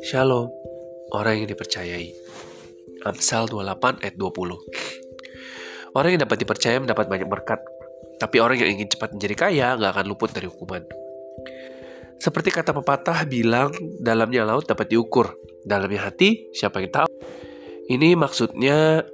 Shalom, orang yang dipercayai. Amsal 28 ayat 20. Orang yang dapat dipercaya mendapat banyak berkat, tapi orang yang ingin cepat menjadi kaya gak akan luput dari hukuman. Seperti kata pepatah bilang, dalamnya laut dapat diukur, dalamnya hati siapa yang tahu. Ini maksudnya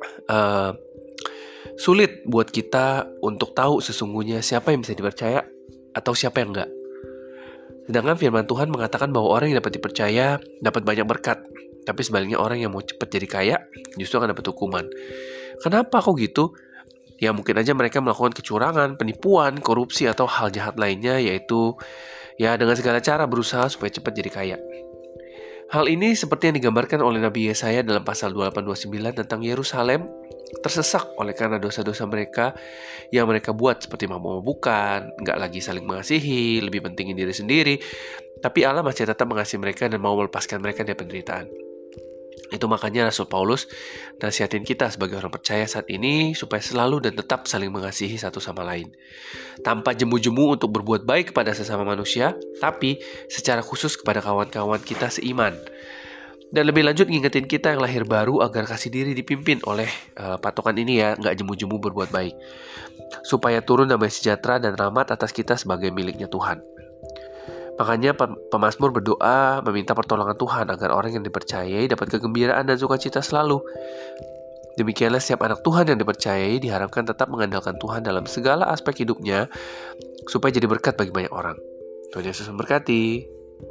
sulit buat kita untuk tahu sesungguhnya siapa yang bisa dipercaya atau siapa yang enggak. Sedangkan firman Tuhan mengatakan bahwa orang yang dapat dipercaya dapat banyak berkat, tapi sebaliknya orang yang mau cepat jadi kaya justru akan dapat hukuman. Kenapa kok gitu? Ya mungkin aja mereka melakukan kecurangan, penipuan, korupsi atau hal jahat lainnya, yaitu ya dengan segala cara berusaha supaya cepat jadi kaya. Hal ini seperti yang digambarkan oleh Nabi Yesaya dalam pasal 28-29 tentang Yerusalem tersesak oleh karena dosa-dosa mereka yang mereka buat, seperti mabuk-mabukan, gak lagi saling mengasihi, lebih pentingin diri sendiri. Tapi Allah masih tetap mengasihi mereka dan mau melepaskan mereka dari penderitaan. Itu makanya Rasul Paulus nasihatin kita sebagai orang percaya saat ini supaya selalu dan tetap saling mengasihi satu sama lain, tanpa jemu-jemu untuk berbuat baik kepada sesama manusia, tapi secara khusus kepada kawan-kawan kita seiman. Dan lebih lanjut ngingetin kita yang lahir baru agar kasih diri dipimpin oleh patokan ini ya, gak jemu-jemu berbuat baik, supaya turun damai sejahtera dan rahmat atas kita sebagai miliknya Tuhan. Makanya pemazmur berdoa meminta pertolongan Tuhan agar orang yang dipercayai dapat kegembiraan dan sukacita selalu. Demikianlah setiap anak Tuhan yang dipercayai diharapkan tetap mengandalkan Tuhan dalam segala aspek hidupnya supaya jadi berkat bagi banyak orang. Tuhan Yesus memberkati.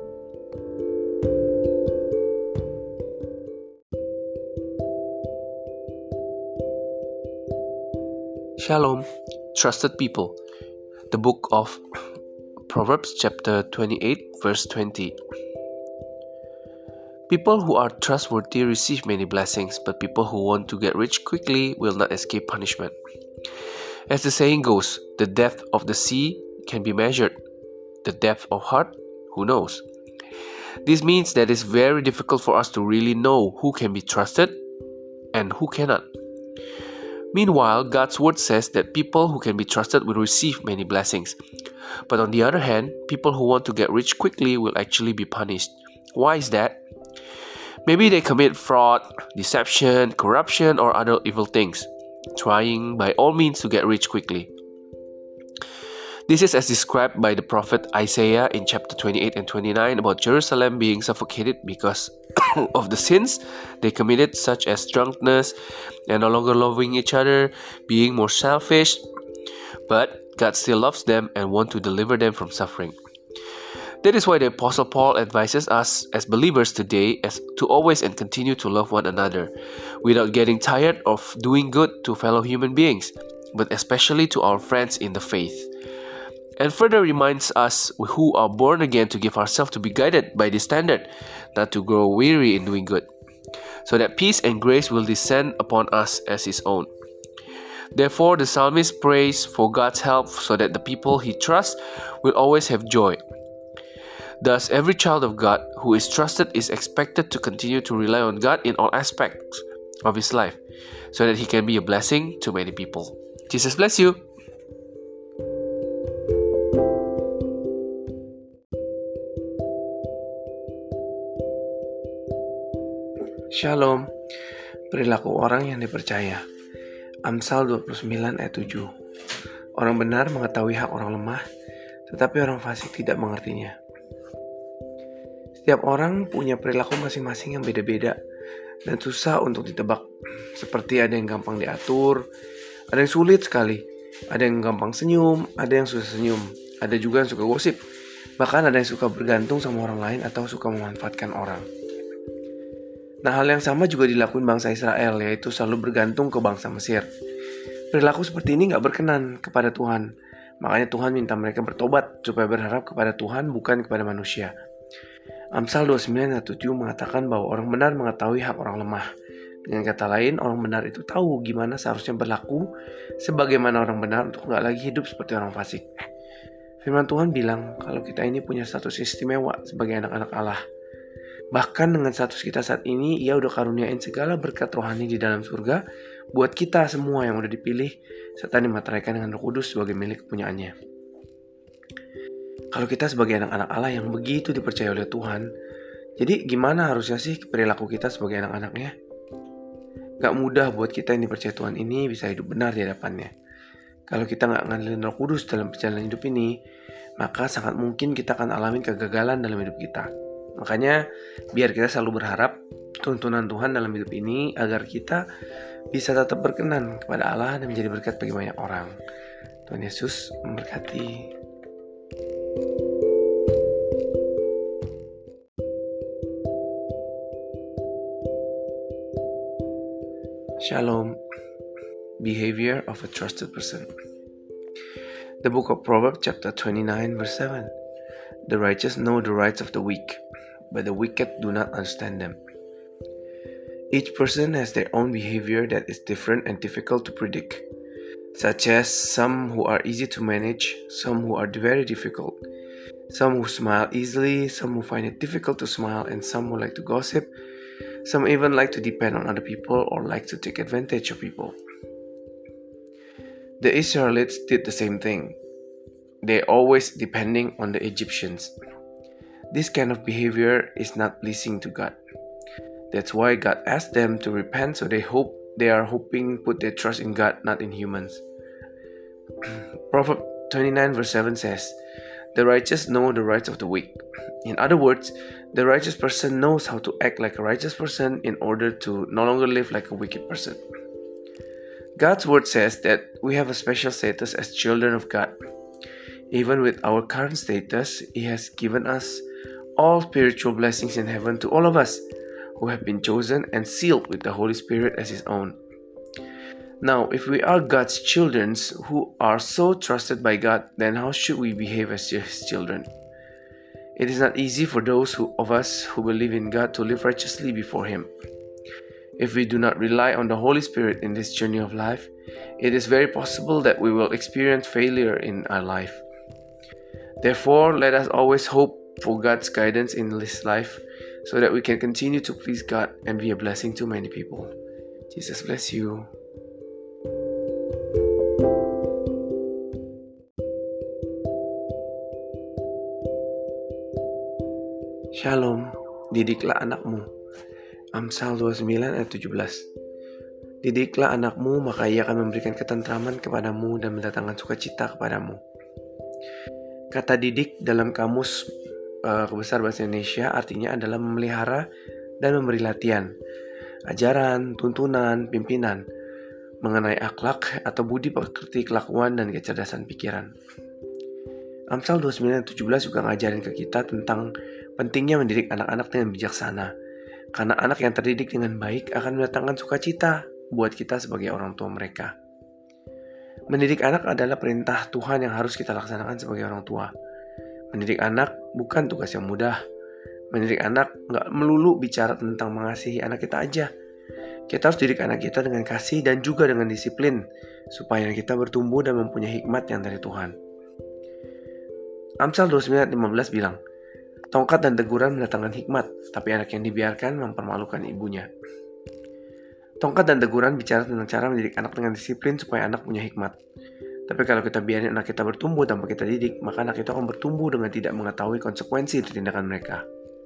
Shalom, trusted people. The book of Proverbs chapter 28 verse 20. People who are trustworthy receive many blessings, but people who want to get rich quickly will not escape punishment. As the saying goes, the depth of the sea can be measured. The depth of heart, who knows? This means that it's very difficult for us to really know who can be trusted and who cannot. Meanwhile, God's word says that people who can be trusted will receive many blessings. But on the other hand, people who want to get rich quickly will actually be punished. Why is that? Maybe they commit fraud, deception, corruption, or other evil things, trying by all means to get rich quickly. This is as described by the prophet Isaiah in chapter 28 and 29 about Jerusalem being suffocated because of the sins they committed, such as drunkenness and no longer loving each other, being more selfish. But God still loves them and wants to deliver them from suffering. That is why the Apostle Paul advises us as believers today as to always and continue to love one another, without getting tired of doing good to fellow human beings, but especially to our friends in the faith. And further reminds us who are born again to give ourselves to be guided by this standard, not to grow weary in doing good, so that peace and grace will descend upon us as His own. Therefore, the psalmist prays for God's help so that the people he trusts will always have joy. Thus, every child of God who is trusted is expected to continue to rely on God in all aspects of his life, so that he can be a blessing to many people. Jesus bless you. Shalom, perilaku orang yang dipercaya. Amsal 29 ayat 7. Orang benar mengetahui hak orang lemah, tetapi orang fasik tidak mengertinya. Setiap orang punya perilaku masing-masing yang beda-beda dan susah untuk ditebak. Seperti ada yang gampang diatur, ada yang sulit sekali, ada yang gampang senyum, ada yang susah senyum, ada juga yang suka gosip, bahkan ada yang suka bergantung sama orang lain atau suka memanfaatkan orang. Nah, hal yang sama juga dilakukan bangsa Israel, yaitu selalu bergantung ke bangsa Mesir. Perilaku seperti ini gak berkenan kepada Tuhan. Makanya Tuhan minta mereka bertobat supaya berharap kepada Tuhan, bukan kepada manusia. Amsal 29 ayat 7 mengatakan bahwa orang benar mengetahui hak orang lemah. Dengan kata lain, orang benar itu tahu gimana seharusnya berlaku sebagaimana orang benar untuk gak lagi hidup seperti orang fasik. Firman Tuhan bilang kalau kita ini punya status istimewa sebagai anak-anak Allah. Bahkan dengan status kita saat ini, Ia udah karuniain segala berkat rohani di dalam surga buat kita semua yang udah dipilih serta dimateraikan dengan Roh Kudus sebagai milik kepunyaannya. Kalau kita sebagai anak-anak Allah yang begitu dipercaya oleh Tuhan, Jadi gimana harusnya sih perilaku kita sebagai anak-anaknya? Gak mudah buat kita yang dipercaya Tuhan ini bisa hidup benar di hadapannya. Kalau kita gak ngandelin Roh Kudus dalam perjalanan hidup ini, maka sangat mungkin kita akan alami kegagalan dalam hidup kita. Makanya biar kita selalu berharap tuntunan Tuhan dalam hidup ini agar kita bisa tetap berkenan kepada Allah dan menjadi berkat bagi banyak orang. Tuhan Yesus memberkati. Shalom. Behavior of a trusted person. The book of Proverbs chapter 29 verse 7. The righteous know the rights of the weak, but the wicked do not understand them. Each person has their own behavior that is different and difficult to predict, such as some who are easy to manage, some who are very difficult, some who smile easily, some who find it difficult to smile, and some who like to gossip. Some even like to depend on other people or like to take advantage of people. The Israelites did the same thing. They always depending on the Egyptians. This kind of behavior is not pleasing to God. That's why God asked them to repent, so they are hoping put their trust in God, not in humans. Proverbs 29 verse 7 says, "The righteous know the rights of the weak." In other words, the righteous person knows how to act like a righteous person in order to no longer live like a wicked person. God's word says that we have a special status as children of God. Even with our current status, He has given us all spiritual blessings in heaven to all of us who have been chosen and sealed with the Holy Spirit as His own. Now, if we are God's children who are so trusted by God, then how should we behave as His children? It is not easy for those of us who believe in God to live righteously before Him. If we do not rely on the Holy Spirit in this journey of life, it is very possible that we will experience failure in our life. Therefore, let us always hope for God's guidance in this life so that we can continue to please God and be a blessing to many people. Jesus bless you. Shalom, didiklah anakmu. Amsal 29 ayat 17. Didiklah anakmu, maka ia akan memberikan ketentraman kepadamu dan mendatangkan sukacita kepadamu. Kata didik dalam kamus Besar Bahasa Indonesia artinya adalah memelihara dan memberi latihan, ajaran, tuntunan, pimpinan mengenai akhlak atau budi pekerti kelakuan dan kecerdasan pikiran. Amsal 29 ayat 17 juga ngajarin ke kita tentang pentingnya mendidik anak-anak dengan bijaksana. Karena anak yang terdidik dengan baik akan mendatangkan sukacita buat kita sebagai orang tua mereka. Mendidik anak adalah perintah Tuhan yang harus kita laksanakan sebagai orang tua. Mendidik anak bukan tugas yang mudah. Mendidik anak gak melulu bicara tentang mengasihi anak kita aja. Kita harus didik anak kita dengan kasih dan juga dengan disiplin, supaya kita bertumbuh dan mempunyai hikmat yang dari Tuhan. Amsal 29 ayat 15 bilang, "Tongkat dan teguran mendatangkan hikmat, tapi anak yang dibiarkan mempermalukan ibunya." Tongkat dan teguran bicara tentang cara mendidik anak dengan disiplin supaya anak punya hikmat. Tapi kalau kita biarin anak kita bertumbuh tanpa kita didik, maka anak itu akan bertumbuh dengan tidak mengetahui konsekuensi dari tindakan mereka.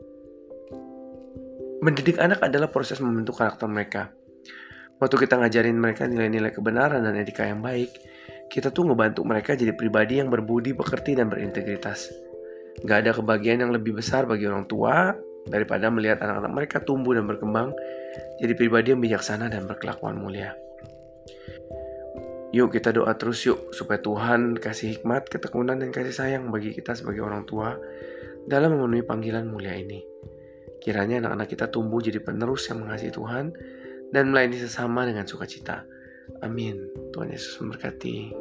Mendidik anak adalah proses membentuk karakter mereka. Waktu kita ngajarin mereka nilai-nilai kebenaran dan etika yang baik, kita tuh ngebantu mereka jadi pribadi yang berbudi, pekerti, dan berintegritas. Gak ada kebahagiaan yang lebih besar bagi orang tua daripada melihat anak-anak mereka tumbuh dan berkembang jadi pribadi yang bijaksana dan berkelakuan mulia. Yuk kita doa terus yuk supaya Tuhan kasih hikmat, ketekunan, dan kasih sayang bagi kita sebagai orang tua dalam memenuhi panggilan mulia ini. Kiranya anak-anak kita tumbuh jadi penerus yang mengasihi Tuhan dan melayani sesama dengan sukacita. Amin. Tuhan Yesus memberkati.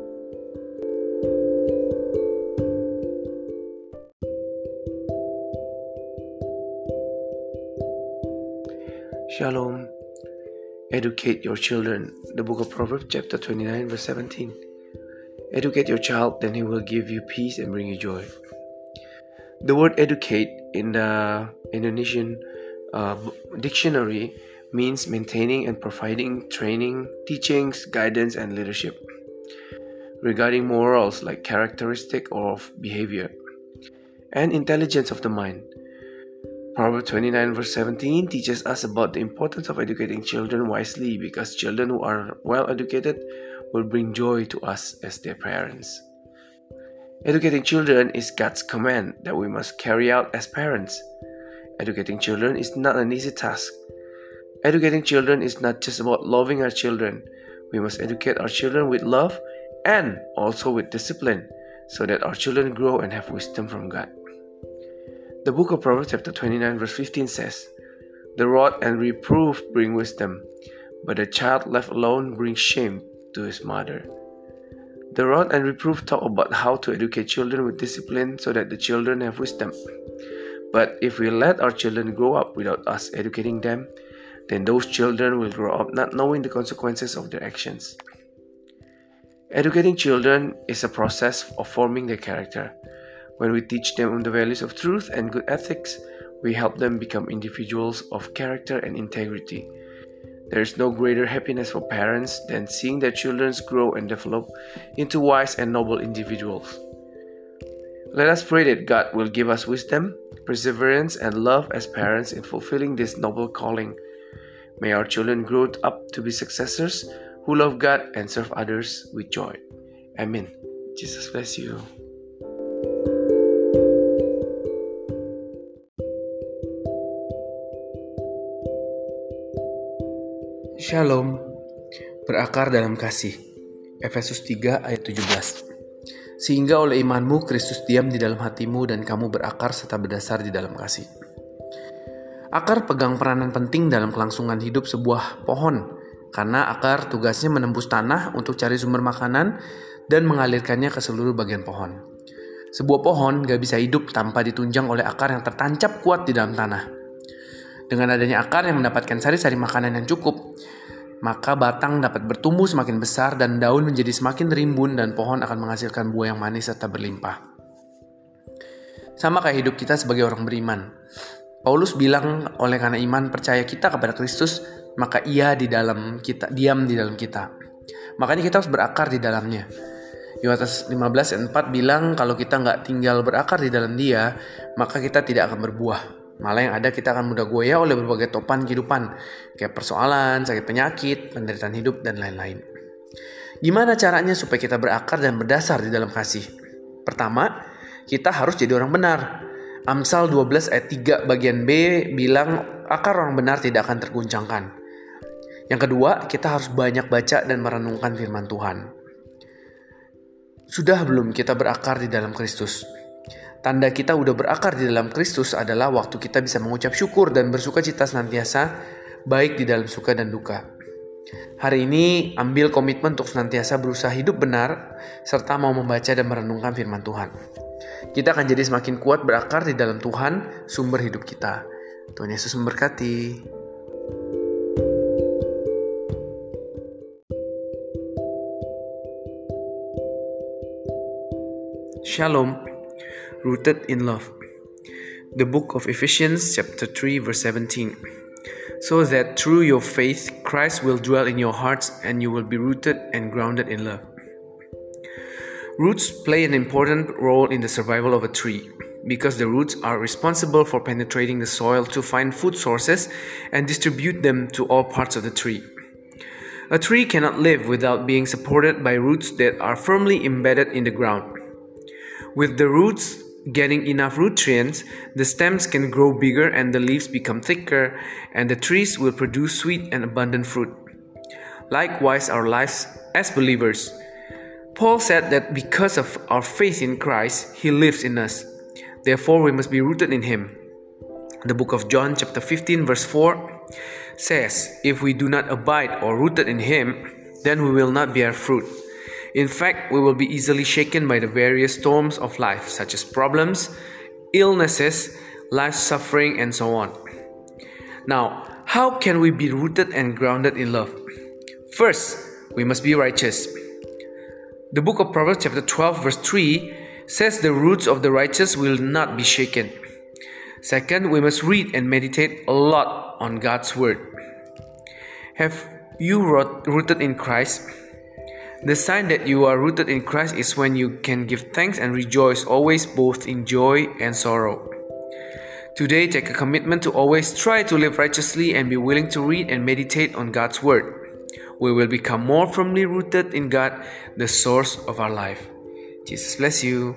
Shalom. Educate your children. The book of Proverbs chapter 29 verse 17. Educate your child, then he will give you peace and bring you joy. The word educate in the Indonesian dictionary means maintaining and providing training, teachings, guidance, and leadership regarding morals like characteristic of behavior and intelligence of the mind. Proverbs 29 verse 17 teaches us about the importance of educating children wisely, because children who are well educated will bring joy to us as their parents. Educating children is God's command that we must carry out as parents. Educating children is not an easy task. Educating children is not just about loving our children. We must educate our children with love and also with discipline, so that our children grow and have wisdom from God. The book of Proverbs chapter 29 verse 15 says, "The rod and reproof bring wisdom, but a child left alone brings shame to his mother." The rod and reproof talk about how to educate children with discipline so that the children have wisdom. But if we let our children grow up without us educating them, then those children will grow up not knowing the consequences of their actions. Educating children is a process of forming their character. When we teach them the values of truth and good ethics, we help them become individuals of character and integrity. There is no greater happiness for parents than seeing their children grow and develop into wise and noble individuals. Let us pray that God will give us wisdom, perseverance, and love as parents in fulfilling this noble calling. May our children grow up to be successors who love God and serve others with joy. Amen. Jesus bless you. Shalom, berakar dalam kasih. Efesus 3 ayat 17. Sehingga oleh imanmu Kristus diam di dalam hatimu dan kamu berakar serta berdasar di dalam kasih. Akar pegang peranan penting dalam kelangsungan hidup sebuah pohon, karena akar tugasnya menembus tanah untuk cari sumber makanan dan mengalirkannya ke seluruh bagian pohon. Sebuah pohon gak bisa hidup tanpa ditunjang oleh akar yang tertancap kuat di dalam tanah. Dengan adanya akar yang mendapatkan sari-sari makanan yang cukup, maka batang dapat bertumbuh semakin besar dan daun menjadi semakin rimbun dan pohon akan menghasilkan buah yang manis serta berlimpah. Sama kayak hidup kita sebagai orang beriman. Paulus bilang oleh karena iman percaya kita kepada Kristus, maka ia diam di dalam kita. Makanya kita harus berakar di dalamnya. Yohanes 15 ayat 4 bilang kalau kita nggak tinggal berakar di dalam dia, maka kita tidak akan berbuah. Malah yang ada kita akan mudah goyah oleh berbagai topan kehidupan, kayak persoalan, sakit penyakit, penderitaan hidup, dan lain-lain. Gimana caranya supaya kita berakar dan berdasar di dalam kasih? Pertama, kita harus jadi orang benar. Amsal 12 ayat 3 bagian B bilang akar orang benar tidak akan terguncangkan. Yang kedua, kita harus banyak baca dan merenungkan firman Tuhan. Sudah belum kita berakar di dalam Kristus? Tanda kita udah berakar di dalam Kristus adalah waktu kita bisa mengucap syukur dan bersuka cita senantiasa, baik di dalam suka dan duka. Hari ini ambil komitmen untuk senantiasa berusaha hidup benar, serta mau membaca dan merenungkan firman Tuhan. Kita akan jadi semakin kuat berakar di dalam Tuhan, sumber hidup kita. Tuhan Yesus memberkati. Shalom. Rooted in love. The book of Ephesians chapter 3 verse 17. So that through your faith Christ will dwell in your hearts and you will be rooted and grounded in love. Roots play an important role in the survival of a tree because the roots are responsible for penetrating the soil to find food sources and distribute them to all parts of the tree. A tree cannot live without being supported by roots that are firmly embedded in the ground. With the roots getting enough nutrients, the stems can grow bigger and the leaves become thicker, and the trees will produce sweet and abundant fruit. Likewise, our lives as believers. Paul said that because of our faith in Christ, He lives in us. Therefore, we must be rooted in Him. The book of John chapter 15 verse 4 says, "If we do not abide or rooted in Him, then we will not bear fruit. In fact, we will be easily shaken by the various storms of life, such as problems, illnesses, life suffering, and so on." Now, how can we be rooted and grounded in love? First, we must be righteous. The book of Proverbs chapter 12 verse 3 says the roots of the righteous will not be shaken. Second, we must read and meditate a lot on God's word. Have you rooted in Christ? The sign that you are rooted in Christ is when you can give thanks and rejoice always, both in joy and sorrow. Today, take a commitment to always try to live righteously and be willing to read and meditate on God's Word. We will become more firmly rooted in God, the source of our life. Jesus bless you.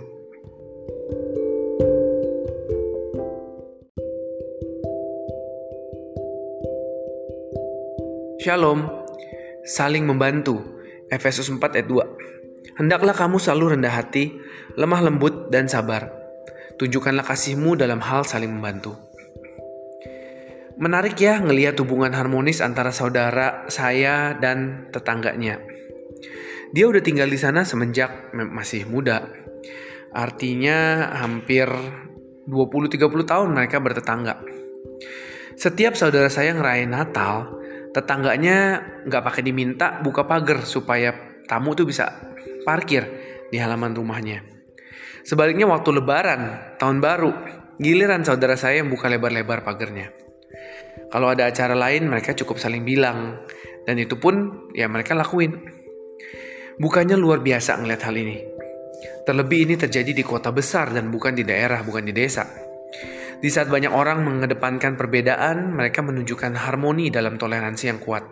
Shalom, saling membantu. Efesus 4 ayat 2. Hendaklah kamu selalu rendah hati, lemah lembut dan sabar. Tunjukkanlah kasihmu dalam hal saling membantu. Menarik ya ngelihat hubungan harmonis antara saudara saya dan tetangganya. Dia udah tinggal di sana semenjak masih muda. Artinya hampir 20-30 tahun mereka bertetangga. Setiap saudara saya ngerayain Natal, tetangganya gak pakai diminta buka pagar supaya tamu tuh bisa parkir di halaman rumahnya. Sebaliknya waktu lebaran, tahun baru, giliran saudara saya yang buka lebar-lebar pagarnya. Kalau ada acara lain mereka cukup saling bilang, dan itu pun ya mereka lakuin. Bukannya luar biasa ngeliat hal ini. Terlebih ini terjadi di kota besar dan bukan di daerah, bukan di desa. Di saat banyak orang mengedepankan perbedaan, mereka menunjukkan harmoni dalam toleransi yang kuat.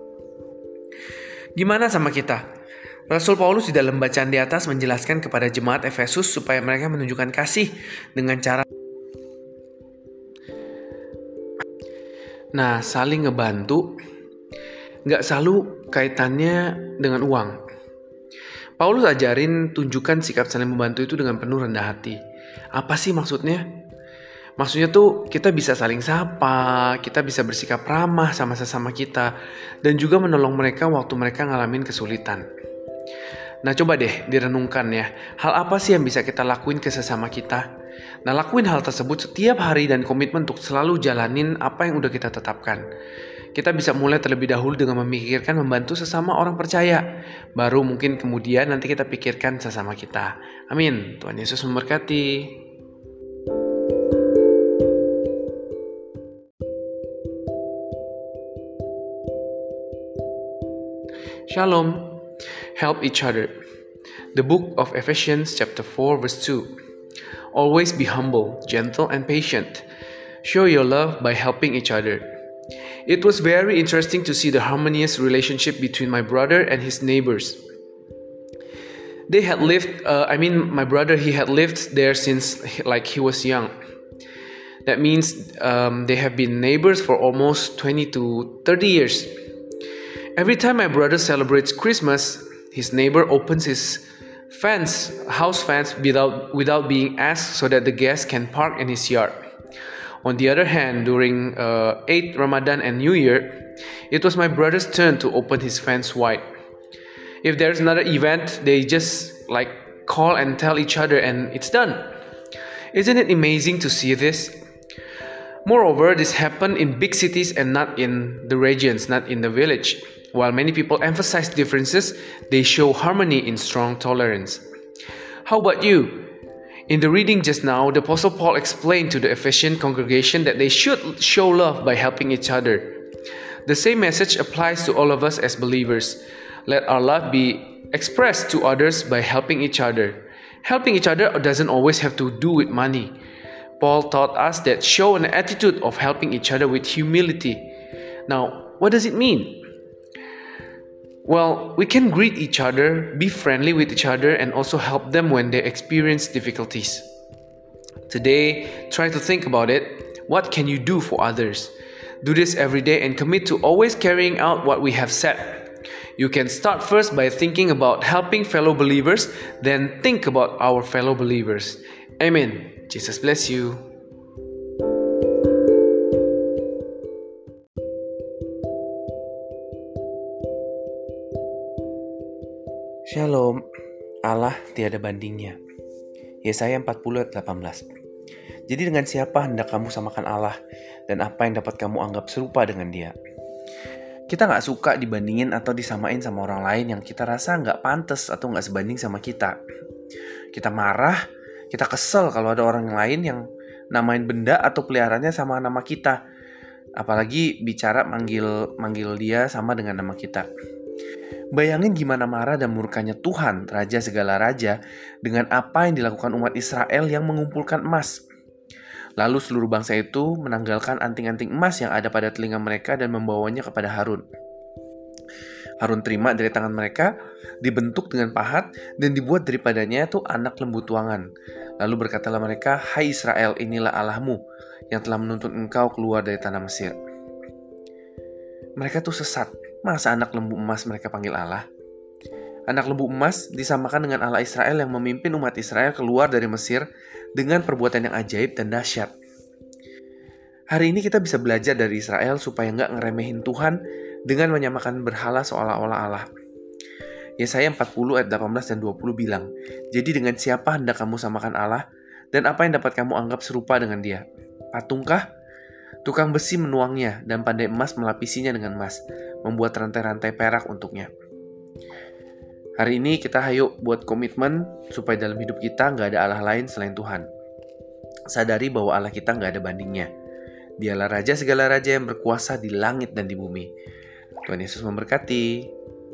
Gimana sama kita? Rasul Paulus di dalam bacaan di atas menjelaskan kepada jemaat Efesus supaya mereka menunjukkan kasih dengan cara saling ngebantu gak selalu kaitannya dengan uang. Paulus ajarin tunjukkan sikap saling membantu itu dengan penuh rendah hati. Apa sih maksudnya? Maksudnya tuh kita bisa saling sapa, kita bisa bersikap ramah sama sesama kita, dan juga menolong mereka waktu mereka ngalamin kesulitan. Nah coba deh direnungkan ya, hal apa sih yang bisa kita lakuin ke sesama kita? Nah lakuin hal tersebut setiap hari dan komitmen untuk selalu jalanin apa yang udah kita tetapkan. Kita bisa mulai terlebih dahulu dengan memikirkan membantu sesama orang percaya. Baru mungkin kemudian nanti kita pikirkan sesama kita. Amin. Tuhan Yesus memberkati. Shalom. Help each other. The book of Ephesians chapter 4 verse 2. Always be humble, gentle and patient. Show your love by helping each other. It was very interesting to see the harmonious relationship between my brother and his neighbors. They had lived, my brother, he had lived there since he was young. That means they have been neighbors for almost 20 to 30 years. Every time my brother celebrates Christmas, his neighbor opens his house fence without being asked so that the guests can park in his yard. On the other hand, during Eid, Ramadan and New Year, it was my brother's turn to open his fence wide. If there's another event, they just call and tell each other and it's done. Isn't it amazing to see this? Moreover, this happened in big cities and not in the regions, not in the village. While many people emphasize differences, they show harmony in strong tolerance. How about you? In the reading just now, the Apostle Paul explained to the Ephesian congregation that they should show love by helping each other. The same message applies to all of us as believers. Let our love be expressed to others by helping each other. Helping each other doesn't always have to do with money. Paul taught us that show an attitude of helping each other with humility. Now, what does it mean? Well, we can greet each other, be friendly with each other, and also help them when they experience difficulties. Today, try to think about it. What can you do for others? Do this every day and commit to always carrying out what we have said. You can start first by thinking about helping fellow believers, then think about our fellow believers. Amen. Jesus bless you. Shalom, Allah tiada bandingnya. Yesaya 40 ayat 18. Jadi dengan siapa hendak kamu samakan Allah, dan apa yang dapat kamu anggap serupa dengan Dia? Kita gak suka dibandingin atau disamain sama orang lain yang kita rasa gak pantas atau gak sebanding sama kita. Kita marah, kita kesel kalau ada orang lain yang namain benda atau peliharaannya sama nama kita. Apalagi bicara manggil dia sama dengan nama kita. Bayangin gimana marah dan murkanya Tuhan, Raja segala raja, dengan apa yang dilakukan umat Israel yang mengumpulkan emas. Lalu seluruh bangsa itu menanggalkan anting-anting emas yang ada pada telinga mereka dan membawanya kepada Harun. Harun terima dari tangan mereka, dibentuk dengan pahat, dan dibuat daripadanya itu anak lembu tuangan. Lalu berkatalah mereka, "Hai Israel, inilah Allahmu yang telah menuntun engkau keluar dari tanah Mesir." Mereka tuh sesat. Masa anak lembu emas mereka panggil Allah? Anak lembu emas disamakan dengan Allah Israel yang memimpin umat Israel keluar dari Mesir dengan perbuatan yang ajaib dan dahsyat. Hari ini kita bisa belajar dari Israel supaya nggak ngeremehin Tuhan dengan menyamakan berhala seolah-olah Allah. Yesaya 40 ayat 18 dan 20 bilang, "Jadi dengan siapa hendak kamu samakan Allah, dan apa yang dapat kamu anggap serupa dengan dia? Patungkah? Tukang besi menuangnya, dan pandai emas melapisinya dengan emas, membuat rantai-rantai perak untuknya." Hari ini kita hayo buat komitmen supaya dalam hidup kita nggak ada Allah lain selain Tuhan. Sadari bahwa Allah kita nggak ada bandingnya. Dialah Raja segala raja yang berkuasa di langit dan di bumi. Tuhan Yesus memberkati.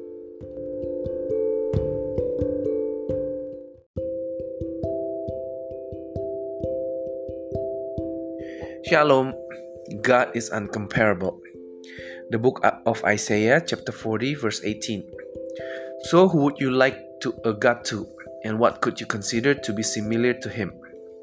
Shalom. God is uncomparable. The book of Isaiah chapter 40 verse 18. So who would you like a God to, and what could you consider to be similar to him?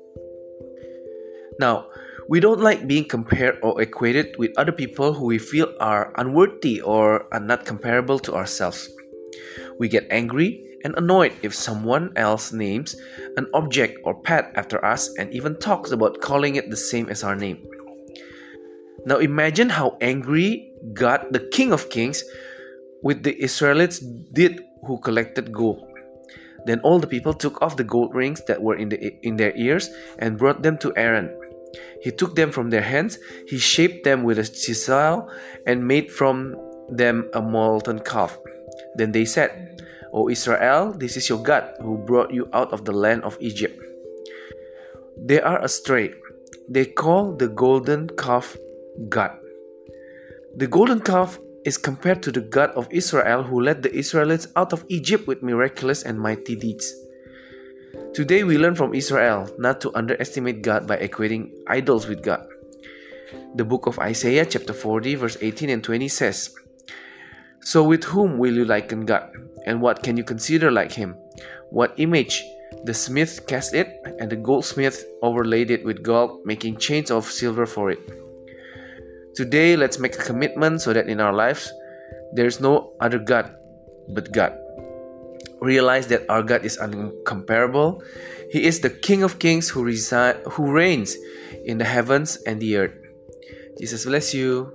Now, we don't like being compared or equated with other people who we feel are unworthy or are not comparable to ourselves. We get angry and annoyed if someone else names an object or pet after us and even talks about calling it the same as our name. Now imagine how angry God, the King of Kings, with the Israelites did who collected gold. Then all the people took off the gold rings that were in their ears and brought them to Aaron. He took them from their hands, he shaped them with a chisel and made from them a molten calf. Then they said, "O Israel, this is your God who brought you out of the land of Egypt." They are astray. They call the golden calf God. The golden calf is compared to the God of Israel who led the Israelites out of Egypt with miraculous and mighty deeds. Today we learn from Israel not to underestimate God by equating idols with God. The book of Isaiah chapter 40 verse 18 and 20 says, "So with whom will you liken God? And what can you consider like him? What image? The smith cast it, and the goldsmith overlaid it with gold, making chains of silver for it." Today, let's make a commitment so that in our lives, there is no other God but God. Realize that our God is uncomparable. He is the King of Kings who reigns in the heavens and the earth. Jesus bless you.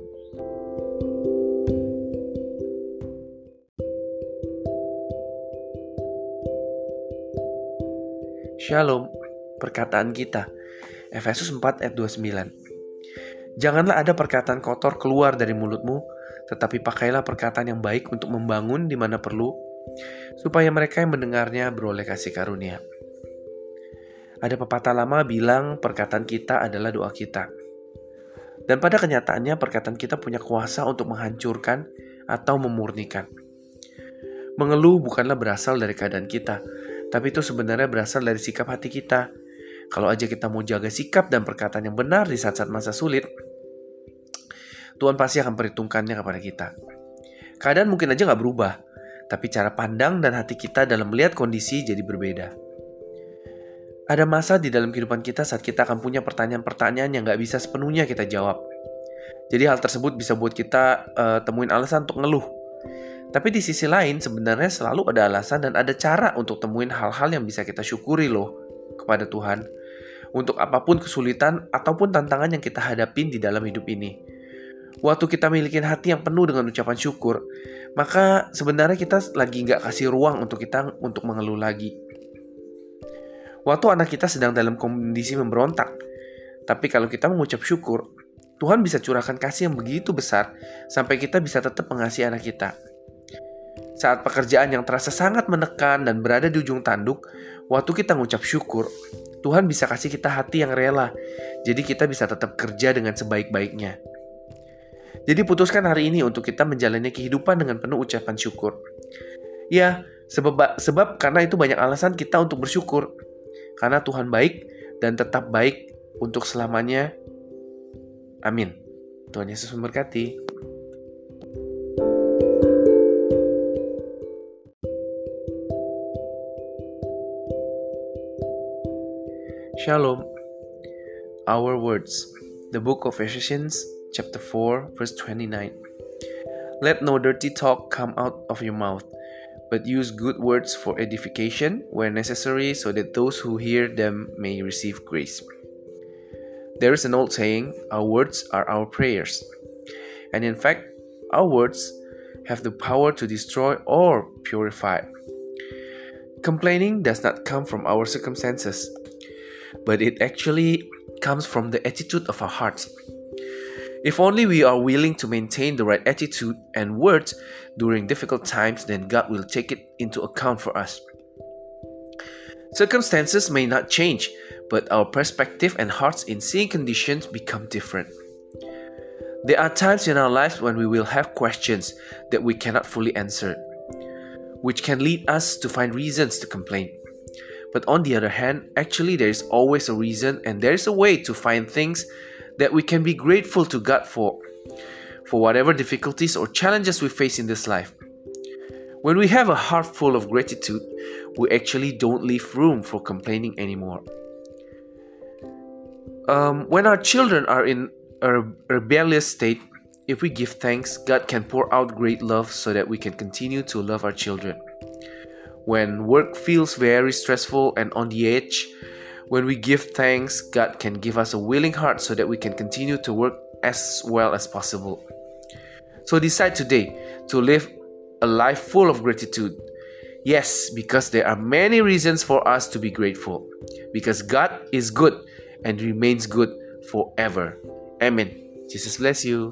Shalom. Perkataan kita, Efesus 4 ayat 29. Janganlah ada perkataan kotor keluar dari mulutmu, tetapi pakailah perkataan yang baik untuk membangun di mana perlu, supaya mereka yang mendengarnya beroleh kasih karunia. Ada pepatah lama bilang perkataan kita adalah doa kita. Dan pada kenyataannya perkataan kita punya kuasa untuk menghancurkan atau memurnikan. Mengeluh bukanlah berasal dari keadaan kita, tapi itu sebenarnya berasal dari sikap hati kita. Kalau aja kita mau jaga sikap dan perkataan yang benar di saat-saat masa sulit, Tuhan pasti akan perhitungkannya kepada kita. Keadaan mungkin aja gak berubah, tapi cara pandang dan hati kita dalam melihat kondisi jadi berbeda. Ada masa di dalam kehidupan kita saat kita akan punya pertanyaan-pertanyaan yang gak bisa sepenuhnya kita jawab. Jadi hal tersebut bisa buat kita temuin alasan untuk ngeluh. Tapi di sisi lain sebenarnya selalu ada alasan dan ada cara untuk temuin hal-hal yang bisa kita syukuri loh kepada Tuhan. Untuk apapun kesulitan ataupun tantangan yang kita hadapin di dalam hidup ini. Waktu kita milikin hati yang penuh dengan ucapan syukur, maka sebenarnya kita lagi gak kasih ruang untuk kita untuk mengeluh lagi. Waktu anak kita sedang dalam kondisi memberontak, tapi kalau kita mengucap syukur, Tuhan bisa curahkan kasih yang begitu besar sampai kita bisa tetap mengasihi anak kita. Saat pekerjaan yang terasa sangat menekan dan berada di ujung tanduk, waktu kita mengucap syukur, Tuhan bisa kasih kita hati yang rela, jadi kita bisa tetap kerja dengan sebaik-baiknya. Jadi putuskan hari ini untuk kita menjalani kehidupan dengan penuh ucapan syukur. Ya, sebab karena itu banyak alasan kita untuk bersyukur. Karena Tuhan baik dan tetap baik untuk selamanya. Amin. Tuhan Yesus memberkati. Shalom. Our words. The book of Ephesians, chapter 4, verse 29. Let no dirty talk come out of your mouth, but use good words for edification where necessary, so that those who hear them may receive grace. There is an old saying, our words are our prayers. And in fact, our words have the power to destroy or purify. Complaining does not come from our circumstances, but it actually comes from the attitude of our hearts. If only we are willing to maintain the right attitude and words during difficult times, then God will take it into account for us. Circumstances may not change, but our perspective and hearts in seeing conditions become different. There are times in our lives when we will have questions that we cannot fully answer, which can lead us to find reasons to complain. But on the other hand, actually there is always a reason, and there is a way to find things that we can be grateful to God for whatever difficulties or challenges we face in this life. When we have a heart full of gratitude, we actually don't leave room for complaining anymore. When our children are in a rebellious state, if we give thanks, God can pour out great love so that we can continue to love our children. When work feels very stressful and on the edge, when we give thanks, God can give us a willing heart so that we can continue to work as well as possible. So decide today to live a life full of gratitude. Yes, because there are many reasons for us to be grateful. Because God is good and remains good forever. Amen. Jesus bless you.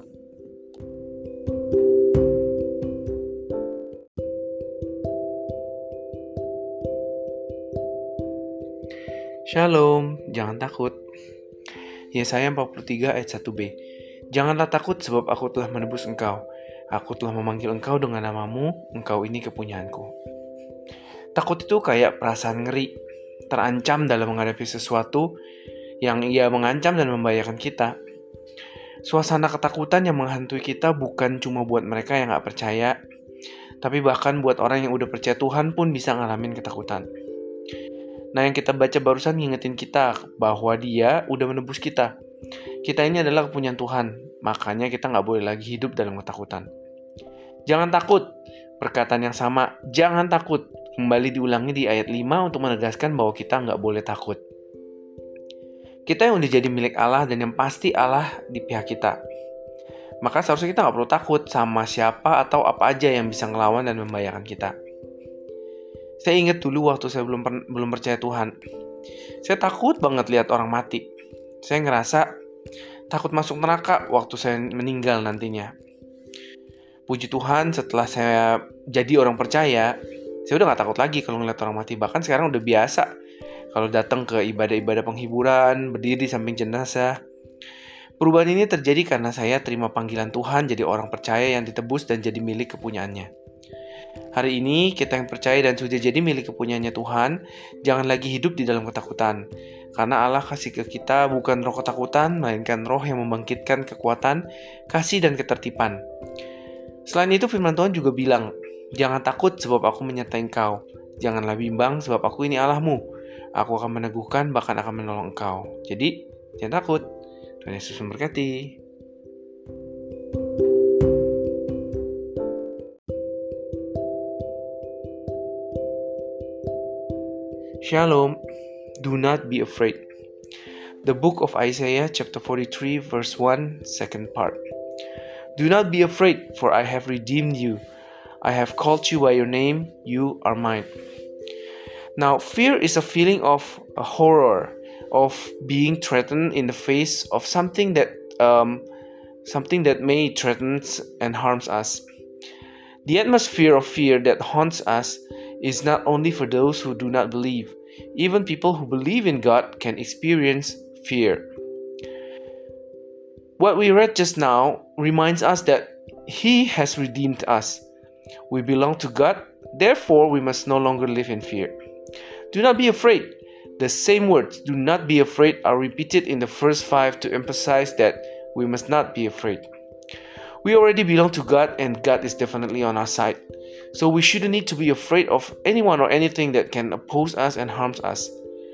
Shalom, jangan takut. Yesaya 43 ayat 1b. Janganlah takut sebab aku telah menebus engkau. Aku telah memanggil engkau dengan namamu, engkau ini kepunyaanku. Takut itu kayak perasaan ngeri, terancam dalam menghadapi sesuatu yang ia mengancam dan membahayakan kita. Suasana ketakutan yang menghantui kita bukan cuma buat mereka yang gak percaya, tapi bahkan buat orang yang udah percaya Tuhan pun bisa ngalamin ketakutan. Nah, yang kita baca barusan ngingetin kita bahwa Dia udah menebus kita. Kita ini adalah kepunyaan Tuhan, makanya kita gak boleh lagi hidup dalam ketakutan. Jangan takut, perkataan yang sama, jangan takut, kembali diulangi di ayat 5 untuk menegaskan bahwa kita gak boleh takut. Kita yang udah jadi milik Allah dan yang pasti Allah di pihak kita. Maka seharusnya kita gak perlu takut sama siapa atau apa aja yang bisa ngelawan dan membahayakan kita. Saya ingat dulu waktu saya belum percaya Tuhan. Saya takut banget lihat orang mati. Saya ngerasa takut masuk neraka waktu saya meninggal nantinya. Puji Tuhan, setelah saya jadi orang percaya, saya udah gak takut lagi kalau ngeliat orang mati. Bahkan sekarang udah biasa kalau datang ke ibadah-ibadah penghiburan, berdiri di samping jenazah. Perubahan ini terjadi karena saya terima panggilan Tuhan jadi orang percaya yang ditebus dan jadi milik kepunyaannya. Hari ini kita yang percaya dan sudah jadi milik kepunyaannya Tuhan, jangan lagi hidup di dalam ketakutan. Karena Allah kasih ke kita bukan roh ketakutan, melainkan roh yang membangkitkan kekuatan, kasih dan ketertiban. Selain itu firman Tuhan juga bilang, jangan takut sebab aku menyertai engkau. Janganlah bimbang sebab aku ini Allahmu. Aku akan meneguhkan bahkan akan menolong engkau. Jadi, jangan takut. Tuhan Yesus memberkati. Shalom, do not be afraid. The book of Isaiah chapter 43 verse 1, second part. Do not be afraid, for I have redeemed you. I have called you by your name, you are mine. Now, fear is a feeling of a horror, of being threatened in the face of something that may threaten and harms us. The atmosphere of fear that haunts us is not only for those who do not believe. Even people who believe in God can experience fear. What we read just now reminds us that He has redeemed us. We belong to God, therefore we must no longer live in fear. Do not be afraid. The same words, do not be afraid, are repeated in the first 5 to emphasize that we must not be afraid. We already belong to God, and God is definitely on our side. So we shouldn't need to be afraid of anyone or anything that can oppose us and harms us.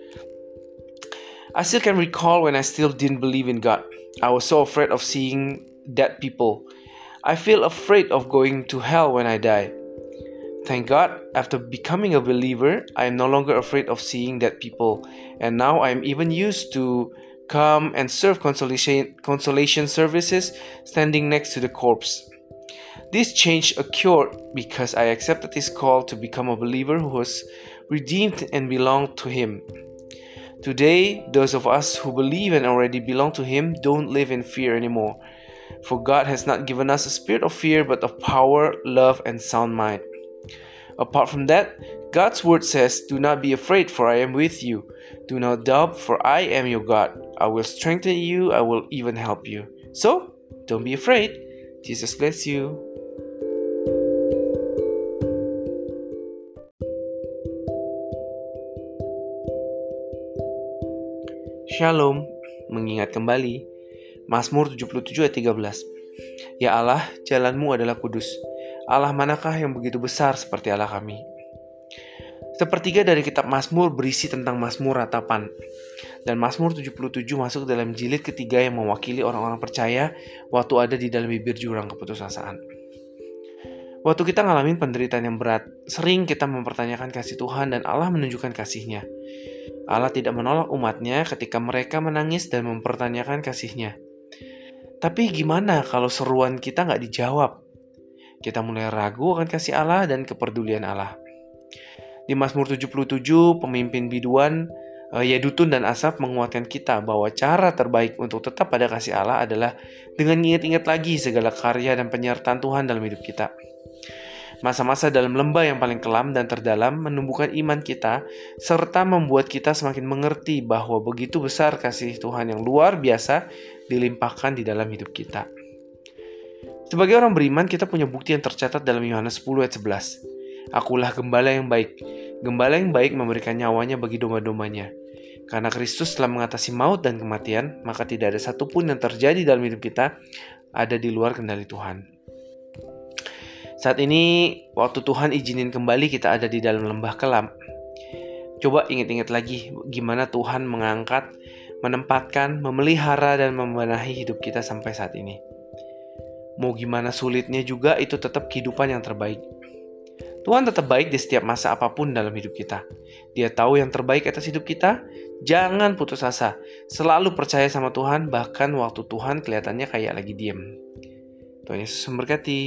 I still can recall when I still didn't believe in God. I was so afraid of seeing dead people. I feel afraid of going to hell when I die. Thank God, after becoming a believer, I am no longer afraid of seeing dead people, and now I am even used to come and serve consolation services standing next to the corpse. This change occurred because I accepted His call to become a believer who was redeemed and belonged to Him. Today, those of us who believe and already belong to Him don't live in fear anymore. For God has not given us a spirit of fear, but of power, love, and sound mind. Apart from that, God's word says, do not be afraid, for I am with you. Do not doubt, for I am your God. I will strengthen you, I will even help you. So, don't be afraid. Jesus bless you. Shalom, mengingat kembali Mazmur 77 ayat 13. Ya Allah, jalanmu adalah kudus. Allah manakah yang begitu besar seperti Allah kami? Sepertiga dari kitab Mazmur berisi tentang Mazmur ratapan. Dan Mazmur 77 masuk dalam jilid ketiga yang mewakili orang-orang percaya waktu ada di dalam bibir jurang keputusasaan. Waktu kita ngalamin penderitaan yang berat, sering kita mempertanyakan kasih Tuhan dan Allah menunjukkan kasih-Nya. Allah tidak menolak umat-Nya ketika mereka menangis dan mempertanyakan kasih-Nya. Tapi gimana kalau seruan kita nggak dijawab? Kita mulai ragu akan kasih Allah dan kepedulian Allah. Di Mazmur 77, pemimpin biduan Yedutun dan Asaf menguatkan kita bahwa cara terbaik untuk tetap pada kasih Allah adalah dengan ingat-ingat lagi segala karya dan penyertaan Tuhan dalam hidup kita. Masa-masa dalam lembah yang paling kelam dan terdalam menumbuhkan iman kita, serta membuat kita semakin mengerti bahwa begitu besar kasih Tuhan yang luar biasa dilimpahkan di dalam hidup kita. Sebagai orang beriman, kita punya bukti yang tercatat dalam Yohanes 10 ayat 11. Akulah gembala yang baik. Gembala yang baik memberikan nyawanya bagi domba-dombanya. Karena Kristus telah mengatasi maut dan kematian, maka tidak ada satupun yang terjadi dalam hidup kita ada di luar kendali Tuhan. Saat ini, waktu Tuhan izinin kembali kita ada di dalam lembah kelam. Coba ingat-ingat lagi gimana Tuhan mengangkat, menempatkan, memelihara, dan membenahi hidup kita sampai saat ini. Mau gimana sulitnya juga, itu tetap kehidupan yang terbaik. Tuhan tetap baik di setiap masa apapun dalam hidup kita. Dia tahu yang terbaik atas hidup kita. Jangan putus asa. Selalu percaya sama Tuhan, bahkan waktu Tuhan kelihatannya kayak lagi diem. Tuhan Yesus memberkati.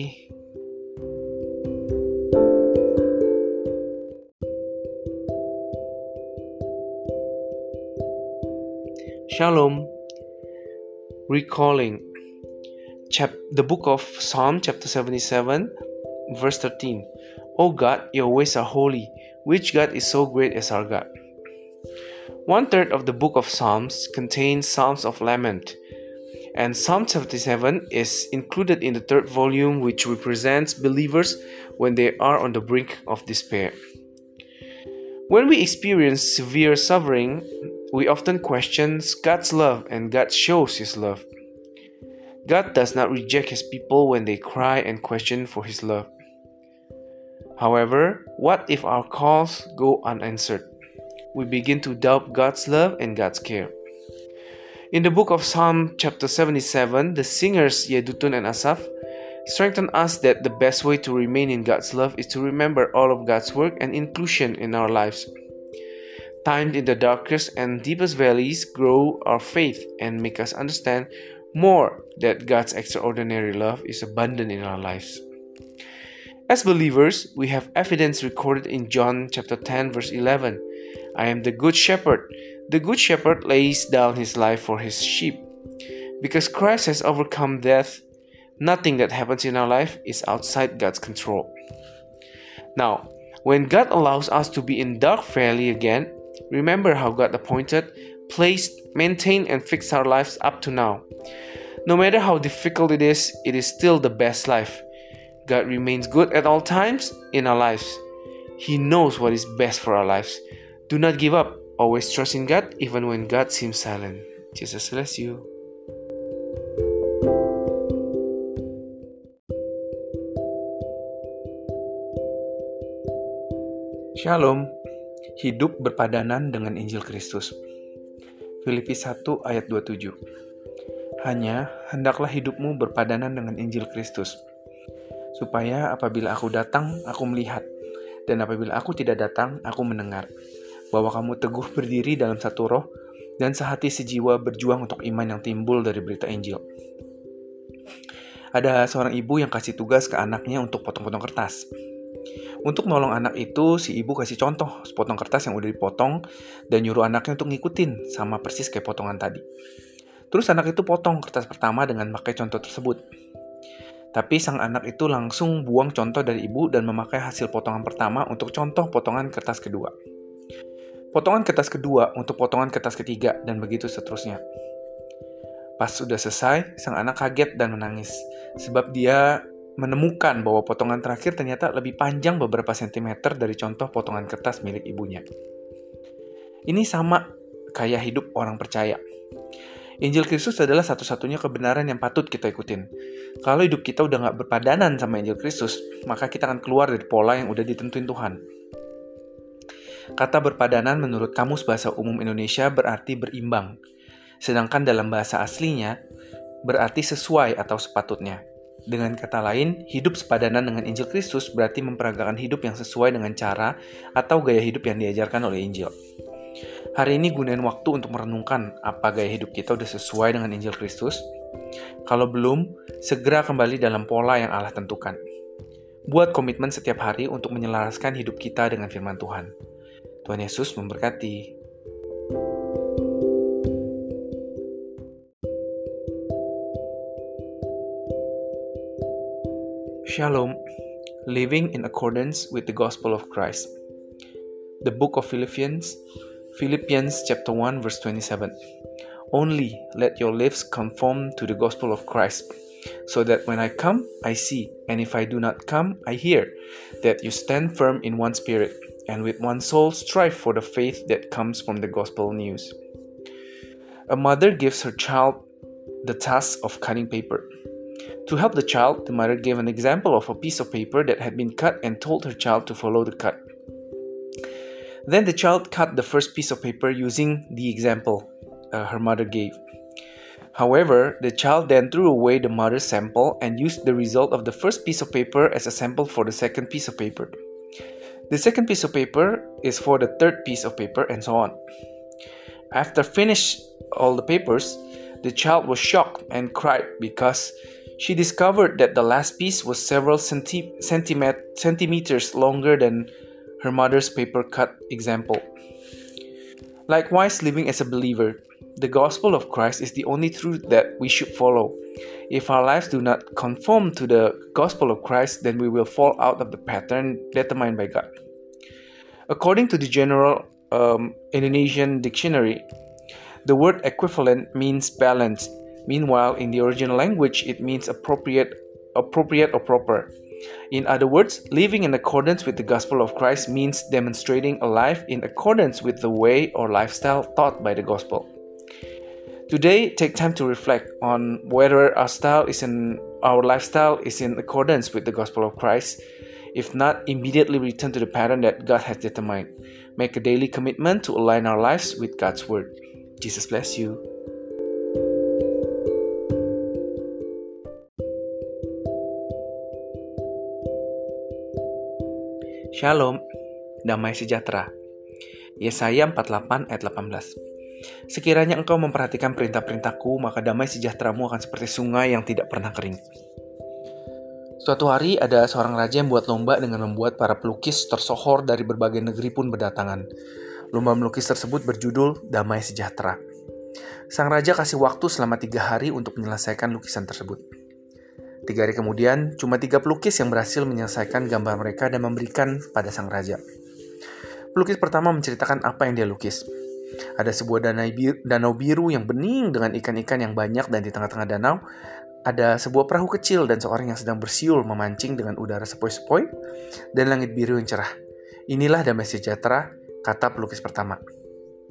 Shalom. Recalling the book of Psalm chapter 77 verse 13. O God, your ways are holy. Which God is so great as our God? 1/3 of the book of Psalms contains Psalms of Lament, and Psalm 77 is included in the 3rd volume, which represents believers when they are on the brink of despair. When we experience severe suffering, we often question God's love, and God shows His love. God does not reject His people when they cry and question for His love. However, what if our calls go unanswered? We begin to doubt God's love and God's care. In the book of Psalm chapter 77, the singers Yedutun and Asaf strengthen us that the best way to remain in God's love is to remember all of God's work and inclusion in our lives. Times in the darkest and deepest valleys grow our faith and make us understand more that God's extraordinary love is abundant in our lives. As believers, we have evidence recorded in John chapter 10 verse 11. I am the good shepherd. The good shepherd lays down his life for his sheep. Because Christ has overcome death, nothing that happens in our life is outside God's control. Now, when God allows us to be in dark valley again, remember how God appointed, placed, maintained, and fixed our lives up to now. No matter how difficult it is still the best life. God remains good at all times in our lives. He knows what is best for our lives. Do not give up. Always trust in God even when God seems silent. Jesus bless you. Shalom. Hidup berpadanan dengan Injil Kristus. Filipi 1 ayat 27. Hanya hendaklah hidupmu berpadanan dengan Injil Kristus, supaya apabila aku datang, aku melihat, dan apabila aku tidak datang, aku mendengar, bahwa kamu teguh berdiri dalam satu roh, dan sehati sejiwa berjuang untuk iman yang timbul dari berita Injil. Ada seorang ibu yang kasih tugas ke anaknya untuk potong-potong kertas. Untuk nolong anak itu, si ibu kasih contoh sepotong kertas yang udah dipotong dan nyuruh anaknya untuk ngikutin sama persis kayak potongan tadi. Terus anak itu potong kertas pertama dengan pakai contoh tersebut. Tapi sang anak itu langsung buang contoh dari ibu dan memakai hasil potongan pertama untuk contoh potongan kertas kedua. Potongan kertas kedua untuk potongan kertas ketiga dan begitu seterusnya. Pas sudah selesai, sang anak kaget dan menangis sebab dia menemukan bahwa potongan terakhir ternyata lebih panjang beberapa sentimeter dari contoh potongan kertas milik ibunya. Ini sama kayak hidup orang percaya. Injil Kristus adalah satu-satunya kebenaran yang patut kita ikutin. Kalau hidup kita udah gak berpadanan sama Injil Kristus, maka kita akan keluar dari pola yang udah ditentuin Tuhan. Kata berpadanan menurut Kamus Bahasa Umum Indonesia berarti berimbang. Sedangkan dalam bahasa aslinya berarti sesuai atau sepatutnya. Dengan kata lain, hidup sepadanan dengan Injil Kristus berarti memperagakan hidup yang sesuai dengan cara atau gaya hidup yang diajarkan oleh Injil. Hari ini gunain waktu untuk merenungkan apa gaya hidup kita udah sesuai dengan Injil Kristus. Kalau belum, segera kembali dalam pola yang Allah tentukan. Buat komitmen setiap hari untuk menyelaraskan hidup kita dengan firman Tuhan. Tuhan Yesus memberkati. Shalom, living in accordance with the gospel of Christ. The book of Philippians chapter 1 verse 27. Only let your lives conform to the gospel of Christ, so that when I come, I see, and if I do not come, I hear, that you stand firm in one spirit, and with one soul strive for the faith that comes from the gospel news. A mother gives her child the task of cutting paper. To help the child, the mother gave an example of a piece of paper that had been cut and told her child to follow the cut. Then the child cut the first piece of paper using the example her mother gave. However, the child then threw away the mother's sample and used the result of the first piece of paper as a sample for the second piece of paper. The second piece of paper is for the third piece of paper, and so on. After finished all the papers, the child was shocked and cried because she discovered that the last piece was several centimeters longer than her mother's paper cut example. Likewise, living as a believer, the gospel of Christ is the only truth that we should follow. If our lives do not conform to the gospel of Christ, then we will fall out of the pattern determined by God. According to the General Indonesian Dictionary, the word equivalent means balanced. Meanwhile, in the original language, it means appropriate or proper. In other words, living in accordance with the gospel of Christ means demonstrating a life in accordance with the way or lifestyle taught by the gospel. Today, take time to reflect on whether our lifestyle is in accordance with the gospel of Christ. If not, immediately return to the pattern that God has determined. Make a daily commitment to align our lives with God's word. Jesus bless you. Shalom, damai sejahtera. Yesaya 48 ayat 18. Sekiranya engkau memperhatikan perintah-perintahku, maka damai sejahteramu akan seperti sungai yang tidak pernah kering. Suatu hari ada seorang raja yang buat lomba dengan membuat para pelukis tersohor dari berbagai negeri pun berdatangan. Lomba melukis tersebut berjudul Damai Sejahtera. Sang raja kasih waktu selama 3 hari untuk menyelesaikan lukisan tersebut. 3 hari kemudian, cuma 3 pelukis yang berhasil menyelesaikan gambar mereka dan memberikan pada sang raja. Pelukis pertama menceritakan apa yang dia lukis. Ada sebuah danau biru yang bening dengan ikan-ikan yang banyak, dan di tengah-tengah danau ada sebuah perahu kecil dan seorang yang sedang bersiul memancing dengan udara sepoi-sepoi dan langit biru yang cerah. Inilah damai sejahtera, kata pelukis pertama.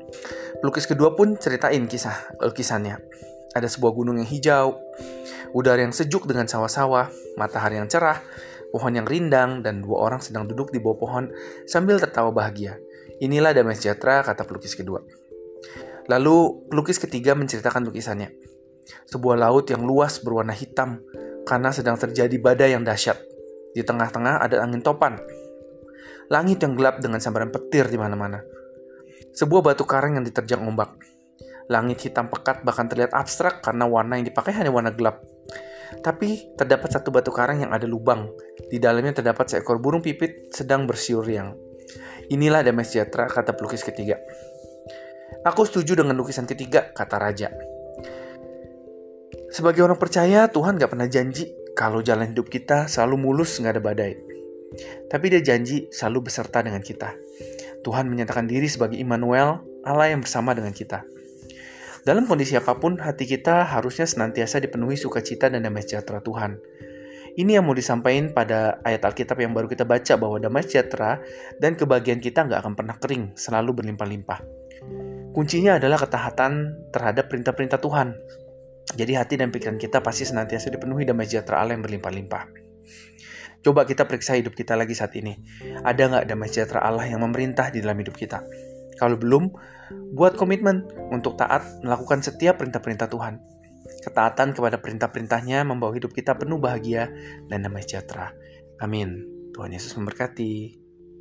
Pelukis kedua pun ceritain kisah lukisannya. Ada sebuah gunung yang hijau, udara yang sejuk dengan sawah-sawah, matahari yang cerah, pohon yang rindang, dan dua orang sedang duduk di bawah pohon sambil tertawa bahagia. Inilah damai sejahtera, kata pelukis kedua. Lalu pelukis ketiga menceritakan lukisannya. Sebuah laut yang luas berwarna hitam karena sedang terjadi badai yang dahsyat. Di tengah-tengah ada angin topan. Langit yang gelap dengan sambaran petir di mana-mana. Sebuah batu karang yang diterjang ombak. Langit hitam pekat bahkan terlihat abstrak karena warna yang dipakai hanya warna gelap. Tapi terdapat satu batu karang yang ada lubang. Di dalamnya terdapat seekor burung pipit sedang bersiul riang. Inilah damai sejahtera, kata pelukis ketiga. Aku setuju dengan lukisan ketiga, kata raja. Sebagai orang percaya, Tuhan gak pernah janji kalau jalan hidup kita selalu mulus gak ada badai. Tapi dia janji selalu beserta dengan kita. Tuhan menyatakan diri sebagai Immanuel, Allah yang bersama dengan kita. Dalam kondisi apapun, hati kita harusnya senantiasa dipenuhi sukacita dan damai sejahtera Tuhan. Ini yang mau disampaikan pada ayat Alkitab yang baru kita baca, bahwa damai sejahtera dan kebahagiaan kita gak akan pernah kering, selalu berlimpah-limpah. Kuncinya adalah ketaatan terhadap perintah-perintah Tuhan. Jadi hati dan pikiran kita pasti senantiasa dipenuhi damai sejahtera Allah yang berlimpah-limpah. Coba kita periksa hidup kita lagi saat ini. Ada gak damai sejahtera Allah yang memerintah di dalam hidup kita? Kalau belum, buat komitmen untuk taat melakukan setiap perintah-perintah Tuhan. Ketaatan kepada perintah-perintahnya membawa hidup kita penuh bahagia dan damai sejahtera. Amin. Tuhan Yesus memberkati.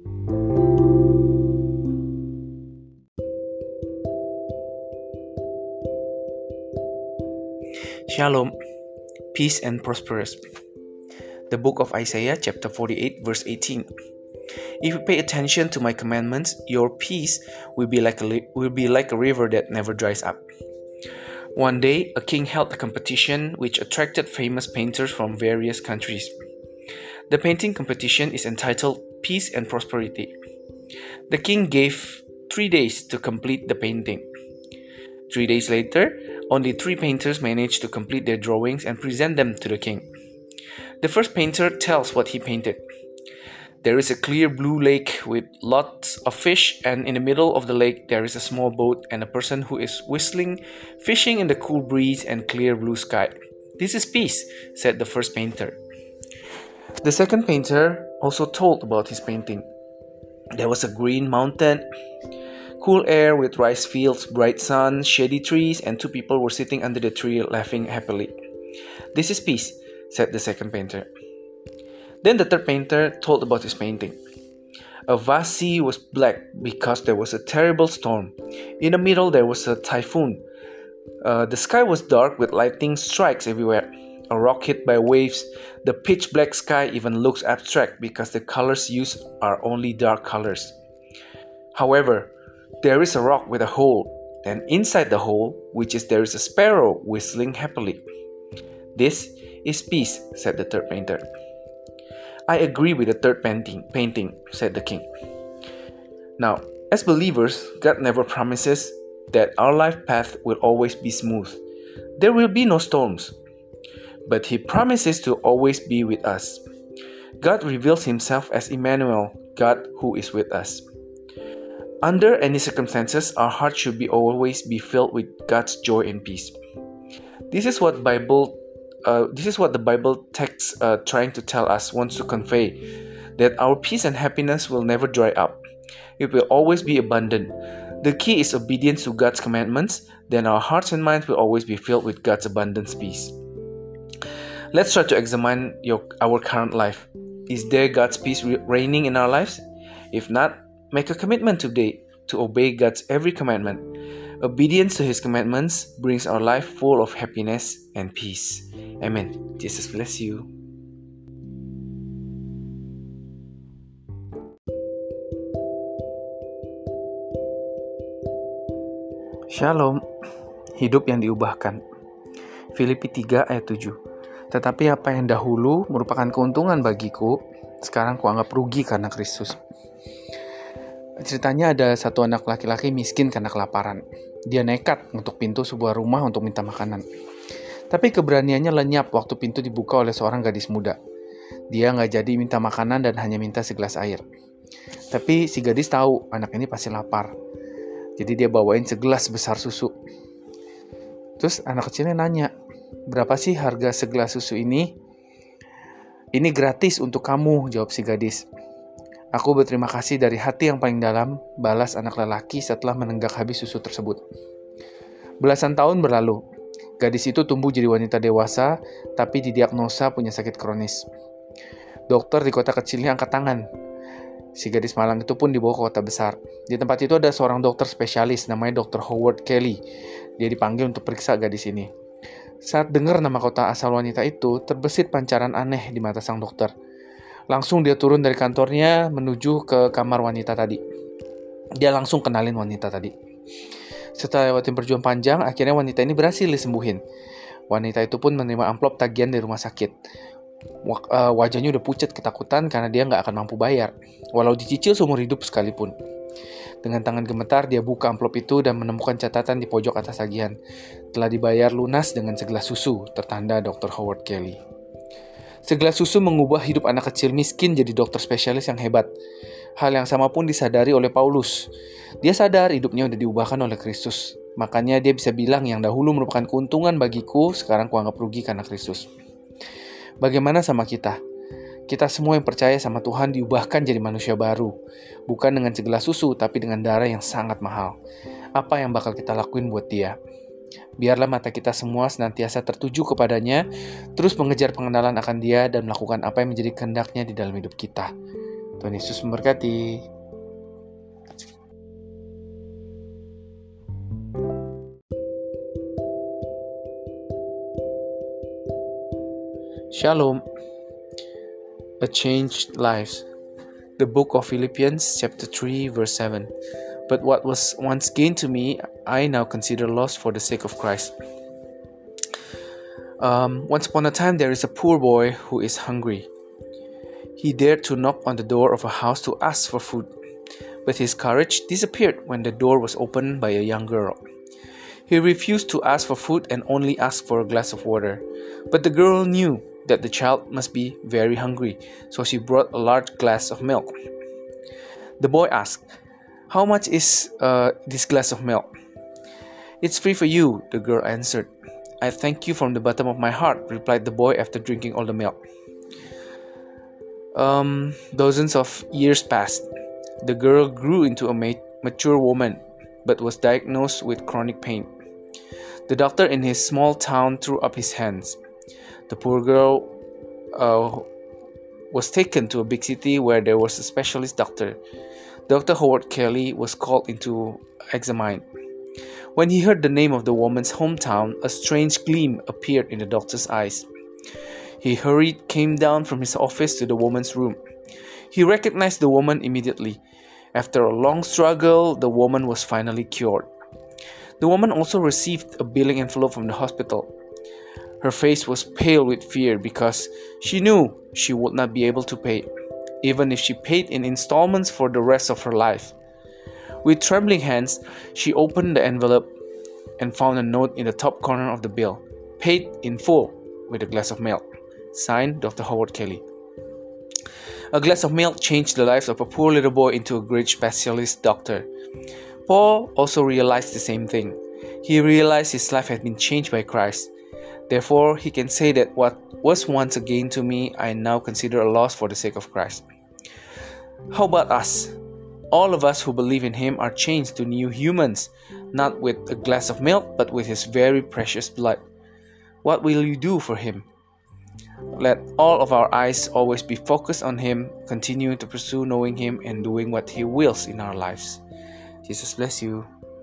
Shalom, peace and prosperous. The book of Isaiah chapter 48 verse 18. If you pay attention to my commandments, your peace will be like a river that never dries up. One day, a king held a competition which attracted famous painters from various countries. The painting competition is entitled Peace and Prosperity. The king gave 3 days to complete the painting. 3 days later, only 3 painters managed to complete their drawings and present them to the king. The first painter tells what he painted. There is a clear blue lake with lots of fish, and in the middle of the lake there is a small boat and a person who is whistling, fishing in the cool breeze and clear blue sky. This is peace, said the first painter. The second painter also told about his painting. There was a green mountain, cool air with rice fields, bright sun, shady trees, and 2 people were sitting under the tree laughing happily. This is peace, said the second painter. Then the third painter told about his painting. A vast sea was black because there was a terrible storm. In the middle there was a typhoon. The sky was dark with lightning strikes everywhere. A rock hit by waves. The pitch black sky even looks abstract because the colors used are only dark colors. However, there is a rock with a hole, and inside the hole, there is a sparrow whistling happily. This is peace, said the third painter. I agree with the third painting, said the king. Now, as believers, God never promises that our life path will always be smooth. There will be no storms. But He promises to always be with us. God reveals Himself as Immanuel, God who is with us. Under any circumstances, our heart should always be filled with God's joy and peace. This is what the Bible text trying to tell us, wants to convey, that our peace and happiness will never dry up. It will always be abundant. The key is obedience to God's commandments. Then our hearts and minds will always be filled with God's abundant peace. Let's try to examine our current life. Is there God's peace reigning in our lives? If not, make a commitment today to obey God's every commandment. Obedience to His commandments brings our life full of happiness and peace. Amen. Jesus bless you. Shalom, hidup yang diubahkan. Filipi 3 ayat 7. Tetapi apa yang dahulu merupakan keuntungan bagiku, sekarang kuanggap rugi karena Kristus. Ceritanya ada satu anak laki-laki miskin karena kelaparan. Dia nekat untuk pintu sebuah rumah untuk minta makanan. Tapi keberaniannya lenyap waktu pintu dibuka oleh seorang gadis muda. Dia nggak jadi minta makanan dan hanya minta segelas air. Tapi si gadis tahu anak ini pasti lapar. Jadi dia bawain segelas besar susu. Terus anak kecilnya nanya, "Berapa sih harga segelas susu ini?" "Ini gratis untuk kamu," jawab si gadis. "Aku berterima kasih dari hati yang paling dalam," balas anak lelaki setelah menenggak habis susu tersebut. Belasan tahun berlalu. Gadis itu tumbuh jadi wanita dewasa, tapi didiagnosa punya sakit kronis. Dokter di kota kecilnya angkat tangan. Si gadis malang itu pun dibawa ke kota besar. Di tempat itu ada seorang dokter spesialis, namanya Dr. Howard Kelly. Dia dipanggil untuk periksa gadis ini. Saat dengar nama kota asal wanita itu, terbesit pancaran aneh di mata sang dokter. Langsung dia turun dari kantornya menuju ke kamar wanita tadi. Dia langsung kenalin wanita tadi. Setelah lewatin perjuangan panjang, akhirnya wanita ini berhasil disembuhin. Wanita itu pun menerima amplop tagihan dari rumah sakit. Wajahnya udah pucat ketakutan karena dia nggak akan mampu bayar, walau dicicil seumur hidup sekalipun. Dengan tangan gemetar, dia buka amplop itu dan menemukan catatan di pojok atas tagihan. Telah dibayar lunas dengan segelas susu, tertanda Dr. Howard Kelly. Segelas susu mengubah hidup anak kecil miskin jadi dokter spesialis yang hebat. Hal yang sama pun disadari oleh Paulus. Dia sadar hidupnya udah diubahkan oleh Kristus. Makanya dia bisa bilang yang dahulu merupakan keuntungan bagiku, sekarang kuanggap rugi karena Kristus. Bagaimana sama kita? Kita semua yang percaya sama Tuhan diubahkan jadi manusia baru. Bukan dengan segelas susu, tapi dengan darah yang sangat mahal. Apa yang bakal kita lakuin buat dia? Biarlah mata kita semua senantiasa tertuju kepadanya, terus mengejar pengenalan akan dia dan melakukan apa yang menjadi kehendaknya di dalam hidup kita. Tuhan Yesus memberkati. Shalom. A Changed Life. The book of Philippians chapter 3 verse 7. But what was once gain to me, I now consider loss for the sake of Christ. Once upon a time, there is a poor boy who is hungry. He dared to knock on the door of a house to ask for food, but his courage disappeared when the door was opened by a young girl. He refused to ask for food and only asked for a glass of water, but the girl knew that the child must be very hungry, so she brought a large glass of milk. The boy asked, "How much is this glass of milk?" "It's free for you," the girl answered. "I thank you from the bottom of my heart," replied the boy after drinking all the milk. Dozens of years passed. The girl grew into a mature woman, but was diagnosed with chronic pain. The doctor in his small town threw up his hands. The poor girl was taken to a big city where there was a specialist doctor. Dr. Howard Kelly was called in to examine. When he heard the name of the woman's hometown, a strange gleam appeared in the doctor's eyes. He came down from his office to the woman's room. He recognized the woman immediately. After a long struggle, the woman was finally cured. The woman also received a billing envelope from the hospital. Her face was pale with fear because she knew she would not be able to pay, even if she paid in installments for the rest of her life. With trembling hands, she opened the envelope and found a note in the top corner of the bill, paid in full with a glass of milk. Signed, Dr. Howard Kelly. A glass of milk changed the life of a poor little boy into a great specialist doctor. Paul also realized the same thing. He realized his life had been changed by Christ. Therefore, he can say that what was once a gain to me, I now consider a loss for the sake of Christ. How about us? All of us who believe in him are changed to new humans, not with a glass of milk, but with his very precious blood. What will you do for him? Let all of our eyes always be focused on him, continuing to pursue knowing him and doing what he wills in our lives. Jesus bless you.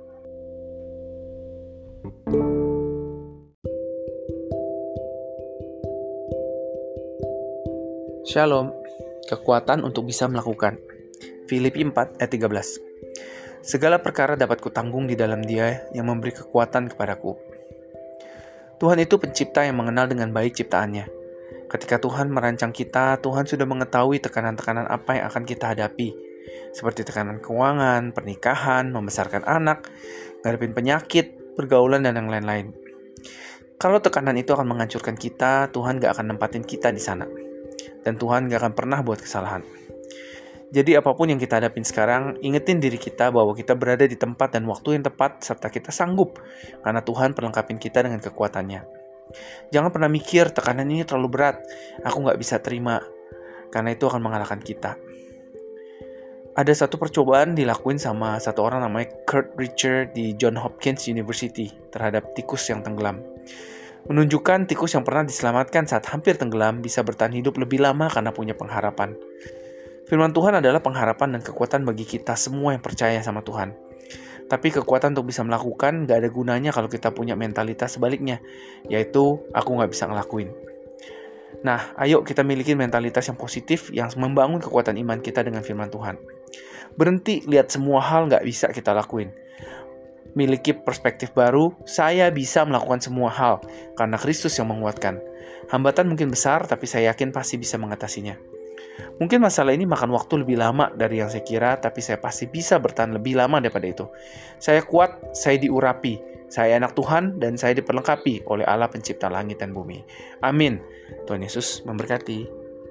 Shalom, kekuatan untuk bisa melakukan. Filipi 4 ayat 13. Segala perkara dapat kutanggung di dalam Dia yang memberi kekuatan kepadaku. Tuhan itu pencipta yang mengenal dengan baik ciptaannya. Ketika Tuhan merancang kita, Tuhan sudah mengetahui tekanan-tekanan apa yang akan kita hadapi, seperti tekanan keuangan, pernikahan, membesarkan anak, ngadepin penyakit, pergaulan, dan yang lain-lain. Kalau tekanan itu akan menghancurkan kita, Tuhan gak akan nempatin kita di sana. Dan Tuhan gak akan pernah buat kesalahan. Jadi apapun yang kita hadapin sekarang, ingetin diri kita bahwa kita berada di tempat dan waktu yang tepat serta kita sanggup karena Tuhan perlengkapin kita dengan kekuatannya. Jangan pernah mikir tekanan ini terlalu berat, aku gak bisa terima, karena itu akan mengalahkan kita. Ada satu percobaan dilakuin sama satu orang namanya Kurt Richard di Johns Hopkins University terhadap tikus yang tenggelam. Menunjukkan tikus yang pernah diselamatkan saat hampir tenggelam bisa bertahan hidup lebih lama karena punya pengharapan. Firman Tuhan adalah pengharapan dan kekuatan bagi kita semua yang percaya sama Tuhan. Tapi kekuatan untuk bisa melakukan gak ada gunanya kalau kita punya mentalitas sebaliknya, yaitu aku gak bisa ngelakuin. Nah, ayo kita miliki mentalitas yang positif yang membangun kekuatan iman kita dengan firman Tuhan. Berhenti lihat semua hal gak bisa kita lakuin. Miliki perspektif baru, saya bisa melakukan semua hal karena Kristus yang menguatkan. Hambatan mungkin besar, tapi saya yakin pasti bisa mengatasinya. Mungkin masalah ini makan waktu lebih lama dari yang saya kira, tapi saya pasti bisa bertahan lebih lama daripada itu. Saya kuat, saya diurapi, saya anak Tuhan, dan saya diperlengkapi oleh Allah pencipta langit dan bumi. Amin. Tuhan Yesus memberkati.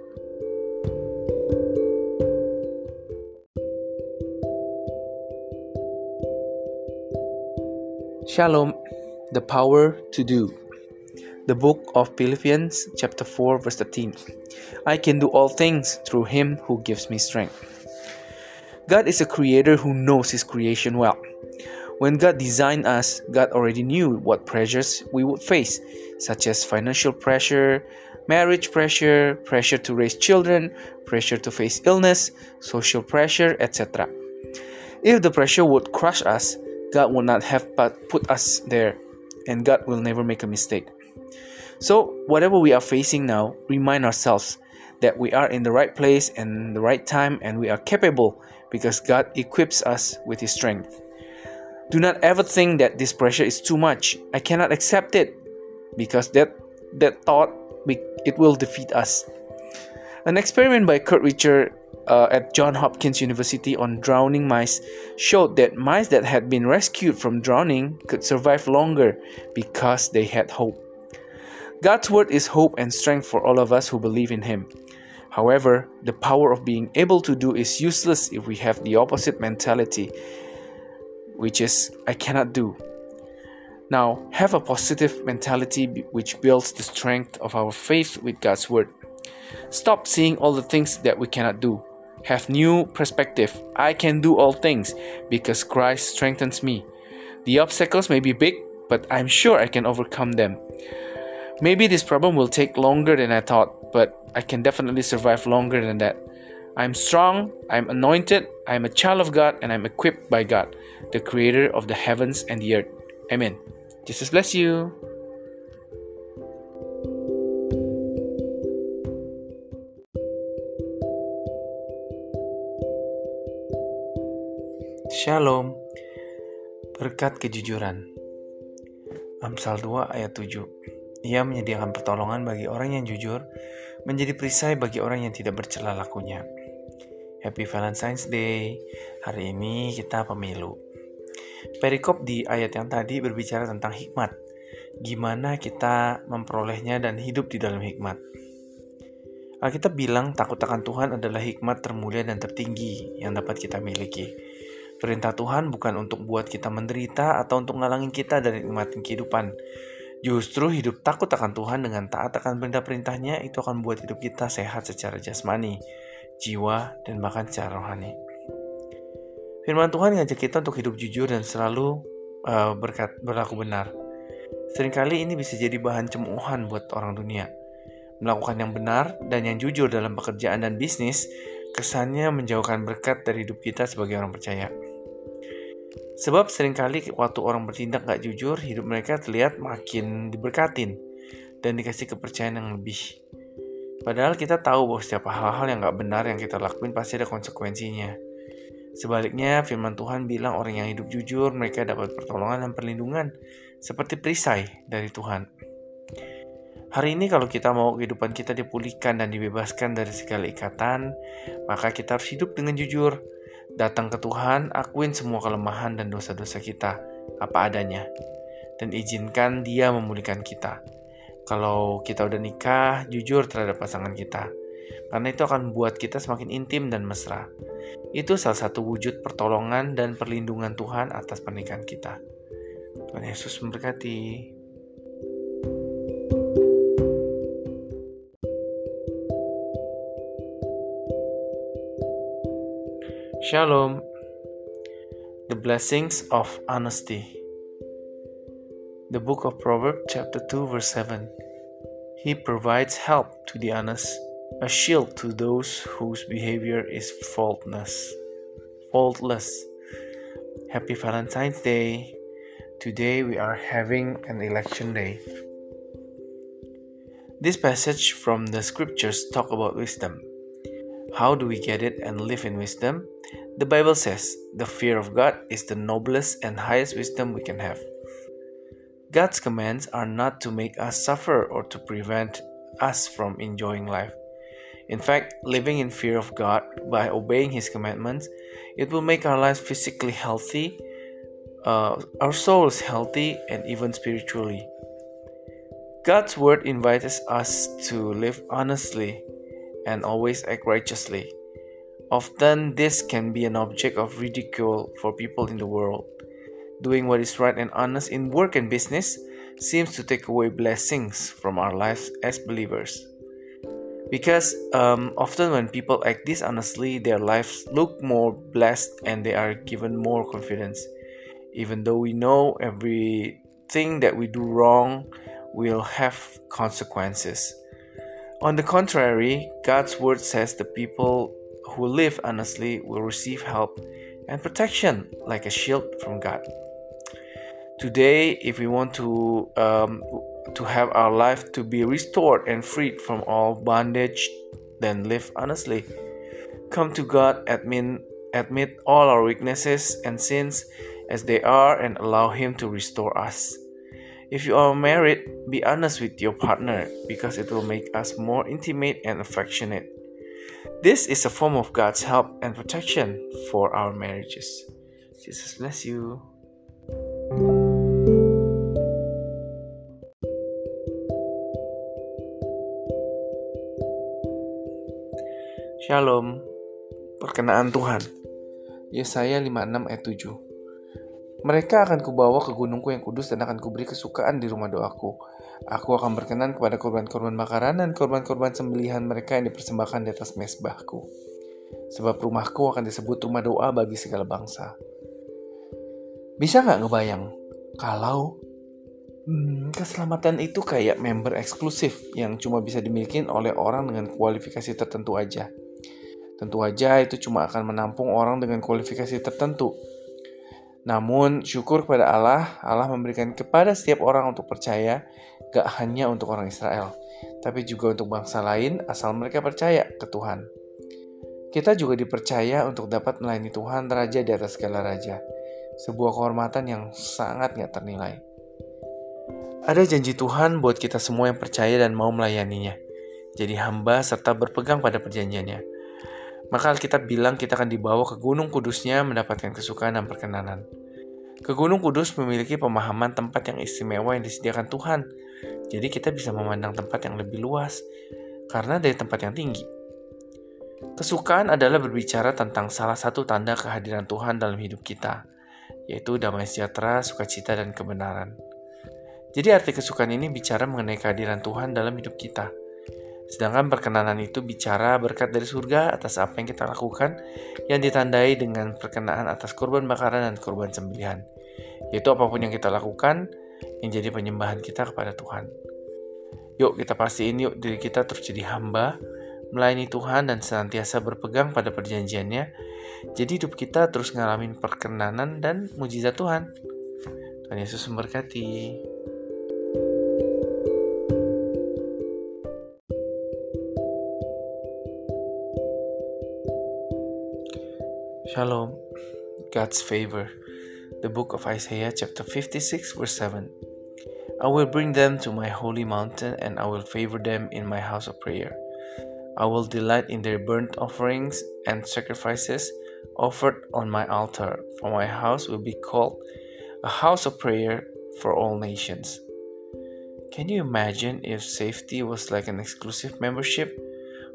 Shalom, the power to do. The book of Philippians chapter 4 verse 13. I can do all things through him who gives me strength. God is a creator who knows his creation well. When God designed us, God already knew what pressures we would face, such as financial pressure, marriage pressure, pressure to raise children, pressure to face illness, social pressure, etc. If the pressure would crush us, God would not have put us there, and God will never make a mistake. So, whatever we are facing now, remind ourselves that we are in the right place and the right time, and we are capable because God equips us with his strength. Do not ever think that this pressure is too much. I cannot accept it, because that thought, it will defeat us. An experiment by Kurt Richard at Johns Hopkins University on drowning mice showed that mice that had been rescued from drowning could survive longer because they had hope. God's word is hope and strength for all of us who believe in him. However, the power of being able to do is useless if we have the opposite mentality, which is, I cannot do. Now, have a positive mentality which builds the strength of our faith with God's word. Stop seeing all the things that we cannot do. Have new perspective. I can do all things because Christ strengthens me. The obstacles may be big, but I'm sure I can overcome them. Maybe this problem will take longer than I thought, but I can definitely survive longer than that. I'm strong, I'm anointed, I'm a child of God, and I'm equipped by God, the creator of the heavens and the earth. Amen. Jesus bless you. Shalom. Berkat kejujuran. Amsal 2 ayat 7. Ia menyediakan pertolongan bagi orang yang jujur, menjadi perisai bagi orang yang tidak bercela lakunya. Happy Valentine's Day. Hari ini kita pemilu. Perikop di ayat yang tadi berbicara tentang hikmat. Gimana kita memperolehnya dan hidup di dalam hikmat. Alkitab bilang takut akan Tuhan adalah hikmat termulia dan tertinggi yang dapat kita miliki. Perintah Tuhan bukan untuk buat kita menderita atau untuk ngalangin kita dari nikmatin kehidupan. Justru hidup takut akan Tuhan dengan taat akan perintah-perintahnya itu akan buat hidup kita sehat secara jasmani, jiwa, dan bahkan secara rohani. Firman Tuhan ngajak kita untuk hidup jujur dan selalu berlaku benar. Seringkali ini bisa jadi bahan cemoohan buat orang dunia. Melakukan yang benar dan yang jujur dalam pekerjaan dan bisnis, kesannya menjauhkan berkat dari hidup kita sebagai orang percaya. Sebab seringkali waktu orang bertindak gak jujur, hidup mereka terlihat makin diberkatin dan dikasih kepercayaan yang lebih. Padahal kita tahu bahwa setiap hal-hal yang gak benar yang kita lakuin pasti ada konsekuensinya. Sebaliknya, firman Tuhan bilang orang yang hidup jujur, mereka dapat pertolongan dan perlindungan, seperti perisai dari Tuhan. Hari ini kalau kita mau kehidupan kita dipulihkan dan dibebaskan dari segala ikatan, maka kita harus hidup dengan jujur. Datang ke Tuhan, akuin semua kelemahan dan dosa-dosa kita, apa adanya. Dan izinkan Dia memulihkan kita. Kalau kita udah nikah, jujur terhadap pasangan kita. karena itu akan membuat kita semakin intim dan mesra. Itu salah satu wujud pertolongan dan perlindungan Tuhan atas pernikahan kita. Tuhan Yesus memberkati. Shalom. The blessings of honesty. The book of Proverbs chapter 2 verse 7. He provides help to the honest, a shield to those whose behavior is faultless. Happy Valentine's Day. Today we are having an election day. This passage from the scriptures talk about wisdom. How do we get it and live in wisdom? The Bible says, the fear of God is the noblest and highest wisdom we can have. God's commands are not to make us suffer or to prevent us from enjoying life. In fact, living in fear of God by obeying His commandments, it will make our lives physically healthy, our souls healthy, and even spiritually. God's word invites us to live honestly and always act righteously. Often, this can be an object of ridicule for people in the world. Doing what is right and honest in work and business seems to take away blessings from our lives as believers. Because often when people act dishonestly, their lives look more blessed and they are given more confidence. Even though we know everything that we do wrong will have consequences. On the contrary, God's word says the people who live honestly will receive help and protection like a shield from God. Today, if we want to have our life to be restored and freed from all bondage, then live honestly. Come to God, admit all our weaknesses and sins as they are, and allow Him to restore us. If you are married, be honest with your partner because it will make us more intimate and affectionate. This is a form of God's help and protection for our marriages. Jesus bless you. Shalom. Perkenaan Tuhan. Yesaya 56 ayat 7. Mereka akan kubawa ke gunungku yang kudus dan akan kuberi kesukaan di rumah doaku. Aku akan berkenan kepada korban-korban bakaran dan korban-korban sembelihan mereka yang dipersembahkan di atas mezbahku. Sebab rumahku akan disebut rumah doa bagi segala bangsa. Bisa nggak ngebayang kalau keselamatan itu kayak member eksklusif yang cuma bisa dimiliki oleh orang dengan kualifikasi tertentu aja. Tentu aja itu cuma akan menampung orang dengan kualifikasi tertentu. Namun syukur kepada Allah memberikan kepada setiap orang untuk percaya, gak hanya untuk orang Israel, tapi juga untuk bangsa lain asal mereka percaya ke Tuhan. Kita juga dipercaya untuk dapat melayani Tuhan Raja di atas segala raja, sebuah kehormatan yang sangat gak ternilai. Ada janji Tuhan buat kita semua yang percaya dan mau melayaninya, jadi hamba serta berpegang pada perjanjiannya. Maka Alkitab bilang kita akan dibawa ke gunung kudusnya mendapatkan kesukaan dan perkenanan. Ke gunung kudus memiliki pemahaman tempat yang istimewa yang disediakan Tuhan. Jadi kita bisa memandang tempat yang lebih luas karena dari tempat yang tinggi. Kesukaan adalah berbicara tentang salah satu tanda kehadiran Tuhan dalam hidup kita, yaitu damai sejahtera, sukacita, dan kebenaran. Jadi arti kesukaan ini bicara mengenai kehadiran Tuhan dalam hidup kita. Sedangkan perkenanan itu bicara berkat dari surga atas apa yang kita lakukan yang ditandai dengan perkenaan atas korban bakaran dan korban sembelihan. Yaitu apapun yang kita lakukan yang jadi penyembahan kita kepada Tuhan. Yuk kita pastiin yuk diri kita terus jadi hamba, melayani Tuhan dan senantiasa berpegang pada perjanjiannya. Jadi hidup kita terus ngalamin perkenanan dan mujizat Tuhan. Tuhan Yesus memberkati. Shalom. God's favor. The book of Isaiah chapter 56 verse 7. I will bring them to my holy mountain and I will favor them in my house of prayer. I will delight in their burnt offerings and sacrifices offered on my altar, for my house will be called a house of prayer for all nations. Can you imagine if safety was like an exclusive membership?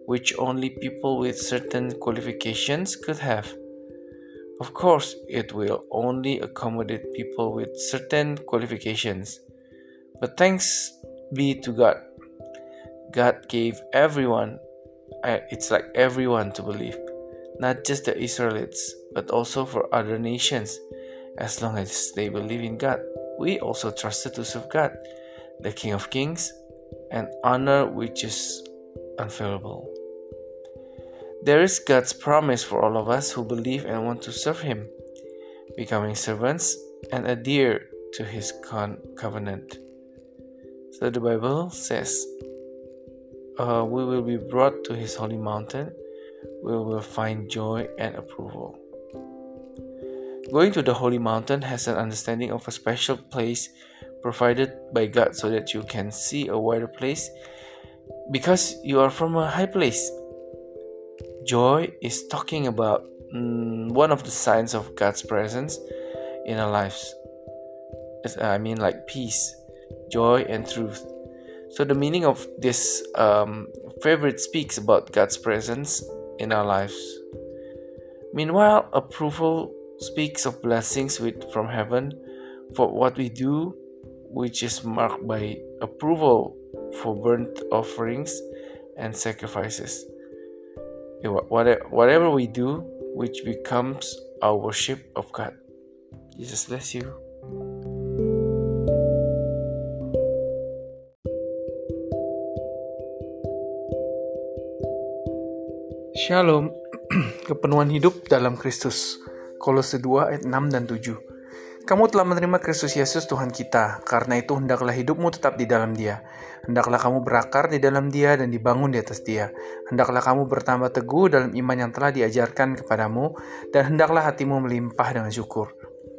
which only people with certain qualifications could have. Of course, it will only accommodate people with certain qualifications. But thanks be to God. God gave everyone, it's like everyone to believe, not just the Israelites, but also for other nations. As long as they believe in God, we also trusted to serve God, the King of Kings, and honor which is unfailable. There is God's promise for all of us who believe and want to serve Him, becoming servants and adhere to His covenant. So the Bible says, we will be brought to His holy mountain. We will find joy and approval. Going to the holy mountain has an understanding of a special place provided by God so that you can see a wider place because you are from a high place. Joy is talking about one of the signs of God's presence in our lives. Like peace, joy, and truth. So the meaning of this favorite speaks about God's presence in our lives. Meanwhile, approval speaks of blessings from heaven for what we do, which is marked by approval for burnt offerings and sacrifices. Whatever we do, which becomes our worship of God. Jesus bless you. Shalom. Kepenuhan hidup dalam Kristus. Kolose 2 ayat 6 dan 7. Kamu telah menerima Kristus Yesus Tuhan kita, karena itu hendaklah hidupmu tetap di dalam Dia. Hendaklah kamu berakar di dalam Dia dan dibangun di atas Dia. Hendaklah kamu bertambah teguh dalam iman yang telah diajarkan kepadamu, dan hendaklah hatimu melimpah dengan syukur.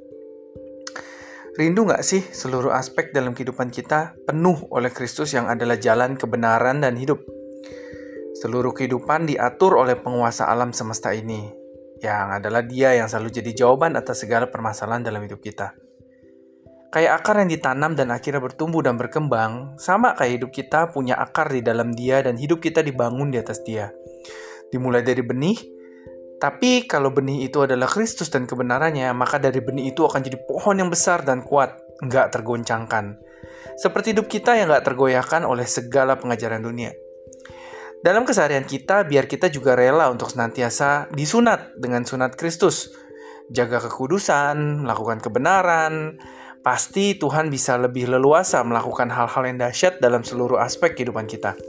Rindu gak sih seluruh aspek dalam kehidupan kita penuh oleh Kristus yang adalah jalan kebenaran dan hidup? Seluruh kehidupan diatur oleh penguasa alam semesta ini, yang adalah Dia yang selalu jadi jawaban atas segala permasalahan dalam hidup kita. Kayak akar yang ditanam dan akhirnya bertumbuh dan berkembang, sama kayak hidup kita punya akar di dalam Dia dan hidup kita dibangun di atas Dia. Dimulai dari benih, tapi kalau benih itu adalah Kristus dan kebenarannya, maka dari benih itu akan jadi pohon yang besar dan kuat, nggak tergoncangkan. Seperti hidup kita yang nggak tergoyahkan oleh segala pengajaran dunia. Dalam keseharian kita, biar kita juga rela untuk senantiasa disunat dengan sunat Kristus. Jaga kekudusan, melakukan kebenaran. Pasti Tuhan bisa lebih leluasa melakukan hal-hal yang dahsyat dalam seluruh aspek kehidupan kita.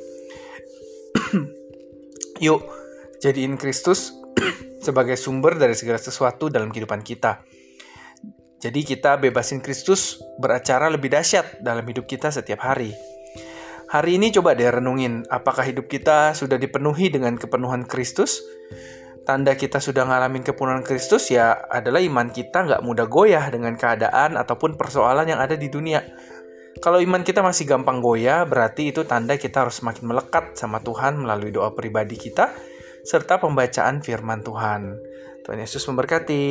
Yuk, jadiin Kristus sebagai sumber dari segala sesuatu dalam kehidupan kita. Jadi kita bebasin Kristus beracara lebih dahsyat dalam hidup kita setiap hari. Hari ini coba deh renungin, apakah hidup kita sudah dipenuhi dengan kepenuhan Kristus? Tanda kita sudah ngalamin kepenuhan Kristus ya adalah iman kita nggak mudah goyah dengan keadaan ataupun persoalan yang ada di dunia. Kalau iman kita masih gampang goyah, berarti itu tanda kita harus semakin melekat sama Tuhan melalui doa pribadi kita, serta pembacaan firman Tuhan. Tuhan Yesus memberkati.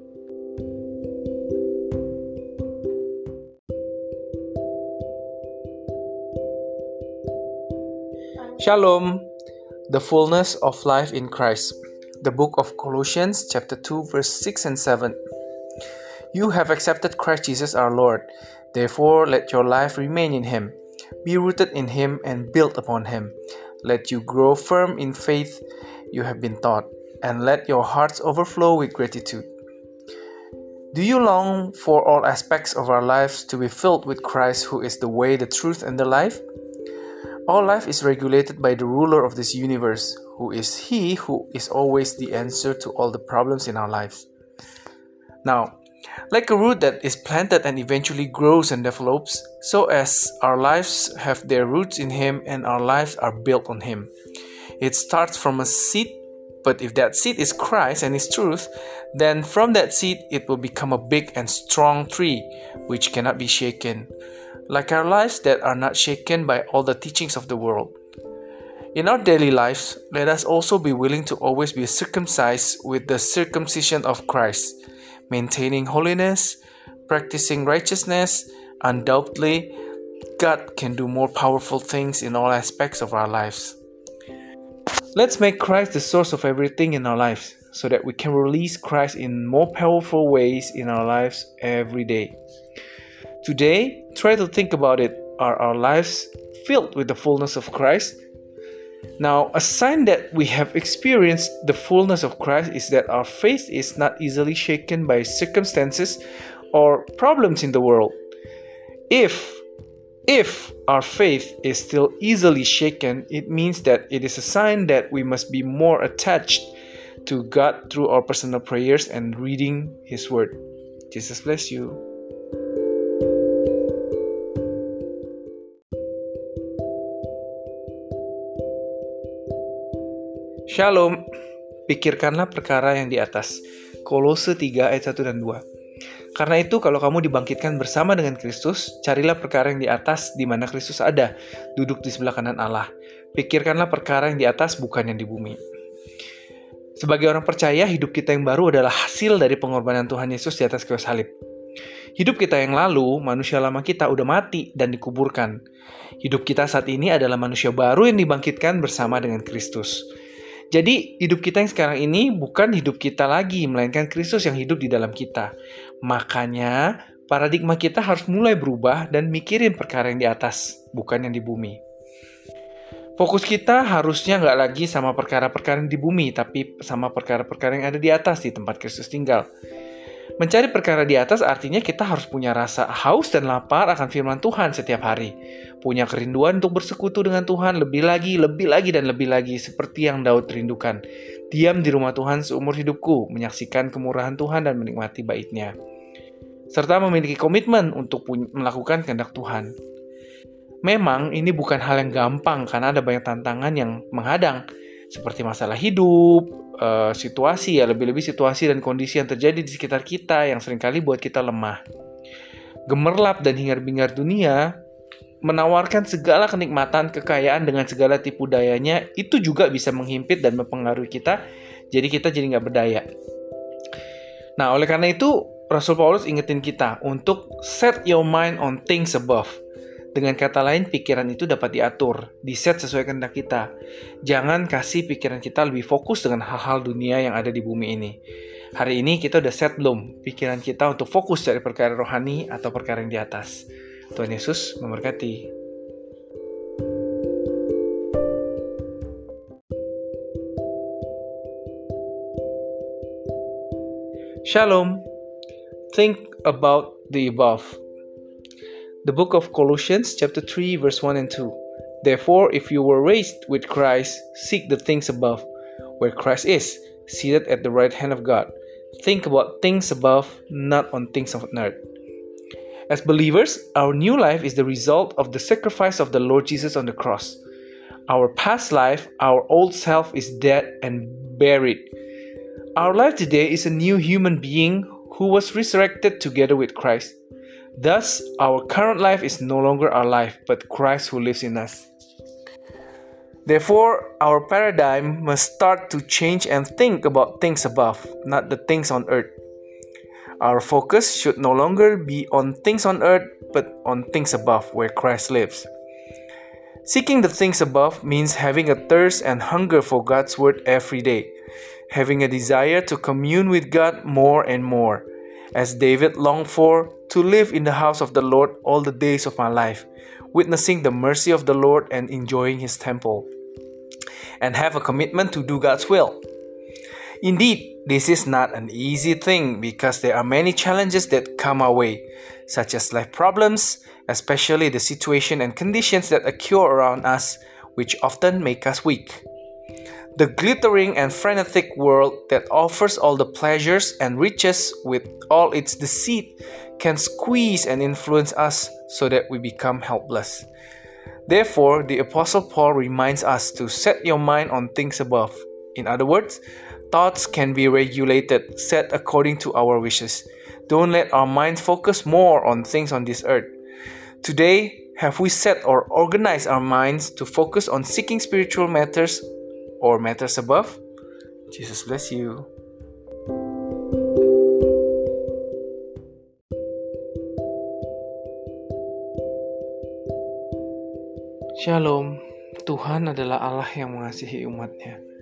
Shalom, the fullness of life in Christ. The book of Colossians chapter 2 verse 6 and 7. You have accepted Christ Jesus our Lord. Therefore let your life remain in Him. Be rooted in Him and built upon Him. Let you grow firm in faith you have been taught, and let your hearts overflow with gratitude. Do you long for all aspects of our lives to be filled with Christ, who is the way, the truth, and the life? All life is regulated by the ruler of this universe, who is He who is always the answer to all the problems in our lives. Now, like a root that is planted and eventually grows and develops, so as our lives have their roots in Him and our lives are built on Him. It starts from a seed, but if that seed is Christ and His truth, then from that seed it will become a big and strong tree, which cannot be shaken. Like our lives that are not shaken by all the teachings of the world. In our daily lives, let us also be willing to always be circumcised with the circumcision of Christ, maintaining holiness, practicing righteousness. Undoubtedly, God can do more powerful things in all aspects of our lives. Let's make Christ the source of everything in our lives so that we can release Christ in more powerful ways in our lives every day. Today, try to think about it. Are our lives filled with the fullness of Christ? Now, a sign that we have experienced the fullness of Christ is that our faith is not easily shaken by circumstances or problems in the world. If our faith is still easily shaken, it means that it is a sign that we must be more attached to God through our personal prayers and reading His Word. Jesus bless you. Shalom, pikirkanlah perkara yang di atas. Kolose 3 ayat 1 dan 2. Karena itu kalau kamu dibangkitkan bersama dengan Kristus, carilah perkara yang di atas di mana Kristus ada, duduk di sebelah kanan Allah. Pikirkanlah perkara yang di atas, bukan yang di bumi. Sebagai orang percaya, hidup kita yang baru adalah hasil dari pengorbanan Tuhan Yesus di atas kayu salib. Hidup kita yang lalu, manusia lama kita udah mati dan dikuburkan. Hidup kita saat ini adalah manusia baru yang dibangkitkan bersama dengan Kristus. Jadi, hidup kita yang sekarang ini bukan hidup kita lagi, melainkan Kristus yang hidup di dalam kita. Makanya, paradigma kita harus mulai berubah dan mikirin perkara yang di atas, bukan yang di bumi. Fokus kita harusnya nggak lagi sama perkara-perkara yang di bumi, tapi sama perkara-perkara yang ada di atas, di tempat Kristus tinggal. Mencari perkara di atas artinya kita harus punya rasa haus dan lapar akan firman Tuhan setiap hari. Punya kerinduan untuk bersekutu dengan Tuhan lebih lagi, dan lebih lagi, seperti yang Daud rindukan. Diam di rumah Tuhan seumur hidupku, menyaksikan kemurahan Tuhan dan menikmati bait-Nya. Serta memiliki komitmen untuk melakukan kehendak Tuhan. Memang ini bukan hal yang gampang karena ada banyak tantangan yang menghadang. Seperti masalah hidup, situasi lebih-lebih situasi dan kondisi yang terjadi di sekitar kita yang seringkali buat kita lemah. Gemerlap dan hingar-bingar dunia menawarkan segala kenikmatan, kekayaan dengan segala tipu dayanya, itu juga bisa menghimpit dan mempengaruhi kita, jadi kita jadi nggak berdaya. Nah, oleh karena itu, Rasul Paulus ingetin kita untuk set your mind on things above. Dengan kata lain, pikiran itu dapat diatur, diset sesuai kehendak kita. Jangan kasih pikiran kita lebih fokus dengan hal-hal dunia yang ada di bumi ini. Hari ini kita udah set belum pikiran kita untuk fokus dari perkara rohani atau perkara yang di atas. Tuhan Yesus memberkati. Shalom. Think about the above. The book of Colossians chapter 3 verse 1 and 2. Therefore, if you were raised with Christ, seek the things above, where Christ is, seated at the right hand of God. Think about things above, not on things of earth. As believers, our new life is the result of the sacrifice of the Lord Jesus on the cross. Our past life, our old self, is dead and buried. Our life today is a new human being who was resurrected together with Christ. Thus, our current life is no longer our life, but Christ who lives in us. Therefore, our paradigm must start to change and think about things above, not the things on earth. Our focus should no longer be on things on earth, but on things above, where Christ lives. Seeking the things above means having a thirst and hunger for God's word every day, having a desire to commune with God more and more, as David longed for, to live in the house of the Lord all the days of my life, witnessing the mercy of the Lord and enjoying His temple, and have a commitment to do God's will. Indeed, this is not an easy thing because there are many challenges that come our way, such as life problems, especially the situation and conditions that occur around us, which often make us weak. The glittering and frenetic world that offers all the pleasures and riches with all its deceit can squeeze and influence us so that we become helpless. Therefore, the Apostle Paul reminds us to set your mind on things above. In other words, thoughts can be regulated, set according to our wishes. Don't let our mind focus more on things on this earth. Today, have we set or organized our minds to focus on seeking spiritual matters or matters above? Jesus bless you. Shalom. Tuhan adalah Allah yang mengasihi umat-Nya.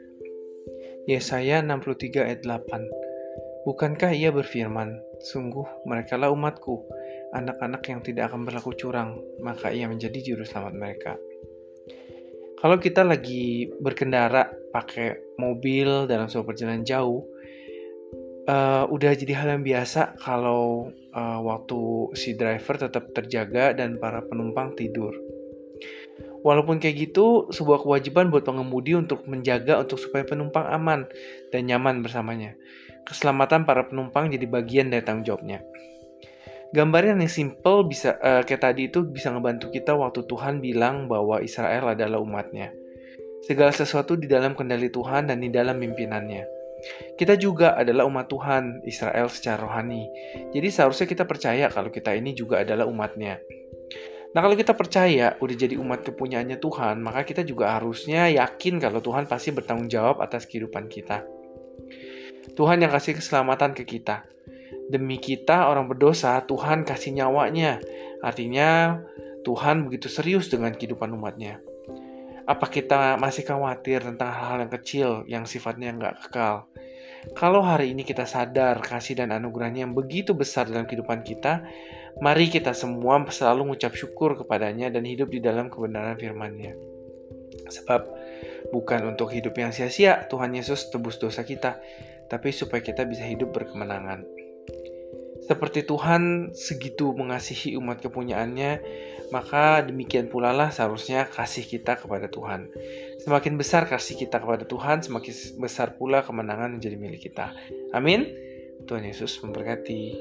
Yesaya 63 ayat 8. Bukankah ia berfirman, sungguh merekalah umatku, anak-anak yang tidak akan berlaku curang, maka ia menjadi juru selamat mereka. Kalau kita lagi berkendara pakai mobil dalam sebuah perjalanan jauh, udah jadi hal yang biasa kalau waktu si driver tetap terjaga dan para penumpang tidur. Walaupun kayak gitu, sebuah kewajiban buat pengemudi untuk menjaga supaya penumpang aman dan nyaman bersamanya. Keselamatan para penumpang jadi bagian dari tanggung jawabnya. Gambaran yang simple bisa kayak tadi itu bisa ngebantu kita waktu Tuhan bilang bahwa Israel adalah umatnya. Segala sesuatu di dalam kendali Tuhan dan di dalam pimpinannya. Kita juga adalah umat Tuhan, Israel secara rohani. Jadi seharusnya kita percaya kalau kita ini juga adalah umatnya. Nah, kalau kita percaya udah jadi umat kepunyaannya Tuhan, maka kita juga harusnya yakin kalau Tuhan pasti bertanggung jawab atas kehidupan kita. Tuhan yang kasih keselamatan ke kita. Demi kita orang berdosa, Tuhan kasih nyawanya. Artinya Tuhan begitu serius dengan kehidupan umatnya. Apa kita masih khawatir tentang hal-hal yang kecil yang sifatnya nggak kekal? Kalau hari ini kita sadar kasih dan anugerahnya yang begitu besar dalam kehidupan kita, mari kita semua selalu mengucap syukur kepadanya dan hidup di dalam kebenaran firman-Nya. Sebab bukan untuk hidup yang sia-sia Tuhan Yesus tebus dosa kita, tapi supaya kita bisa hidup berkemenangan. Seperti Tuhan segitu mengasihi umat kepunyaannya, maka demikian pula lah seharusnya kasih kita kepada Tuhan. Semakin besar kasih kita kepada Tuhan, semakin besar pula kemenangan menjadi milik kita. Amin. Tuhan Yesus memberkati.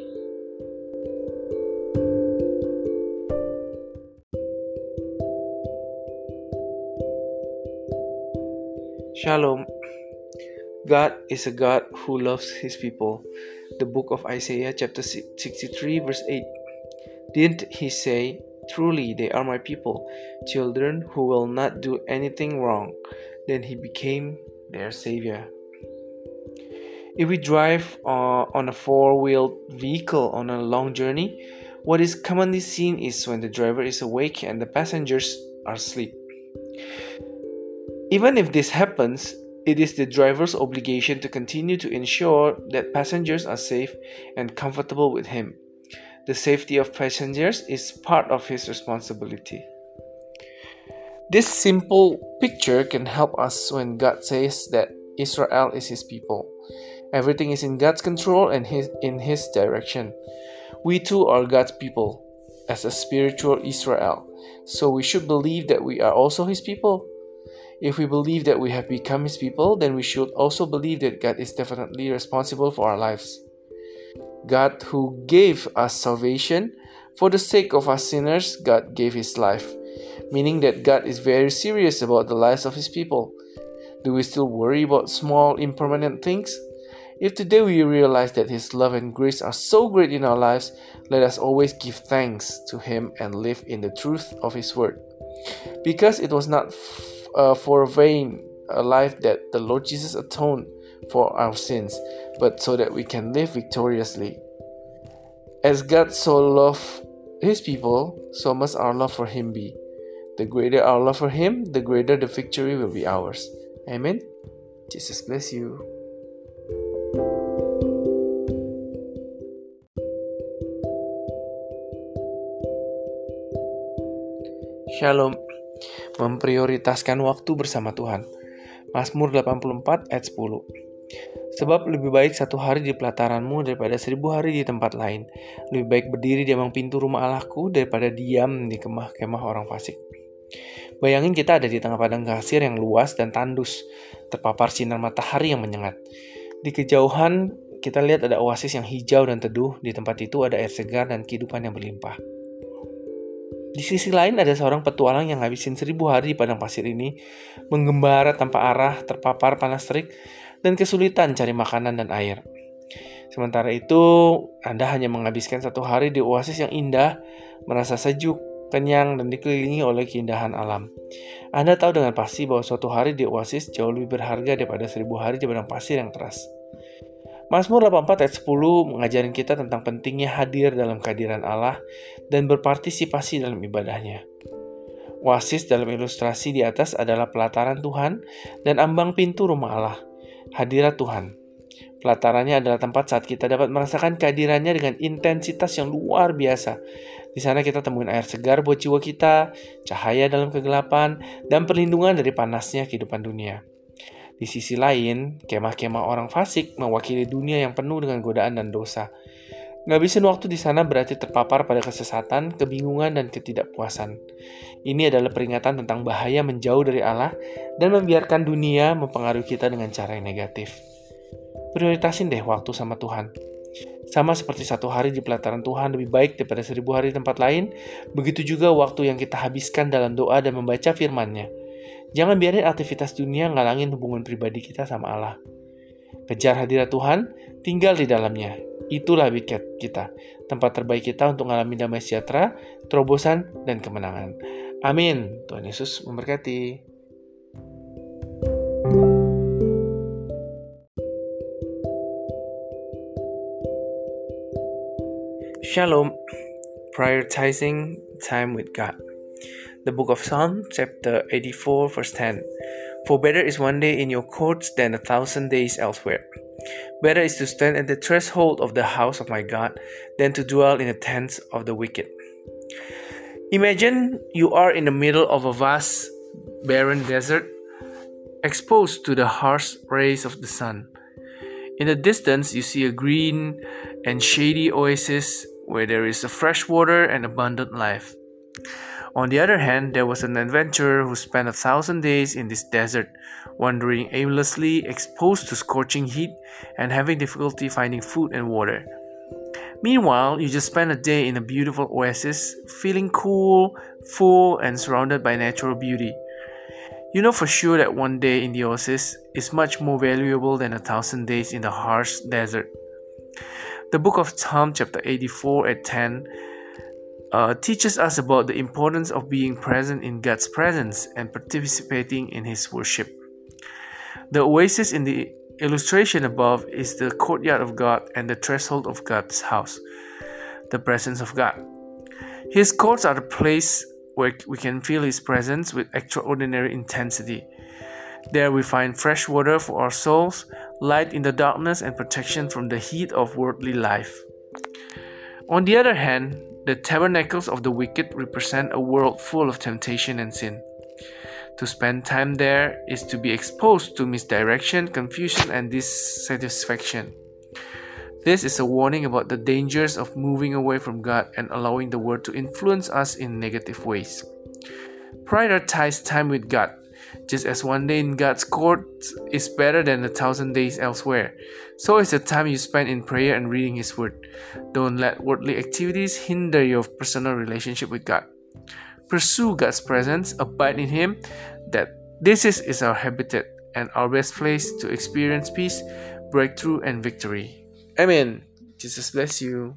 Shalom. God is a God who loves His people. The book of Isaiah chapter 63 verse 8. Didn't He say, truly they are my people, children who will not do anything wrong. Then He became their Savior. If we drive on a four-wheeled vehicle on a long journey, what is commonly seen is when the driver is awake and the passengers are asleep. Even if this happens, it is the driver's obligation to continue to ensure that passengers are safe and comfortable with him. The safety of passengers is part of his responsibility. This simple picture can help us when God says that Israel is His people. Everything is in God's control and in His direction. We too are God's people as a spiritual Israel, so we should believe that we are also His people. If we believe that we have become His people, then we should also believe that God is definitely responsible for our lives. God who gave us salvation, for the sake of us sinners, God gave His life, meaning that God is very serious about the lives of His people. Do we still worry about small, impermanent things? If today we realize that His love and grace are so great in our lives, let us always give thanks to Him and live in the truth of His word. Because it was not for vain a life that the Lord Jesus atoned for our sins, but so that we can live victoriously. As God so loved His people, so must our love for Him be. The greater our love for Him, the greater the victory will be ours. Amen. Jesus bless you. Shalom. Memprioritaskan waktu bersama Tuhan. Mazmur 84 ayat 10. Sebab lebih baik 1 hari di pelataranmu daripada 1000 hari di tempat lain. Lebih baik berdiri di ambang pintu rumah Allahku daripada diam di kemah-kemah orang fasik. Bayangin kita ada di tengah padang pasir yang luas dan tandus, terpapar sinar matahari yang menyengat. Di kejauhan kita lihat ada oasis yang hijau dan teduh. Di tempat itu ada air segar dan kehidupan yang berlimpah. Di sisi lain ada seorang petualang yang ngabisin 1000 hari di padang pasir ini, menggembara tanpa arah, terpapar panas terik, dan kesulitan cari makanan dan air. Sementara itu, Anda hanya menghabiskan 1 hari di oasis yang indah, merasa sejuk, kenyang, dan dikelilingi oleh keindahan alam. Anda tahu dengan pasti bahwa suatu hari di oasis jauh lebih berharga daripada 1000 hari di padang pasir yang keras. Mazmur 84 ayat 10 mengajarin kita tentang pentingnya hadir dalam kehadiran Allah dan berpartisipasi dalam ibadahnya. Oasis dalam ilustrasi di atas adalah pelataran Tuhan dan ambang pintu rumah Allah. hadirat Tuhan. Pelatarannya adalah tempat saat kita dapat merasakan kehadirannya dengan intensitas yang luar biasa. Di sana kita temuin air segar buat jiwa kita, cahaya dalam kegelapan, dan perlindungan dari panasnya kehidupan dunia. Di sisi lain, kemah-kemah orang fasik mewakili dunia yang penuh dengan godaan dan dosa. Ngabisin waktu di sana berarti terpapar pada kesesatan, kebingungan, dan ketidakpuasan. Ini adalah peringatan tentang bahaya menjauh dari Allah dan membiarkan dunia mempengaruhi kita dengan cara yang negatif. Prioritasin deh waktu sama Tuhan. Sama seperti 1 hari di pelataran Tuhan lebih baik daripada 1000 hari di tempat lain, begitu juga waktu yang kita habiskan dalam doa dan membaca firman-Nya. Jangan biarin aktivitas dunia ngalangin hubungan pribadi kita sama Allah. Kejar hadirat Tuhan, tinggal di dalamnya. Itulah wicket kita, tempat terbaik kita untuk mengalami damai sejahtera, terobosan, dan kemenangan. Amin. Tuhan Yesus memberkati. Shalom. Prioritizing time with God. The book of Psalms, chapter 84, verse 10. For better is one day in your courts than 1,000 days elsewhere. Better is to stand at the threshold of the house of my God than to dwell in the tents of the wicked. Imagine you are in the middle of a vast, barren desert, exposed to the harsh rays of the sun. In the distance, you see a green and shady oasis where there is a fresh water and abundant life. On the other hand, there was an adventurer who spent 1,000 days in this desert, wandering aimlessly, exposed to scorching heat, and having difficulty finding food and water. Meanwhile, you just spent a day in a beautiful oasis, feeling cool, full, and surrounded by natural beauty. You know for sure that one day in the oasis is much more valuable than 1,000 days in the harsh desert. The book of Psalm chapter 84 at 10 teaches us about the importance of being present in God's presence and participating in His worship. The oasis in the illustration above is the courtyard of God and the threshold of God's house, the presence of God. His courts are the place where we can feel His presence with extraordinary intensity. There we find fresh water for our souls, light in the darkness, and protection from the heat of worldly life. On the other hand, the tabernacles of the wicked represent a world full of temptation and sin. To spend time there is to be exposed to misdirection, confusion, and dissatisfaction. This is a warning about the dangers of moving away from God and allowing the world to influence us in negative ways. Prioritize time with God. Just as one day in God's courts is better than 1,000 days elsewhere, so is the time you spend in prayer and reading His Word. Don't let worldly activities hinder your personal relationship with God. Pursue God's presence, abide in Him, that this is our habitat and our best place to experience peace, breakthrough, and victory. Amen. Jesus bless you.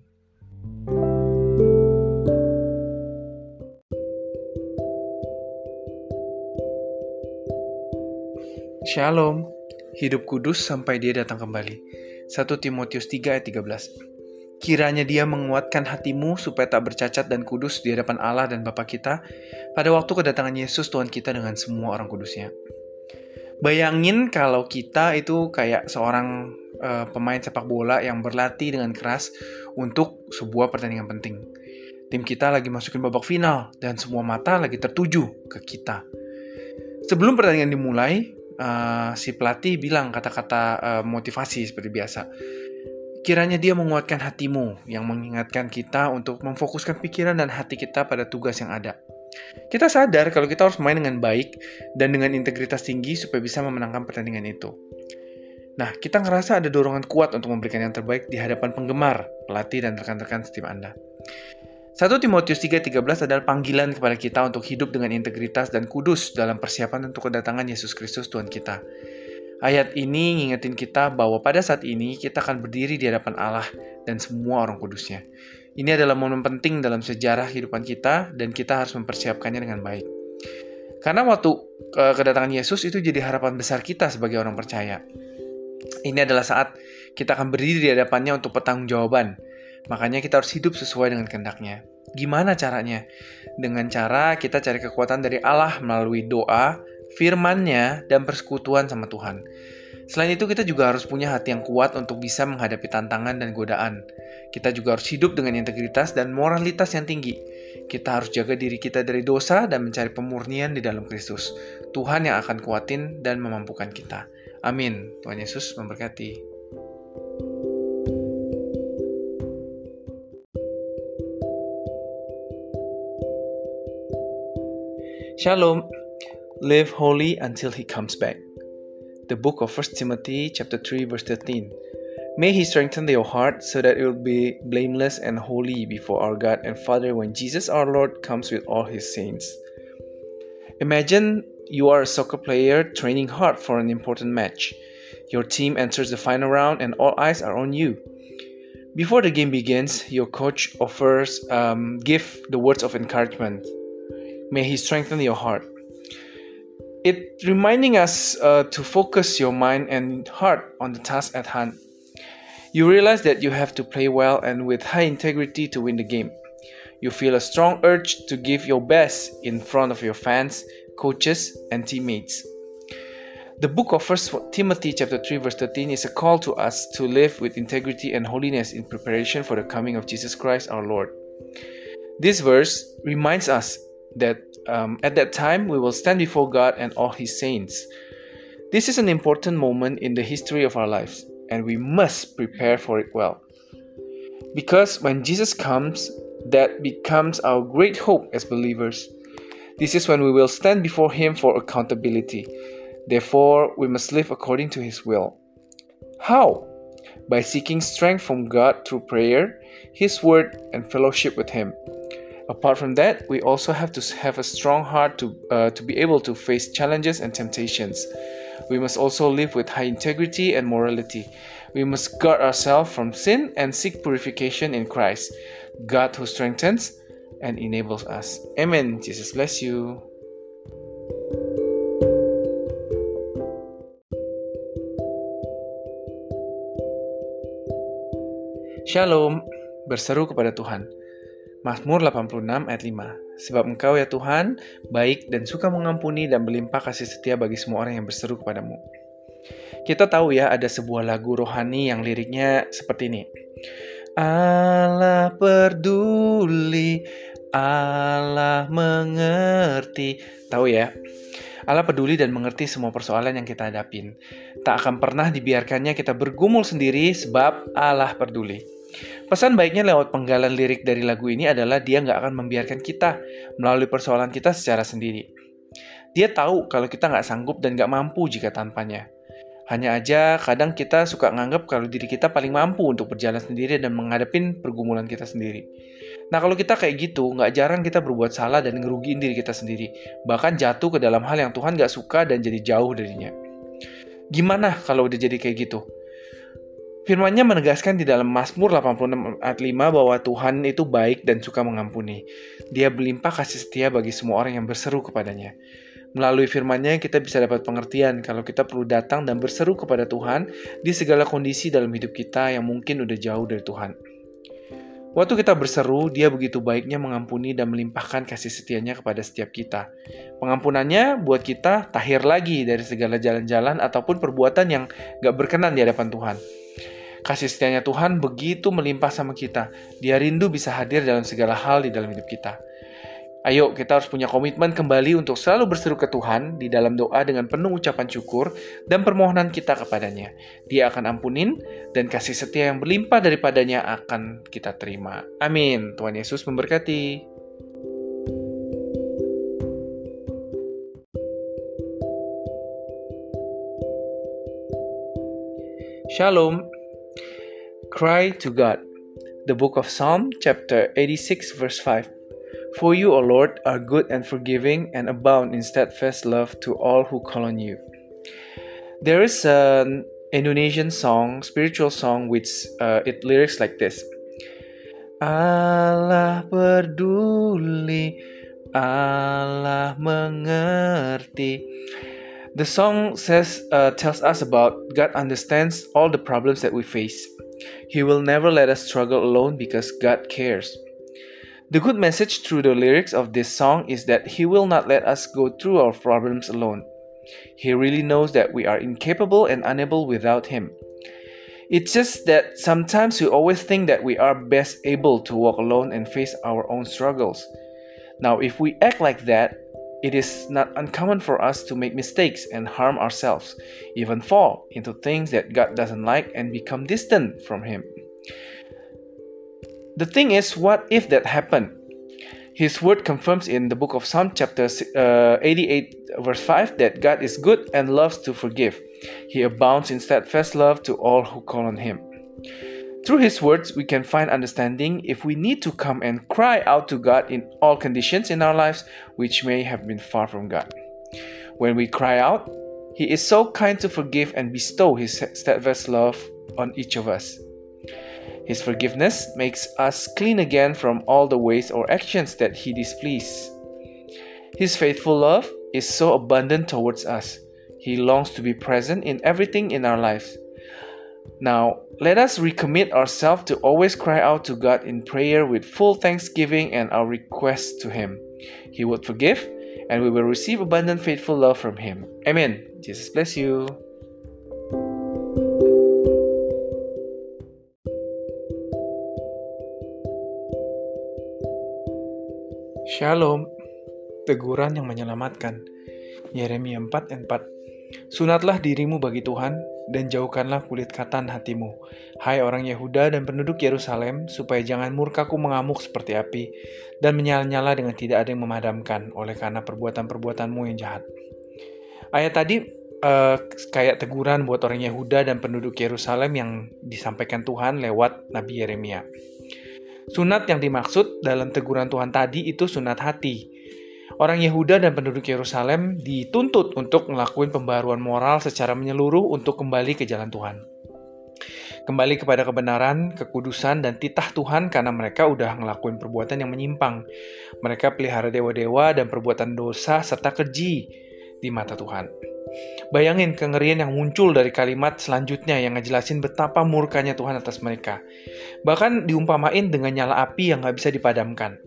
Shalom, hidup kudus sampai Dia datang kembali. 1 Timotius 3 ayat 13. Kiranya Dia menguatkan hatimu supaya tak bercacat dan kudus di hadapan Allah dan Bapa kita pada waktu kedatangan Yesus Tuhan kita dengan semua orang kudusnya. Bayangin kalau kita itu kayak seorang pemain sepak bola yang berlatih dengan keras untuk sebuah pertandingan penting. Tim kita lagi masukin babak final dan semua mata lagi tertuju ke kita. Sebelum pertandingan dimulai, si pelatih bilang kata-kata motivasi seperti biasa. Kiranya Dia menguatkan hatimu, yang mengingatkan kita untuk memfokuskan pikiran dan hati kita pada tugas yang ada. Kita sadar kalau kita harus main dengan baik dan dengan integritas tinggi supaya bisa memenangkan pertandingan itu. Nah, kita ngerasa ada dorongan kuat untuk memberikan yang terbaik di hadapan penggemar, pelatih, dan rekan-rekan setim Anda. 1 Timotius 3:13 adalah panggilan kepada kita untuk hidup dengan integritas dan kudus dalam persiapan untuk kedatangan Yesus Kristus Tuhan kita. Ayat ini ngingetin kita bahwa pada saat ini kita akan berdiri di hadapan Allah dan semua orang kudusnya. Ini adalah momen penting dalam sejarah kehidupan kita dan kita harus mempersiapkannya dengan baik. Karena waktu kedatangan Yesus itu jadi harapan besar kita sebagai orang percaya. Ini adalah saat kita akan berdiri di hadapannya untuk pertanggungjawaban. Makanya kita harus hidup sesuai dengan kehendak-Nya. Gimana caranya? Dengan cara kita cari kekuatan dari Allah melalui doa, firman-Nya, dan persekutuan sama Tuhan. Selain itu, kita juga harus punya hati yang kuat untuk bisa menghadapi tantangan dan godaan. Kita juga harus hidup dengan integritas dan moralitas yang tinggi. Kita harus jaga diri kita dari dosa dan mencari pemurnian di dalam Kristus. Tuhan yang akan kuatin dan memampukan kita. Amin. Tuhan Yesus memberkati. Shalom. Live holy until He comes back. The book of 1 Timothy chapter 3 verse 13. May He strengthen your heart so that it will be blameless and holy before our God and Father when Jesus our Lord comes with all His saints. Imagine you are a soccer player training hard for an important match. Your team enters the final round and all eyes are on you. Before the game begins, your coach offers give the words of encouragement. May He strengthen your heart. It reminding us to focus your mind and heart on the task at hand. You realize that you have to play well and with high integrity to win the game. You feel a strong urge to give your best in front of your fans, coaches, and teammates. The book of 1 Timothy chapter 3 verse 13 is a call to us to live with integrity and holiness in preparation for the coming of Jesus Christ our Lord. This verse reminds us that at that time we will stand before God and all His saints. This is an important moment in the history of our lives, and we must prepare for it well. Because when Jesus comes, that becomes our great hope as believers. This is when we will stand before Him for accountability. Therefore, we must live according to His will. How? By seeking strength from God through prayer, His Word, and fellowship with Him. Apart from that, we also have to have a strong heart to be able to face challenges and temptations. We must also live with high integrity and morality. We must guard ourselves from sin and seek purification in Christ, God who strengthens and enables us. Amen. Jesus bless you. Shalom, berseru kepada Tuhan. Mazmur 86 ayat 5. Sebab Engkau ya Tuhan, baik dan suka mengampuni dan berlimpah kasih setia bagi semua orang yang berseru kepadamu. Kita tahu ya, ada sebuah lagu rohani yang liriknya seperti ini. Allah peduli, Allah mengerti. Tahu ya? Allah peduli dan mengerti semua persoalan yang kita hadapin. Tak akan pernah dibiarkannya kita bergumul sendiri sebab Allah peduli. Pesan baiknya lewat penggalan lirik dari lagu ini adalah Dia nggak akan membiarkan kita melalui persoalan kita secara sendiri. Dia tahu kalau kita nggak sanggup dan nggak mampu jika tanpanya. Hanya aja kadang kita suka nganggap kalau diri kita paling mampu untuk berjalan sendiri dan menghadapin pergumulan kita sendiri. Nah kalau kita kayak gitu, nggak jarang kita berbuat salah dan ngerugiin diri kita sendiri. Bahkan jatuh ke dalam hal yang Tuhan nggak suka dan jadi jauh darinya. Gimana kalau udah jadi kayak gitu? Firman-Nya menegaskan di dalam Mazmur 86 ayat 5 bahwa Tuhan itu baik dan suka mengampuni. Dia berlimpah kasih setia bagi semua orang yang berseru kepadanya. Melalui firman-Nya kita bisa dapat pengertian kalau kita perlu datang dan berseru kepada Tuhan di segala kondisi dalam hidup kita yang mungkin udah jauh dari Tuhan. Waktu kita berseru, Dia begitu baiknya mengampuni dan melimpahkan kasih setianya kepada setiap kita. Pengampunannya buat kita tahir lagi dari segala jalan-jalan ataupun perbuatan yang gak berkenan di hadapan Tuhan. Kasih setianya Tuhan begitu melimpah sama kita. Dia rindu bisa hadir dalam segala hal di dalam hidup kita. Ayo, kita harus punya komitmen kembali untuk selalu berseru ke Tuhan di dalam doa dengan penuh ucapan syukur dan permohonan kita kepadanya. Dia akan ampunin dan kasih setia yang berlimpah daripadanya akan kita terima. Amin. Tuhan Yesus memberkati. Shalom. Cry to God. The book of Psalm, chapter 86, verse 5. For you, O Lord, are good and forgiving and abound in steadfast love to all who call on you. There is an Indonesian song, spiritual song, which it lyrics like this. Allah peduli, Allah mengerti. The song tells us about God understands all the problems that we face. He will never let us struggle alone because God cares. The good message through the lyrics of this song is that He will not let us go through our problems alone. He really knows that we are incapable and unable without Him. It's just that sometimes we always think that we are best able to walk alone and face our own struggles. Now, if we act like that, it is not uncommon for us to make mistakes and harm ourselves, even fall into things that God doesn't like and become distant from Him. The thing is, what if that happened? His word confirms in the book of Psalm chapter 88 verse 5 that God is good and loves to forgive. He abounds in steadfast love to all who call on Him. Through His words, we can find understanding if we need to come and cry out to God in all conditions in our lives which may have been far from God. When we cry out, He is so kind to forgive and bestow His steadfast love on each of us. His forgiveness makes us clean again from all the ways or actions that He displeases. His faithful love is so abundant towards us. He longs to be present in everything in our lives. Now, let us recommit ourselves to always cry out to God in prayer with full thanksgiving and our requests to Him. He would forgive, and we will receive abundant faithful love from Him. Amen. Jesus bless you. Shalom, teguran yang menyelamatkan. Yeremia 4 ayat 4. Sunatlah dirimu bagi Tuhan, dan jauhkanlah kulit katan hatimu, hai orang Yehuda dan penduduk Yerusalem, supaya jangan murkaku mengamuk seperti api, dan menyala-nyala dengan tidak ada yang memadamkan, oleh karena perbuatan-perbuatanmu yang jahat. Ayat tadi kayak teguran buat orang Yehuda dan penduduk Yerusalem yang disampaikan Tuhan lewat Nabi Yeremia. Sunat yang dimaksud dalam teguran Tuhan tadi itu sunat hati. Orang Yehuda dan penduduk Yerusalem dituntut untuk melakukan pembaruan moral secara menyeluruh untuk kembali ke jalan Tuhan. Kembali kepada kebenaran, kekudusan, dan titah Tuhan karena mereka udah ngelakuin perbuatan yang menyimpang. Mereka pelihara dewa-dewa dan perbuatan dosa serta keji di mata Tuhan. Bayangin kengerian yang muncul dari kalimat selanjutnya yang ngejelasin betapa murkanya Tuhan atas mereka. Bahkan diumpamain dengan nyala api yang gak bisa dipadamkan.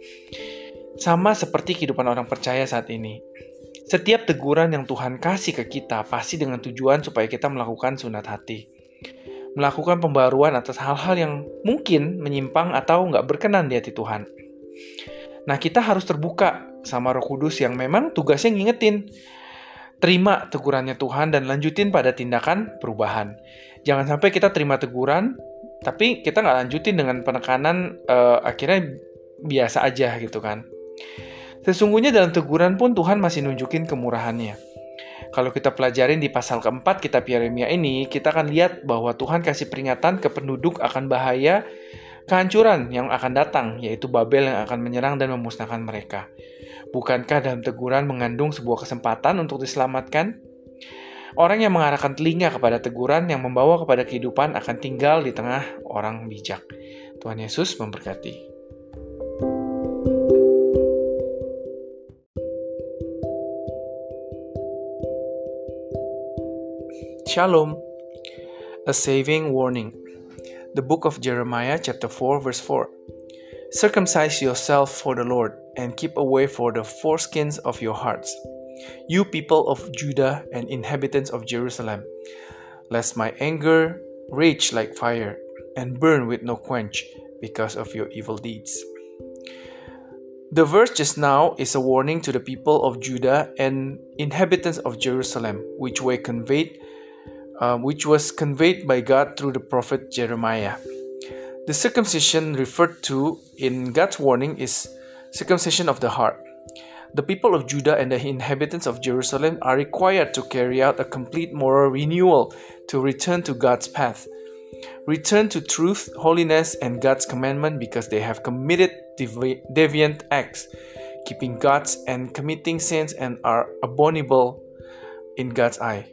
Sama seperti kehidupan orang percaya saat ini. Setiap teguran yang Tuhan kasih ke kita pasti dengan tujuan supaya kita melakukan sunat hati. Melakukan pembaruan atas hal-hal yang mungkin menyimpang atau gak berkenan di hati Tuhan. Nah, kita harus terbuka sama Roh Kudus yang memang tugasnya ngingetin. Terima tegurannya Tuhan dan lanjutin pada tindakan perubahan. Jangan sampai kita terima teguran, tapi kita nggak lanjutin dengan penekanan, akhirnya biasa aja gitu kan. Sesungguhnya dalam teguran pun Tuhan masih nunjukin kemurahannya. Kalau kita pelajarin di pasal keempat kitab Yeremia ini, kita akan lihat bahwa Tuhan kasih peringatan ke penduduk akan bahaya kehancuran yang akan datang, yaitu Babel yang akan menyerang dan memusnahkan mereka. Bukankah dalam teguran mengandung sebuah kesempatan untuk diselamatkan? Orang yang mengarahkan telinga kepada teguran yang membawa kepada kehidupan akan tinggal di tengah orang bijak. Tuhan Yesus memberkati. Shalom. A saving warning. The book of Jeremiah chapter 4 verse 4. Circumcise yourself for the Lord, and keep away for the foreskins of your hearts, you people of Judah and inhabitants of Jerusalem, lest my anger rage like fire, and burn with no quench, because of your evil deeds. The verse just now is a warning to the people of Judah and inhabitants of Jerusalem, which was conveyed by God through the prophet Jeremiah. The circumcision referred to in God's warning is circumcision of the heart. The people of Judah and the inhabitants of Jerusalem are required to carry out a complete moral renewal to return to God's path. Return to truth, holiness, and God's commandment because they have committed deviant acts, keeping God's and committing sins and are abominable in God's eye.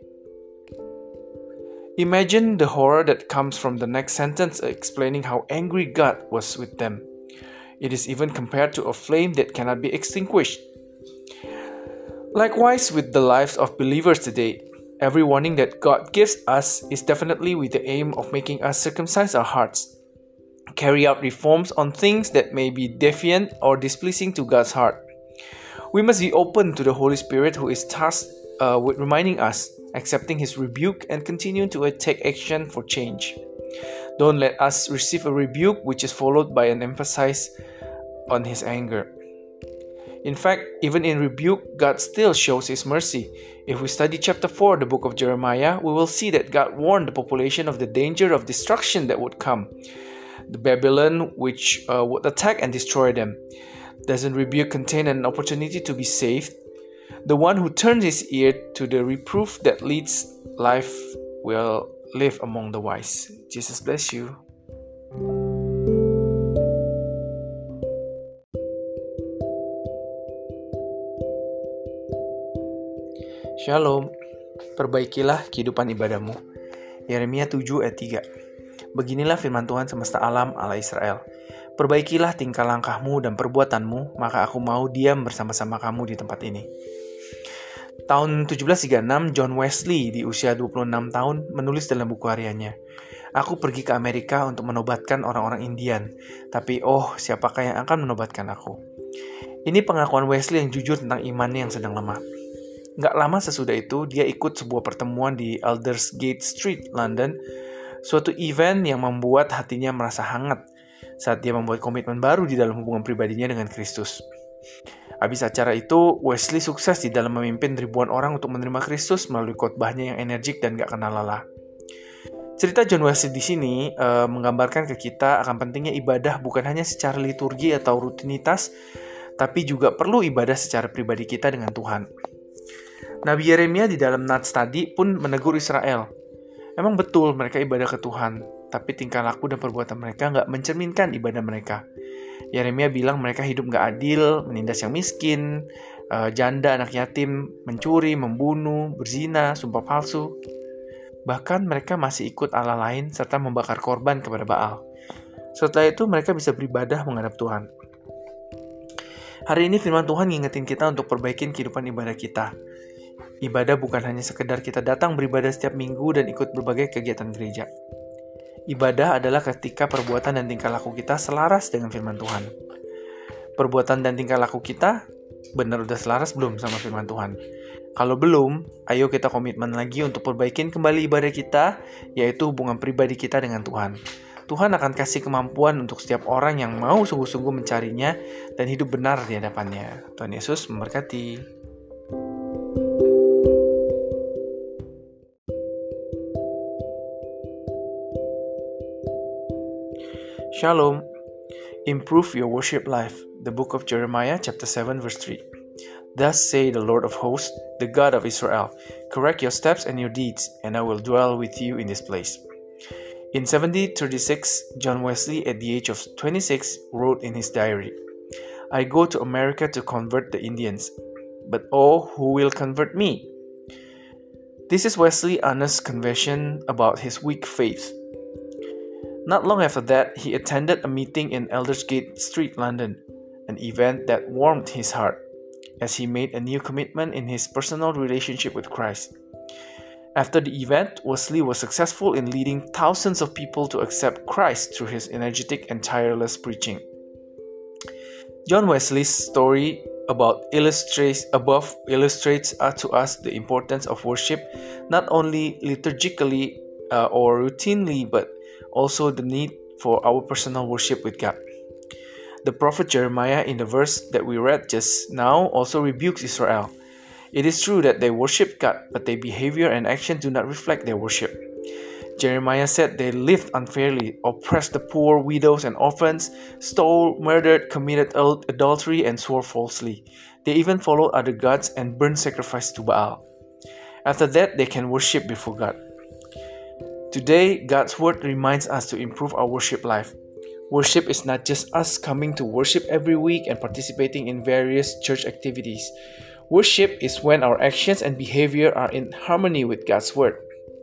Imagine the horror that comes from the next sentence explaining how angry God was with them. It is even compared to a flame that cannot be extinguished. Likewise with the lives of believers today, every warning that God gives us is definitely with the aim of making us circumcise our hearts, carry out reforms on things that may be defiant or displeasing to God's heart. We must be open to the Holy Spirit who is tasked with reminding us, accepting his rebuke, and continuing to take action for change. Don't let us receive a rebuke which is followed by an emphasis on his anger. In fact, even in rebuke, God still shows his mercy. If we study chapter 4 of the book of Jeremiah, we will see that God warned the population of the danger of destruction that would come. The Babylon which would attack and destroy them. Doesn't rebuke contain an opportunity to be saved? The one who turns his ear to the reproof that leads life will live among the wise. Jesus bless you. Shalom, perbaikilah kehidupan ibadahmu. Yeremia 7 ayat 3. Beginilah firman Tuhan semesta alam Allah Israel. Perbaikilah tingkah langkahmu dan perbuatanmu, maka aku mau diam bersama-sama kamu di tempat ini. Tahun 1736, John Wesley di usia 26 tahun menulis dalam buku hariannya, "Aku pergi ke Amerika untuk menobatkan orang-orang Indian, tapi siapakah yang akan menobatkan aku?" Ini pengakuan Wesley yang jujur tentang imannya yang sedang lemah. Gak lama sesudah itu, dia ikut sebuah pertemuan di Aldersgate Street, London, suatu event yang membuat hatinya merasa hangat saat dia membuat komitmen baru di dalam hubungan pribadinya dengan Kristus. Habis acara itu, Wesley sukses di dalam memimpin ribuan orang untuk menerima Kristus melalui khotbahnya yang energik dan gak kenal lelah. Cerita John Wesley di sini menggambarkan ke kita akan pentingnya ibadah bukan hanya secara liturgi atau rutinitas, tapi juga perlu ibadah secara pribadi kita dengan Tuhan. Nabi Yeremia di dalam Nats tadi pun menegur Israel. Emang betul mereka ibadah ke Tuhan, tapi tingkah laku dan perbuatan mereka nggak mencerminkan ibadah mereka. Yeremia bilang mereka hidup nggak adil, menindas yang miskin, janda, anak yatim, mencuri, membunuh, berzina, sumpah palsu. Bahkan mereka masih ikut Allah lain serta membakar korban kepada Baal. Setelah itu mereka bisa beribadah menghadap Tuhan. Hari ini firman Tuhan ngingetin kita untuk perbaikin kehidupan ibadah kita. Ibadah bukan hanya sekedar kita datang beribadah setiap minggu dan ikut berbagai kegiatan gereja. Ibadah adalah ketika perbuatan dan tingkah laku kita selaras dengan firman Tuhan. Perbuatan dan tingkah laku kita benar udah selaras belum sama firman Tuhan? Kalau belum, ayo kita komitmen lagi untuk perbaikin kembali ibadah kita, yaitu hubungan pribadi kita dengan Tuhan. Tuhan akan kasih kemampuan untuk setiap orang yang mau sungguh-sungguh mencarinya dan hidup benar di hadapannya. Tuhan Yesus memberkati. Shalom. Improve your worship life. The book of Jeremiah chapter 7 verse 3. Thus say the Lord of hosts, the God of Israel, correct your steps and your deeds, and I will dwell with you in this place. In 1736, John Wesley, at the age of 26, wrote in his diary, I go to America to convert the Indians, but who will convert me? This is Wesley's honest confession about his weak faith. Not long after that, he attended a meeting in Aldersgate Street, London, an event that warmed his heart, as he made a new commitment in his personal relationship with Christ. After the event, Wesley was successful in leading thousands of people to accept Christ through his energetic and tireless preaching. John Wesley's story illustrates to us the importance of worship, not only liturgically or routinely, but also the need for our personal worship with God. The prophet Jeremiah in the verse that we read just now also rebukes Israel. It is true that they worship God, but their behavior and action do not reflect their worship. Jeremiah said they lived unfairly, oppressed the poor, widows, and orphans, stole, murdered, committed adultery, and swore falsely. They even followed other gods and burned sacrifice to Baal. After that, they can worship before God. Today, God's Word reminds us to improve our worship life. Worship is not just us coming to worship every week and participating in various church activities. Worship is when our actions and behavior are in harmony with God's Word.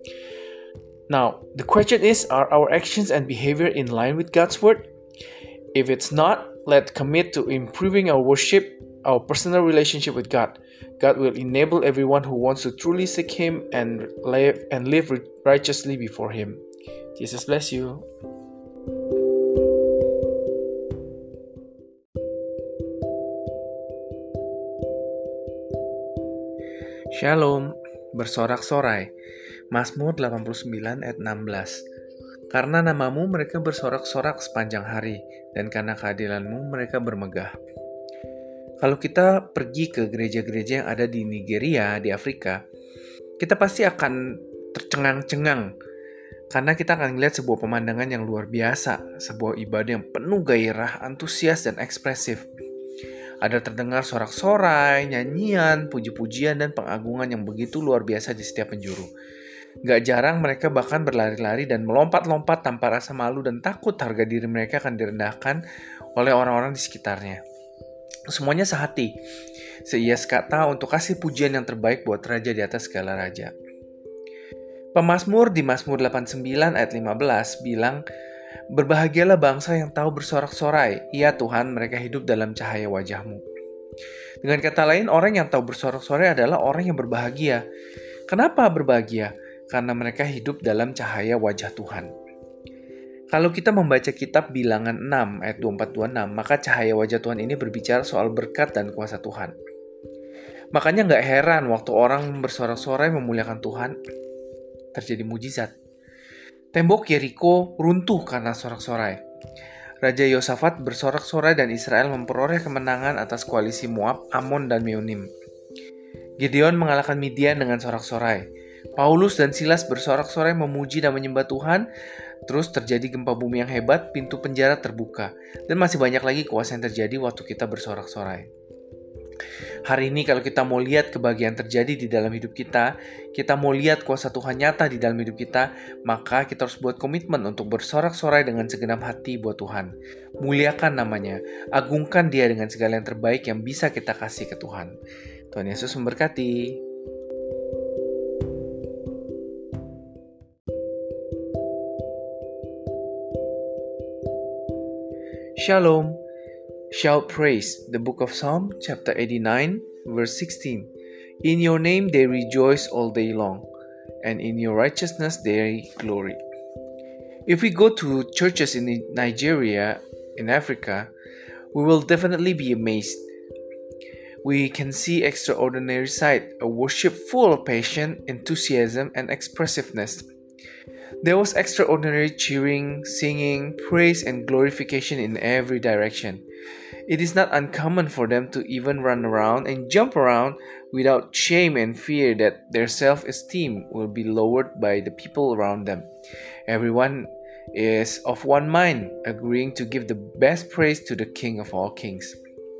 Now, the question is, are our actions and behavior in line with God's Word? If it's not, let's commit to improving our worship, our personal relationship with God. God will enable everyone who wants to truly seek Him and live righteously before Him. Jesus bless you. Shalom, bersorak-sorai. Mazmur 89 ayat 16. Karena namamu mereka bersorak-sorak sepanjang hari, dan karena keadilanmu mereka bermegah. Kalau kita pergi ke gereja-gereja yang ada di Nigeria, di Afrika, kita pasti akan tercengang-cengang karena kita akan melihat sebuah pemandangan yang luar biasa, sebuah ibadah yang penuh gairah, antusias, dan ekspresif. Ada terdengar sorak-sorai, nyanyian, puji-pujian, dan pengagungan yang begitu luar biasa di setiap penjuru. Gak jarang mereka bahkan berlari-lari dan melompat-lompat tanpa rasa malu dan takut harga diri mereka akan direndahkan oleh orang-orang di sekitarnya. Semuanya sehati, seias kata untuk kasih pujian yang terbaik buat Raja di atas segala raja. Pemazmur di Mazmur 89 ayat 15 bilang, "Berbahagialah bangsa yang tahu bersorak-sorai, ya Tuhan, mereka hidup dalam cahaya wajah-Mu." Dengan kata lain, orang yang tahu bersorak-sorai adalah orang yang berbahagia. Kenapa berbahagia? Karena mereka hidup dalam cahaya wajah Tuhan. Kalau kita membaca kitab Bilangan 6 ayat 24-26, maka cahaya wajah Tuhan ini berbicara soal berkat dan kuasa Tuhan. Makanya gak heran waktu orang bersorak-sorai memuliakan Tuhan, terjadi mujizat. Tembok Yeriko runtuh karena sorak-sorai. Raja Yosafat bersorak-sorai dan Israel memperoleh kemenangan atas koalisi Moab, Amon, dan Meonim. Gideon mengalahkan Midian dengan sorak-sorai. Paulus dan Silas bersorak-sorai memuji dan menyembah Tuhan. Terus terjadi gempa bumi yang hebat, pintu penjara terbuka. Dan masih banyak lagi kuasa yang terjadi waktu kita bersorak-sorai. Hari ini kalau kita mau lihat kebahagiaan terjadi di dalam hidup kita mau lihat kuasa Tuhan nyata di dalam hidup kita, maka kita harus buat komitmen untuk bersorak-sorai dengan segenap hati buat Tuhan. Muliakan namanya, agungkan Dia dengan segala yang terbaik yang bisa kita kasih ke Tuhan. Tuhan Yesus memberkati. Shalom. Shout praise, the book of Psalm, chapter 89, verse 16. In your name they rejoice all day long, and in your righteousness they glory. If we go to churches in Nigeria, in Africa, we will definitely be amazed. We can see extraordinary sight, a worship full of passion, enthusiasm, and expressiveness. There was extraordinary cheering, singing, praise, and glorification in every direction. It is not uncommon for them to even run around and jump around without shame and fear that their self-esteem will be lowered by the people around them. Everyone is of one mind, agreeing to give the best praise to the King of all kings.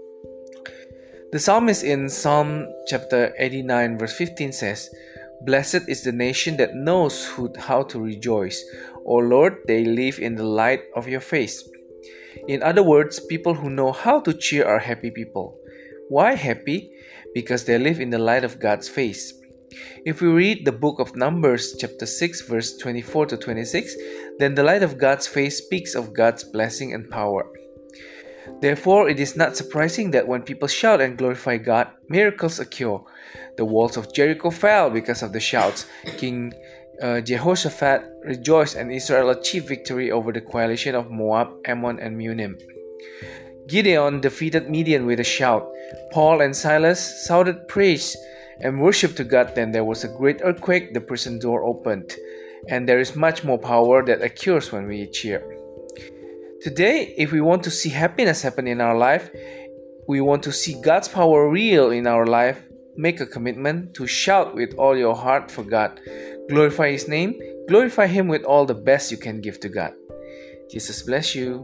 The psalmist in Psalm chapter 89 verse 15 says, "Blessed is the nation that knows how to rejoice. O Lord, they live in the light of your face." In other words, people who know how to cheer are happy people. Why happy? Because they live in the light of God's face. If we read the book of Numbers chapter 6 verse 24 to 26, then the light of God's face speaks of God's blessing and power. Therefore, it is not surprising that when people shout and glorify God, miracles occur. The walls of Jericho fell because of the shouts. King Jehoshaphat rejoiced, and Israel achieved victory over the coalition of Moab, Ammon, and Meonim. Gideon defeated Midian with a shout. Paul and Silas shouted praise and worship to God. Then there was a great earthquake, the prison door opened. And there is much more power that occurs when we cheer. Today, if we want to see happiness happen in our life, we want to see God's power real in our life, make a commitment to shout with all your heart for God. Glorify His name, glorify Him with all the best you can give to God. Jesus bless you.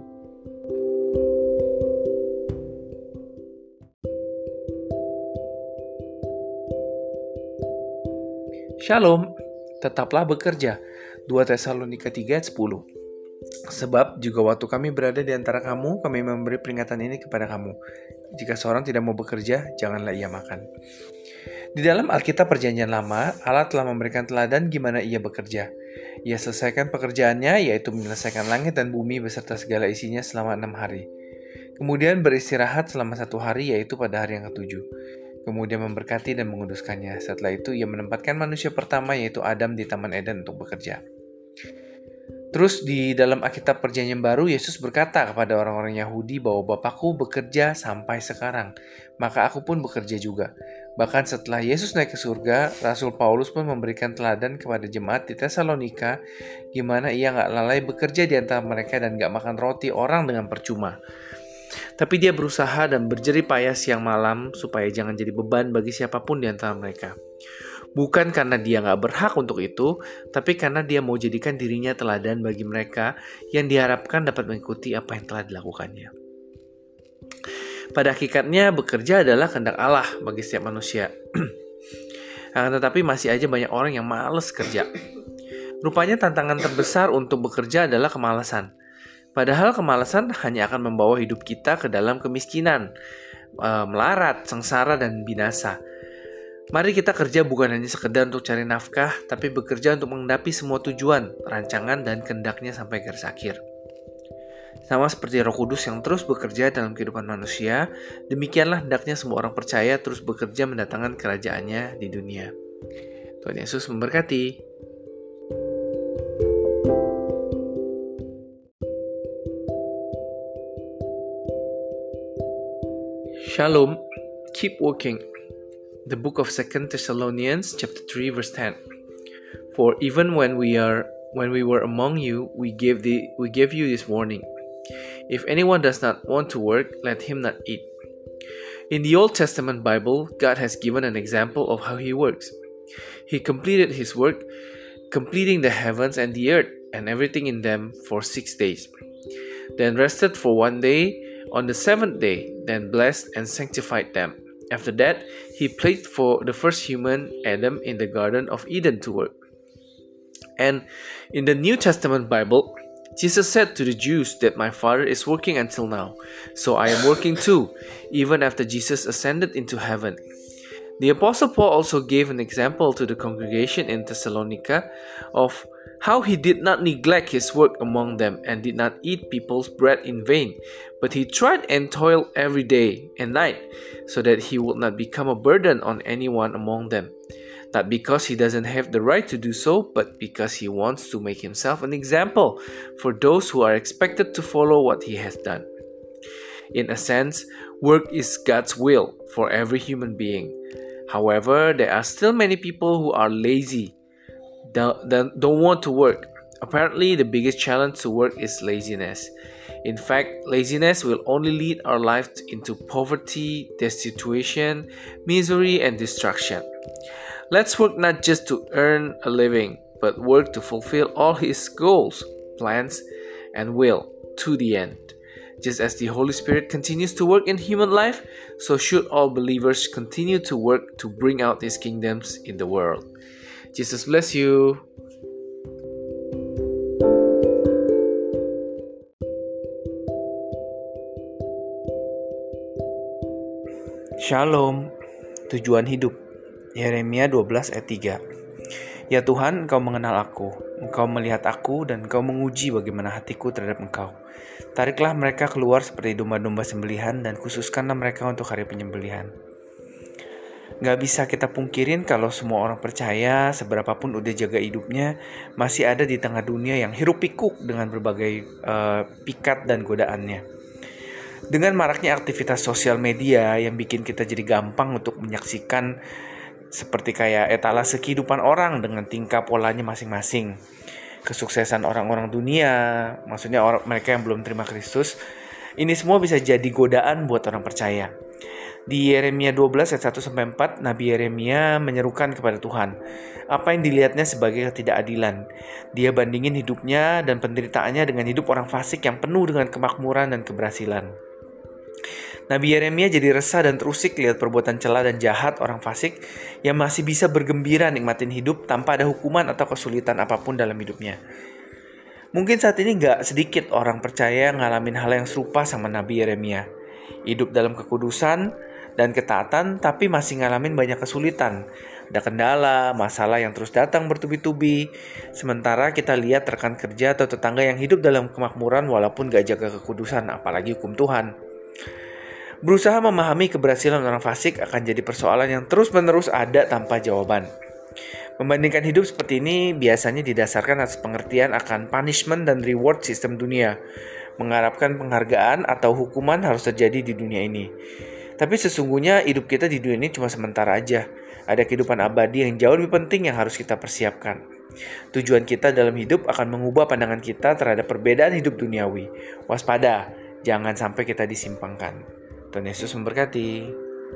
Shalom, tetaplah bekerja. 2 Tesalonika 3 ayat 10. Sebab juga waktu kami berada di antara kamu, kami memberi peringatan ini kepada kamu. Jika seorang tidak mau bekerja, janganlah ia makan. Di dalam Alkitab Perjanjian Lama, Allah telah memberikan teladan gimana ia bekerja. Ia selesaikan pekerjaannya, yaitu menyelesaikan langit dan bumi beserta segala isinya selama 6 hari. Kemudian beristirahat selama 1 hari, yaitu pada hari yang ke-7. Kemudian memberkati dan menguduskannya. Setelah itu, ia menempatkan manusia pertama, yaitu Adam, di Taman Eden untuk bekerja. Terus di dalam Alkitab Perjanjian Baru, Yesus berkata kepada orang-orang Yahudi bahwa Bapakku bekerja sampai sekarang, maka aku pun bekerja juga. Bahkan setelah Yesus naik ke surga, Rasul Paulus pun memberikan teladan kepada jemaat di Tesalonika gimana ia gak lalai bekerja di antara mereka dan gak makan roti orang dengan percuma. Tapi dia berusaha dan berjerih payah siang malam supaya jangan jadi beban bagi siapapun di antara mereka. Bukan karena dia gak berhak untuk itu, tapi karena dia mau jadikan dirinya teladan bagi mereka yang diharapkan dapat mengikuti apa yang telah dilakukannya. Pada hakikatnya, bekerja adalah kehendak Allah bagi setiap manusia. Akan tetapi masih aja banyak orang yang malas kerja. Rupanya tantangan terbesar untuk bekerja adalah kemalasan. Padahal kemalasan hanya akan membawa hidup kita ke dalam kemiskinan, melarat, sengsara, dan binasa. Mari kita kerja bukan hanya sekedar untuk cari nafkah, tapi bekerja untuk mengendapi semua tujuan, rancangan, dan kehendaknya sampai garis akhir. Sama seperti Roh Kudus yang terus bekerja dalam kehidupan manusia, demikianlah hendaknya semua orang percaya terus bekerja mendatangkan kerajaannya di dunia. Tuhan Yesus memberkati. Shalom, keep working. The book of 2 Thessalonians chapter 3 verse 10. For even when we were among you, we gave you this warning. If anyone does not want to work, let him not eat. In the Old Testament Bible, God has given an example of how He works. He completed His work, completing the heavens and the earth and everything in them for 6 days. Then rested for 1 day on the 7th day, then blessed and sanctified them. After that, He placed for the first human, Adam, in the Garden of Eden to work. And in the New Testament Bible, Jesus said to the Jews that my Father is working until now, so I am working too, even after Jesus ascended into heaven. The Apostle Paul also gave an example to the congregation in Thessalonica of how he did not neglect his work among them and did not eat people's bread in vain, but he tried and toiled every day and night, so that he would not become a burden on anyone among them. Not because he doesn't have the right to do so, but because he wants to make himself an example for those who are expected to follow what he has done. In a sense, work is God's will for every human being. However, there are still many people who are lazy, don't want to work. Apparently, the biggest challenge to work is laziness. In fact, laziness will only lead our lives into poverty, destitution, misery, and destruction. Let's work not just to earn a living, but work to fulfill all His goals, plans, and will to the end. Just as the Holy Spirit continues to work in human life, so should all believers continue to work to bring out His kingdoms in the world. Jesus bless you. Shalom, tujuan hidup. Yeremia 12 ayat 3. Ya Tuhan, Engkau mengenal aku, Engkau melihat aku, dan Engkau menguji bagaimana hatiku terhadap Engkau. Tariklah mereka keluar seperti domba-domba sembelihan, dan khususkanlah mereka untuk hari penyembelihan. Gak bisa kita pungkirin kalau semua orang percaya, seberapapun udah jaga hidupnya, masih ada di tengah dunia yang hiruk pikuk dengan berbagai pikat dan godaannya. Dengan maraknya aktivitas sosial media yang bikin kita jadi gampang untuk menyaksikan seperti kayak etalase kehidupan orang dengan tingkah polanya masing-masing. Kesuksesan orang-orang dunia, maksudnya mereka yang belum terima Kristus, ini semua bisa jadi godaan buat orang percaya. Di Yeremia 12 ayat 1-4, Nabi Yeremia menyerukan kepada Tuhan apa yang dilihatnya sebagai ketidakadilan. Dia bandingin hidupnya dan penderitaannya dengan hidup orang fasik yang penuh dengan kemakmuran dan keberhasilan. Nabi Yeremia jadi resah dan terusik lihat perbuatan cela dan jahat orang fasik yang masih bisa bergembira nikmatin hidup tanpa ada hukuman atau kesulitan apapun dalam hidupnya. Mungkin saat ini gak sedikit orang percaya ngalamin hal yang serupa sama Nabi Yeremia. Hidup dalam kekudusan dan ketaatan tapi masih ngalamin banyak kesulitan. Ada kendala, masalah yang terus datang bertubi-tubi. Sementara kita lihat rekan kerja atau tetangga yang hidup dalam kemakmuran walaupun gak jaga kekudusan, apalagi hukum Tuhan. Berusaha memahami keberhasilan orang fasik akan jadi persoalan yang terus-menerus ada tanpa jawaban. Membandingkan hidup seperti ini biasanya didasarkan atas pengertian akan punishment dan reward sistem dunia. Mengharapkan penghargaan atau hukuman harus terjadi di dunia ini. Tapi sesungguhnya hidup kita di dunia ini cuma sementara aja. Ada kehidupan abadi yang jauh lebih penting yang harus kita persiapkan. Tujuan kita dalam hidup akan mengubah pandangan kita terhadap perbedaan hidup duniawi. Waspada, jangan sampai kita disimpangkan. Tuhan Yesus memberkati.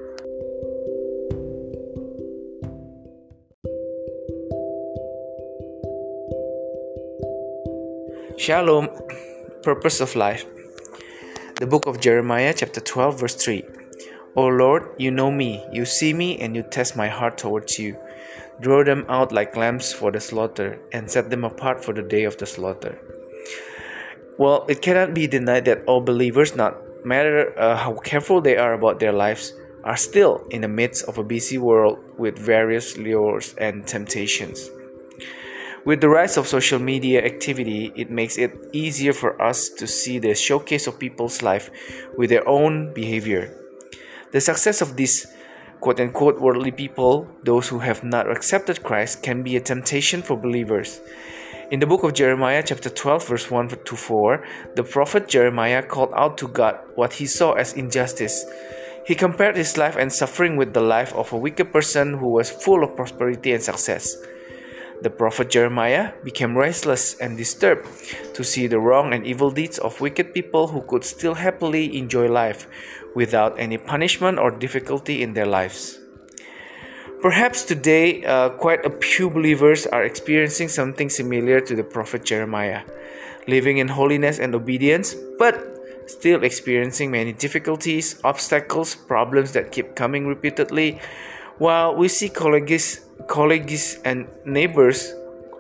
Shalom, purpose of life. The book of Jeremiah chapter 12 verse 3. O Lord, you know me, you see me, and you test my heart towards you. Draw them out like lambs for the slaughter, and set them apart for the day of the slaughter. Well, it cannot be denied that all believers, not matter how careful they are about their lives, are still in the midst of a busy world with various lures and temptations. With the rise of social media activity, it makes it easier for us to see the showcase of people's life with their own behavior. The success of these quote-unquote worldly people, those who have not accepted Christ, can be a temptation for believers. In the book of Jeremiah chapter 12 verse 1 to 4, the prophet Jeremiah called out to God what he saw as injustice. He compared his life and suffering with the life of a wicked person who was full of prosperity and success. The prophet Jeremiah became restless and disturbed to see the wrong and evil deeds of wicked people who could still happily enjoy life without any punishment or difficulty in their lives. Perhaps today, quite a few believers are experiencing something similar to the prophet Jeremiah, living in holiness and obedience, but still experiencing many difficulties, obstacles, problems that keep coming repeatedly, while we see colleagues and neighbors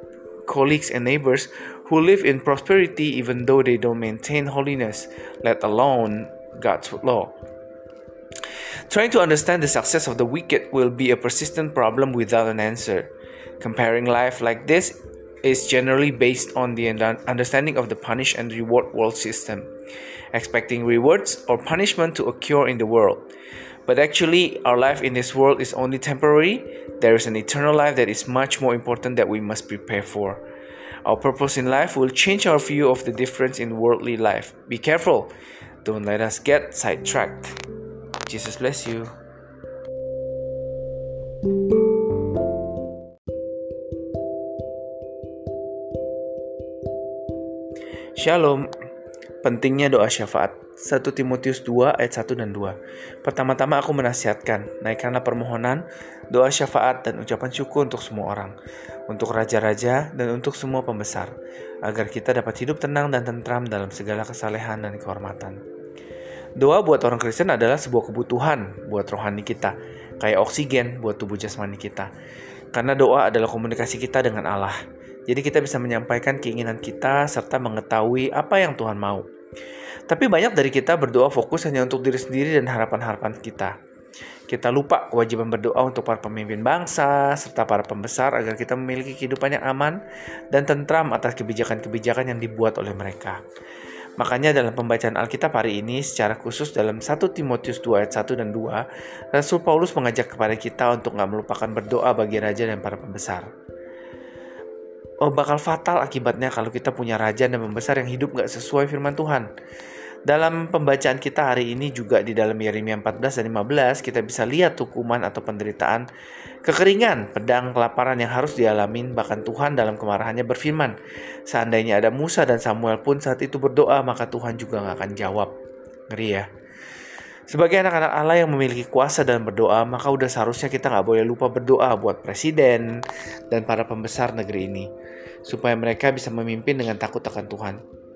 who live in prosperity even though they don't maintain holiness, let alone God's law. Trying to understand the success of the wicked will be a persistent problem without an answer. Comparing life like this is generally based on the understanding of the punish and reward world system, expecting rewards or punishment to occur in the world. But actually, our life in this world is only temporary. There is an eternal life that is much more important that we must prepare for. Our purpose in life will change our view of the difference in worldly life. Be careful. Don't let us get sidetracked. Jesus bless you. Shalom. Pentingnya doa syafaat. 1 Timotius 2 ayat 1 dan 2. Pertama-tama aku menasihatkan, naikkanlah permohonan, doa syafaat dan ucapan syukur untuk semua orang, untuk raja-raja dan untuk semua pembesar, agar kita dapat hidup tenang dan tentram dalam segala kesalehan dan kehormatan. Doa buat orang Kristen adalah sebuah kebutuhan buat rohani kita, kayak oksigen buat tubuh jasmani kita. Karena doa adalah komunikasi kita dengan Allah. Jadi kita bisa menyampaikan keinginan kita serta mengetahui apa yang Tuhan mau. Tapi banyak dari kita berdoa fokus hanya untuk diri sendiri dan harapan-harapan kita. Kita lupa kewajiban berdoa untuk para pemimpin bangsa serta para pembesar agar kita memiliki kehidupan yang aman dan tentram atas kebijakan-kebijakan yang dibuat oleh mereka. Makanya dalam pembacaan Alkitab hari ini secara khusus dalam 1 Timotius 2 ayat 1 dan 2, Rasul Paulus mengajak kepada kita untuk gak melupakan berdoa bagi raja dan para pembesar. Bakal fatal akibatnya kalau kita punya raja dan pembesar yang hidup gak sesuai firman Tuhan. Dalam pembacaan kita hari ini juga di dalam Yeremia 14 dan 15 kita bisa lihat hukuman atau penderitaan, kekeringan, pedang, kelaparan yang harus dialamin. Bahkan Tuhan dalam kemarahannya berfirman, seandainya ada Musa dan Samuel pun saat itu berdoa, maka Tuhan juga gak akan jawab. Ngeri ya. Sebagai anak-anak Allah yang memiliki kuasa dalam berdoa, maka udah seharusnya kita gak boleh lupa berdoa buat presiden dan para pembesar negeri ini, supaya mereka bisa memimpin dengan takut akan Tuhan.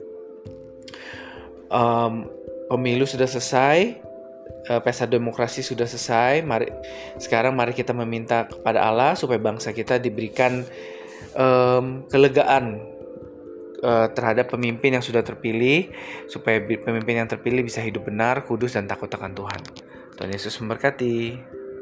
Pemilu sudah selesai, pesta demokrasi sudah selesai. Sekarang mari kita meminta kepada Allah supaya bangsa kita diberikan kelegaan terhadap pemimpin yang sudah terpilih, supaya pemimpin yang terpilih bisa hidup benar, kudus dan takut akan Tuhan. Tuhan Yesus memberkati.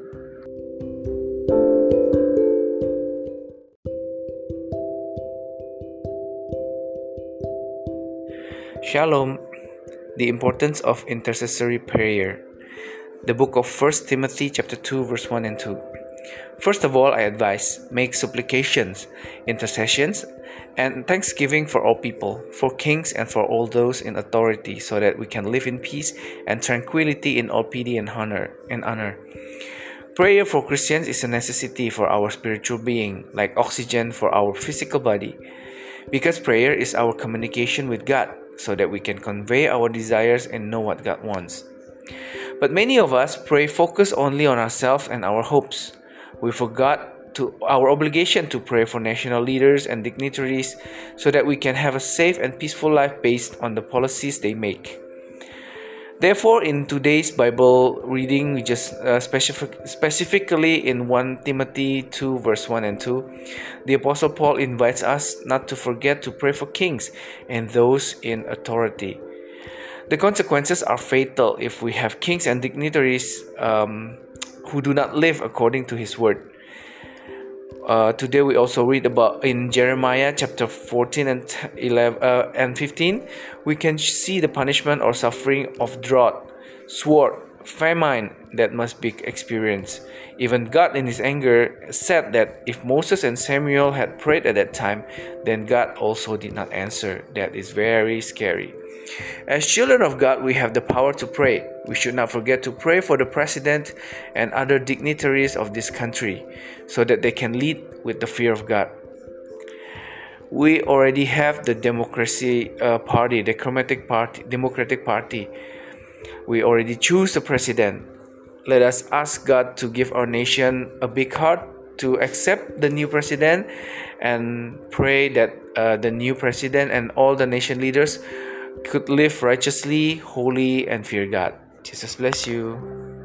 Shalom. The importance of intercessory prayer. The book of 1 Timothy chapter 2 verse 1 and 2. First of all, I advise, make supplications, intercessions, and thanksgiving for all people, for kings and for all those in authority, so that we can live in peace and tranquility in all piety and honor. Prayer for Christians is a necessity for our spiritual being, like oxygen for our physical body, because prayer is our communication with God, so that we can convey our desires and know what God wants. But many of us pray focus only on ourselves and our hopes. We forgot our obligation to pray for national leaders and dignitaries so that we can have a safe and peaceful life based on the policies they make. Therefore, in today's Bible reading, we just specifically in 1 Timothy 2 verse 1 and 2, the Apostle Paul invites us not to forget to pray for kings and those in authority. The consequences are fatal if we have kings and dignitaries who do not live according to his word. Today we also read about in Jeremiah chapter 14 and 11 and 15, we can see the punishment or suffering of drought, sword, famine that must be experienced. Even God in his anger said that if Moses and Samuel had prayed at that time, then God also did not answer. That is very scary. As children of God, we have the power to pray. We should not forget to pray for the president and other dignitaries of this country so that they can lead with the fear of God. We already have the Democratic Party. We already choose the president. Let us ask God to give our nation a big heart to accept the new president and pray that the new president and all the nation leaders could live righteously, holy, and fear God. Jesus bless you.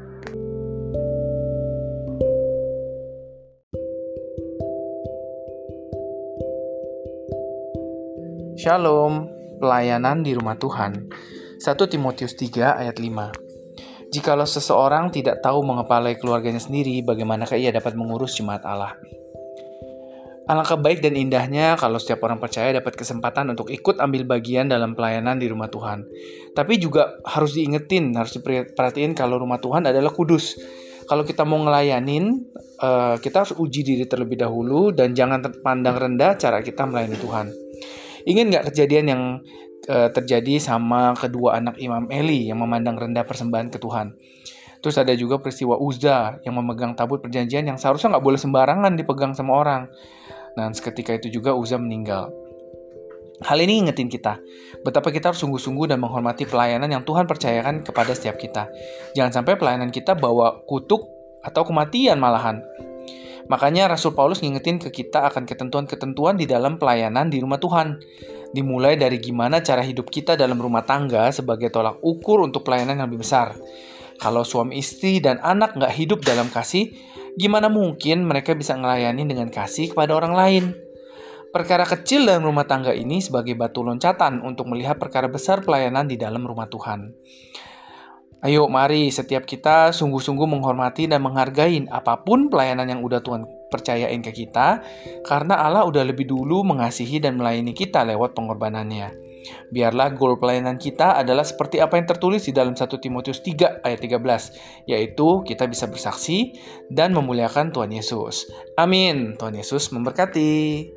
Shalom, pelayanan di rumah Tuhan. 1 Timotius 3 ayat 5. Jikalau seseorang tidak tahu mengepalai keluarganya sendiri, bagaimanakah ia dapat mengurus jemaat Allah? Alangkah baik dan indahnya kalau setiap orang percaya dapat kesempatan untuk ikut ambil bagian dalam pelayanan di rumah Tuhan. Tapi juga harus diingetin, harus diperhatiin kalau rumah Tuhan adalah kudus. Kalau kita mau ngelayanin, kita harus uji diri terlebih dahulu dan jangan pandang rendah cara kita melayani Tuhan. Ingat nggak kejadian yang terjadi sama kedua anak Imam Eli yang memandang rendah persembahan ke Tuhan? Terus ada juga peristiwa Uzza yang memegang tabut perjanjian yang seharusnya nggak boleh sembarangan dipegang sama orang. Dan seketika itu juga Uzza meninggal. Hal ini ingetin kita, betapa kita harus sungguh-sungguh dan menghormati pelayanan yang Tuhan percayakan kepada setiap kita. Jangan sampai pelayanan kita bawa kutuk atau kematian malahan. Makanya Rasul Paulus ngingetin ke kita akan ketentuan-ketentuan di dalam pelayanan di rumah Tuhan. Dimulai dari gimana cara hidup kita dalam rumah tangga sebagai tolak ukur untuk pelayanan yang lebih besar. Kalau suami istri dan anak nggak hidup dalam kasih, gimana mungkin mereka bisa ngelayani dengan kasih kepada orang lain? Perkara kecil dalam rumah tangga ini sebagai batu loncatan untuk melihat perkara besar pelayanan di dalam rumah Tuhan. Ayo mari setiap kita sungguh-sungguh menghormati dan menghargai apapun pelayanan yang udah Tuhan percayain ke kita, karena Allah udah lebih dulu mengasihi dan melayani kita lewat pengorbanannya. Biarlah goal pelayanan kita adalah seperti apa yang tertulis di dalam 1 Timotius 3 ayat 13, yaitu kita bisa bersaksi dan memuliakan Tuhan Yesus. Amin. Tuhan Yesus memberkati.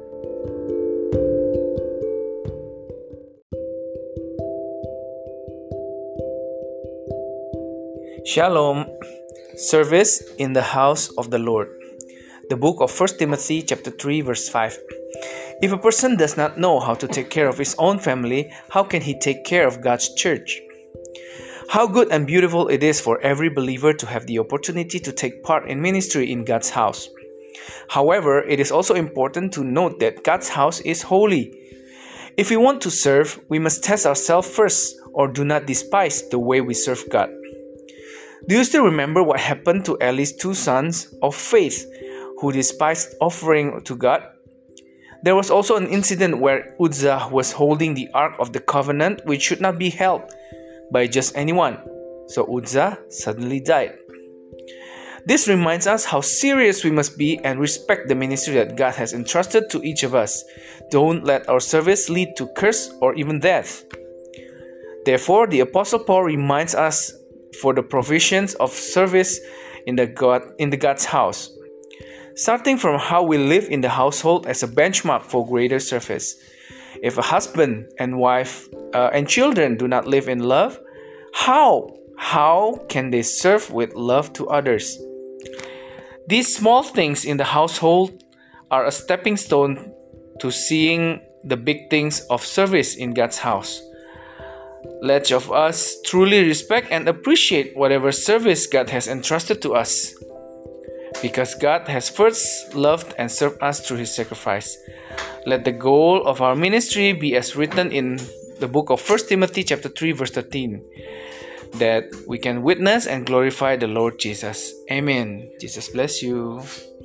Shalom. Service in the house of the Lord. The book of 1 Timothy chapter 3 verse 5. If a person does not know how to take care of his own family, how can he take care of God's church? How good and beautiful it is for every believer to have the opportunity to take part in ministry in God's house. However, it is also important to note that God's house is holy. If we want to serve, we must test ourselves first, or do not despise the way we serve God. Do you still remember what happened to Eli's two sons of faith who despised offering to God? There was also an incident where Uzzah was holding the Ark of the Covenant, which should not be held by just anyone. So Uzzah suddenly died. This reminds us how serious we must be and respect the ministry that God has entrusted to each of us. Don't let our service lead to curse or even death. Therefore, the Apostle Paul reminds us for the provisions of service in the God's house. Starting from how we live in the household as a benchmark for greater service. If a husband and wife and children do not live in love, how can they serve with love to others? These small things in the household are a stepping stone to seeing the big things of service in God's house. Let of us truly respect and appreciate whatever service God has entrusted to us, because God has first loved and served us through His sacrifice. Let the goal of our ministry be as written in the book of 1 Timothy chapter 3 verse 13, that we can witness and glorify the Lord Jesus. Amen. Jesus bless you.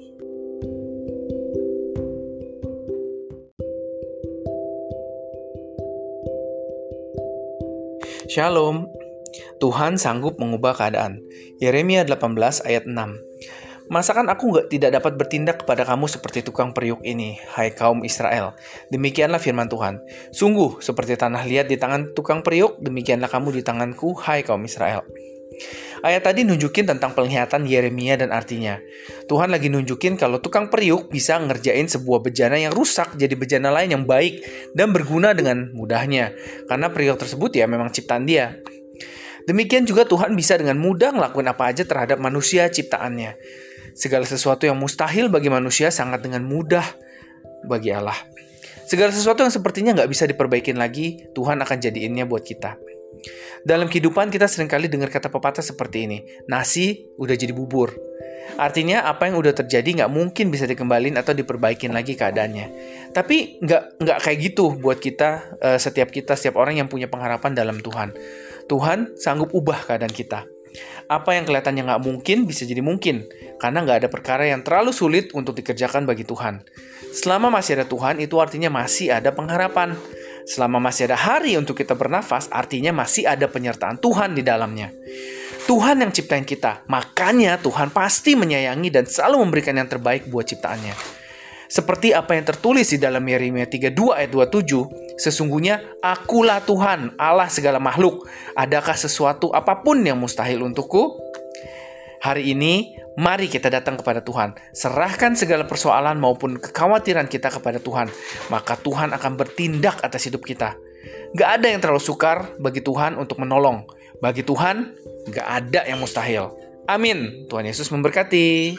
Shalom. Tuhan sanggup mengubah keadaan. Yeremia 18 ayat 6. Masakan aku tidak dapat bertindak kepada kamu seperti tukang periuk ini, hai kaum Israel. Demikianlah firman Tuhan. Sungguh seperti tanah liat di tangan tukang periuk, demikianlah kamu di tanganku, hai kaum Israel. Ayat tadi nunjukin tentang penglihatan Yeremia dan artinya. Tuhan lagi nunjukin kalau tukang periuk bisa ngerjain sebuah bejana yang rusak jadi bejana lain yang baik dan berguna dengan mudahnya. Karena periuk tersebut ya memang ciptaan dia. Demikian juga Tuhan bisa dengan mudah ngelakuin apa aja terhadap manusia ciptaannya. Segala sesuatu yang mustahil bagi manusia sangat dengan mudah bagi Allah. Segala sesuatu yang sepertinya nggak bisa diperbaikin lagi, Tuhan akan jadiinnya buat kita. Dalam kehidupan kita seringkali dengar kata pepatah seperti ini, nasi udah jadi bubur. Artinya apa yang udah terjadi nggak mungkin bisa dikembalin atau diperbaikin lagi keadaannya. Tapi nggak kayak gitu buat kita, setiap orang yang punya pengharapan dalam Tuhan. Tuhan sanggup ubah keadaan kita. Apa yang kelihatannya nggak mungkin bisa jadi mungkin, karena nggak ada perkara yang terlalu sulit untuk dikerjakan bagi Tuhan. Selama masih ada Tuhan, itu artinya masih ada pengharapan. Selama masih ada hari untuk kita bernafas, artinya masih ada penyertaan Tuhan di dalamnya. Tuhan yang ciptain kita, makanya Tuhan pasti menyayangi dan selalu memberikan yang terbaik buat ciptaannya. Seperti apa yang tertulis di dalam Yeremia 32 ayat 27, sesungguhnya akulah Tuhan, Allah segala makhluk. Adakah sesuatu apapun yang mustahil untukku? Hari ini, mari kita datang kepada Tuhan. Serahkan segala persoalan maupun kekhawatiran kita kepada Tuhan. Maka Tuhan akan bertindak atas hidup kita. Gak ada yang terlalu sukar bagi Tuhan untuk menolong. Bagi Tuhan, gak ada yang mustahil. Amin. Tuhan Yesus memberkati.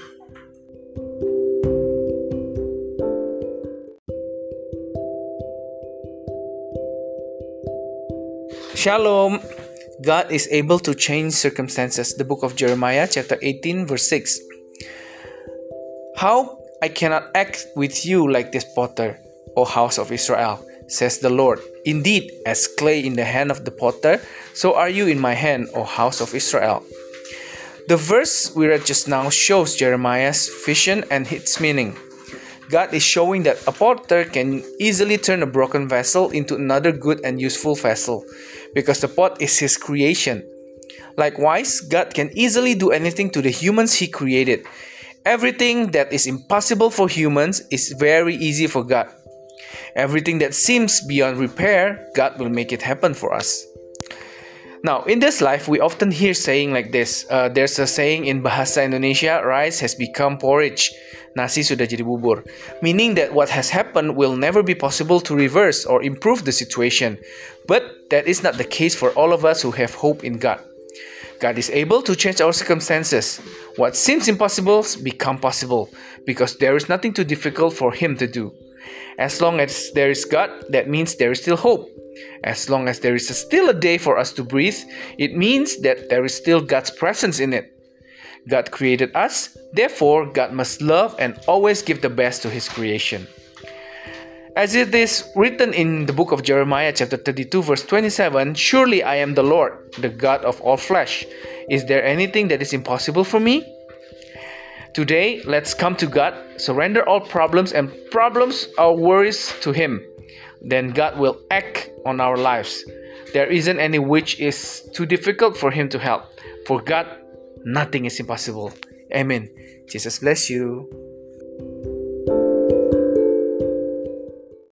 Shalom. God is able to change circumstances. The book of Jeremiah chapter 18 verse 6. How I cannot act with you like this potter, O house of Israel, says the Lord. Indeed, as clay in the hand of the potter, so are you in my hand, O house of Israel. The verse we read just now shows Jeremiah's vision and its meaning. God is showing that a potter can easily turn a broken vessel into another good and useful vessel, because the pot is His creation. Likewise, God can easily do anything to the humans He created. Everything that is impossible for humans is very easy for God. Everything that seems beyond repair, God will make it happen for us. Now, in this life, we often hear saying like this. There's a saying in Bahasa Indonesia, rice has become porridge. Nasi sudah jadi bubur. Meaning that what has happened will never be possible to reverse or improve the situation. But that is not the case for all of us who have hope in God. God is able to change our circumstances. What seems impossible become possible, because there is nothing too difficult for Him to do. As long as there is God, that means there is still hope. As long as there is still a day for us to breathe, it means that there is still God's presence in it. God created us, therefore God must love and always give the best to His creation. As it is written in the book of Jeremiah chapter 32 verse 27, surely I am the Lord, the God of all flesh. Is there anything that is impossible for me? Today, let's come to God, surrender all problems our worries to Him. Then God will act on our lives. There isn't any which is too difficult for Him to help. For God, nothing is impossible. Amen. Jesus bless you.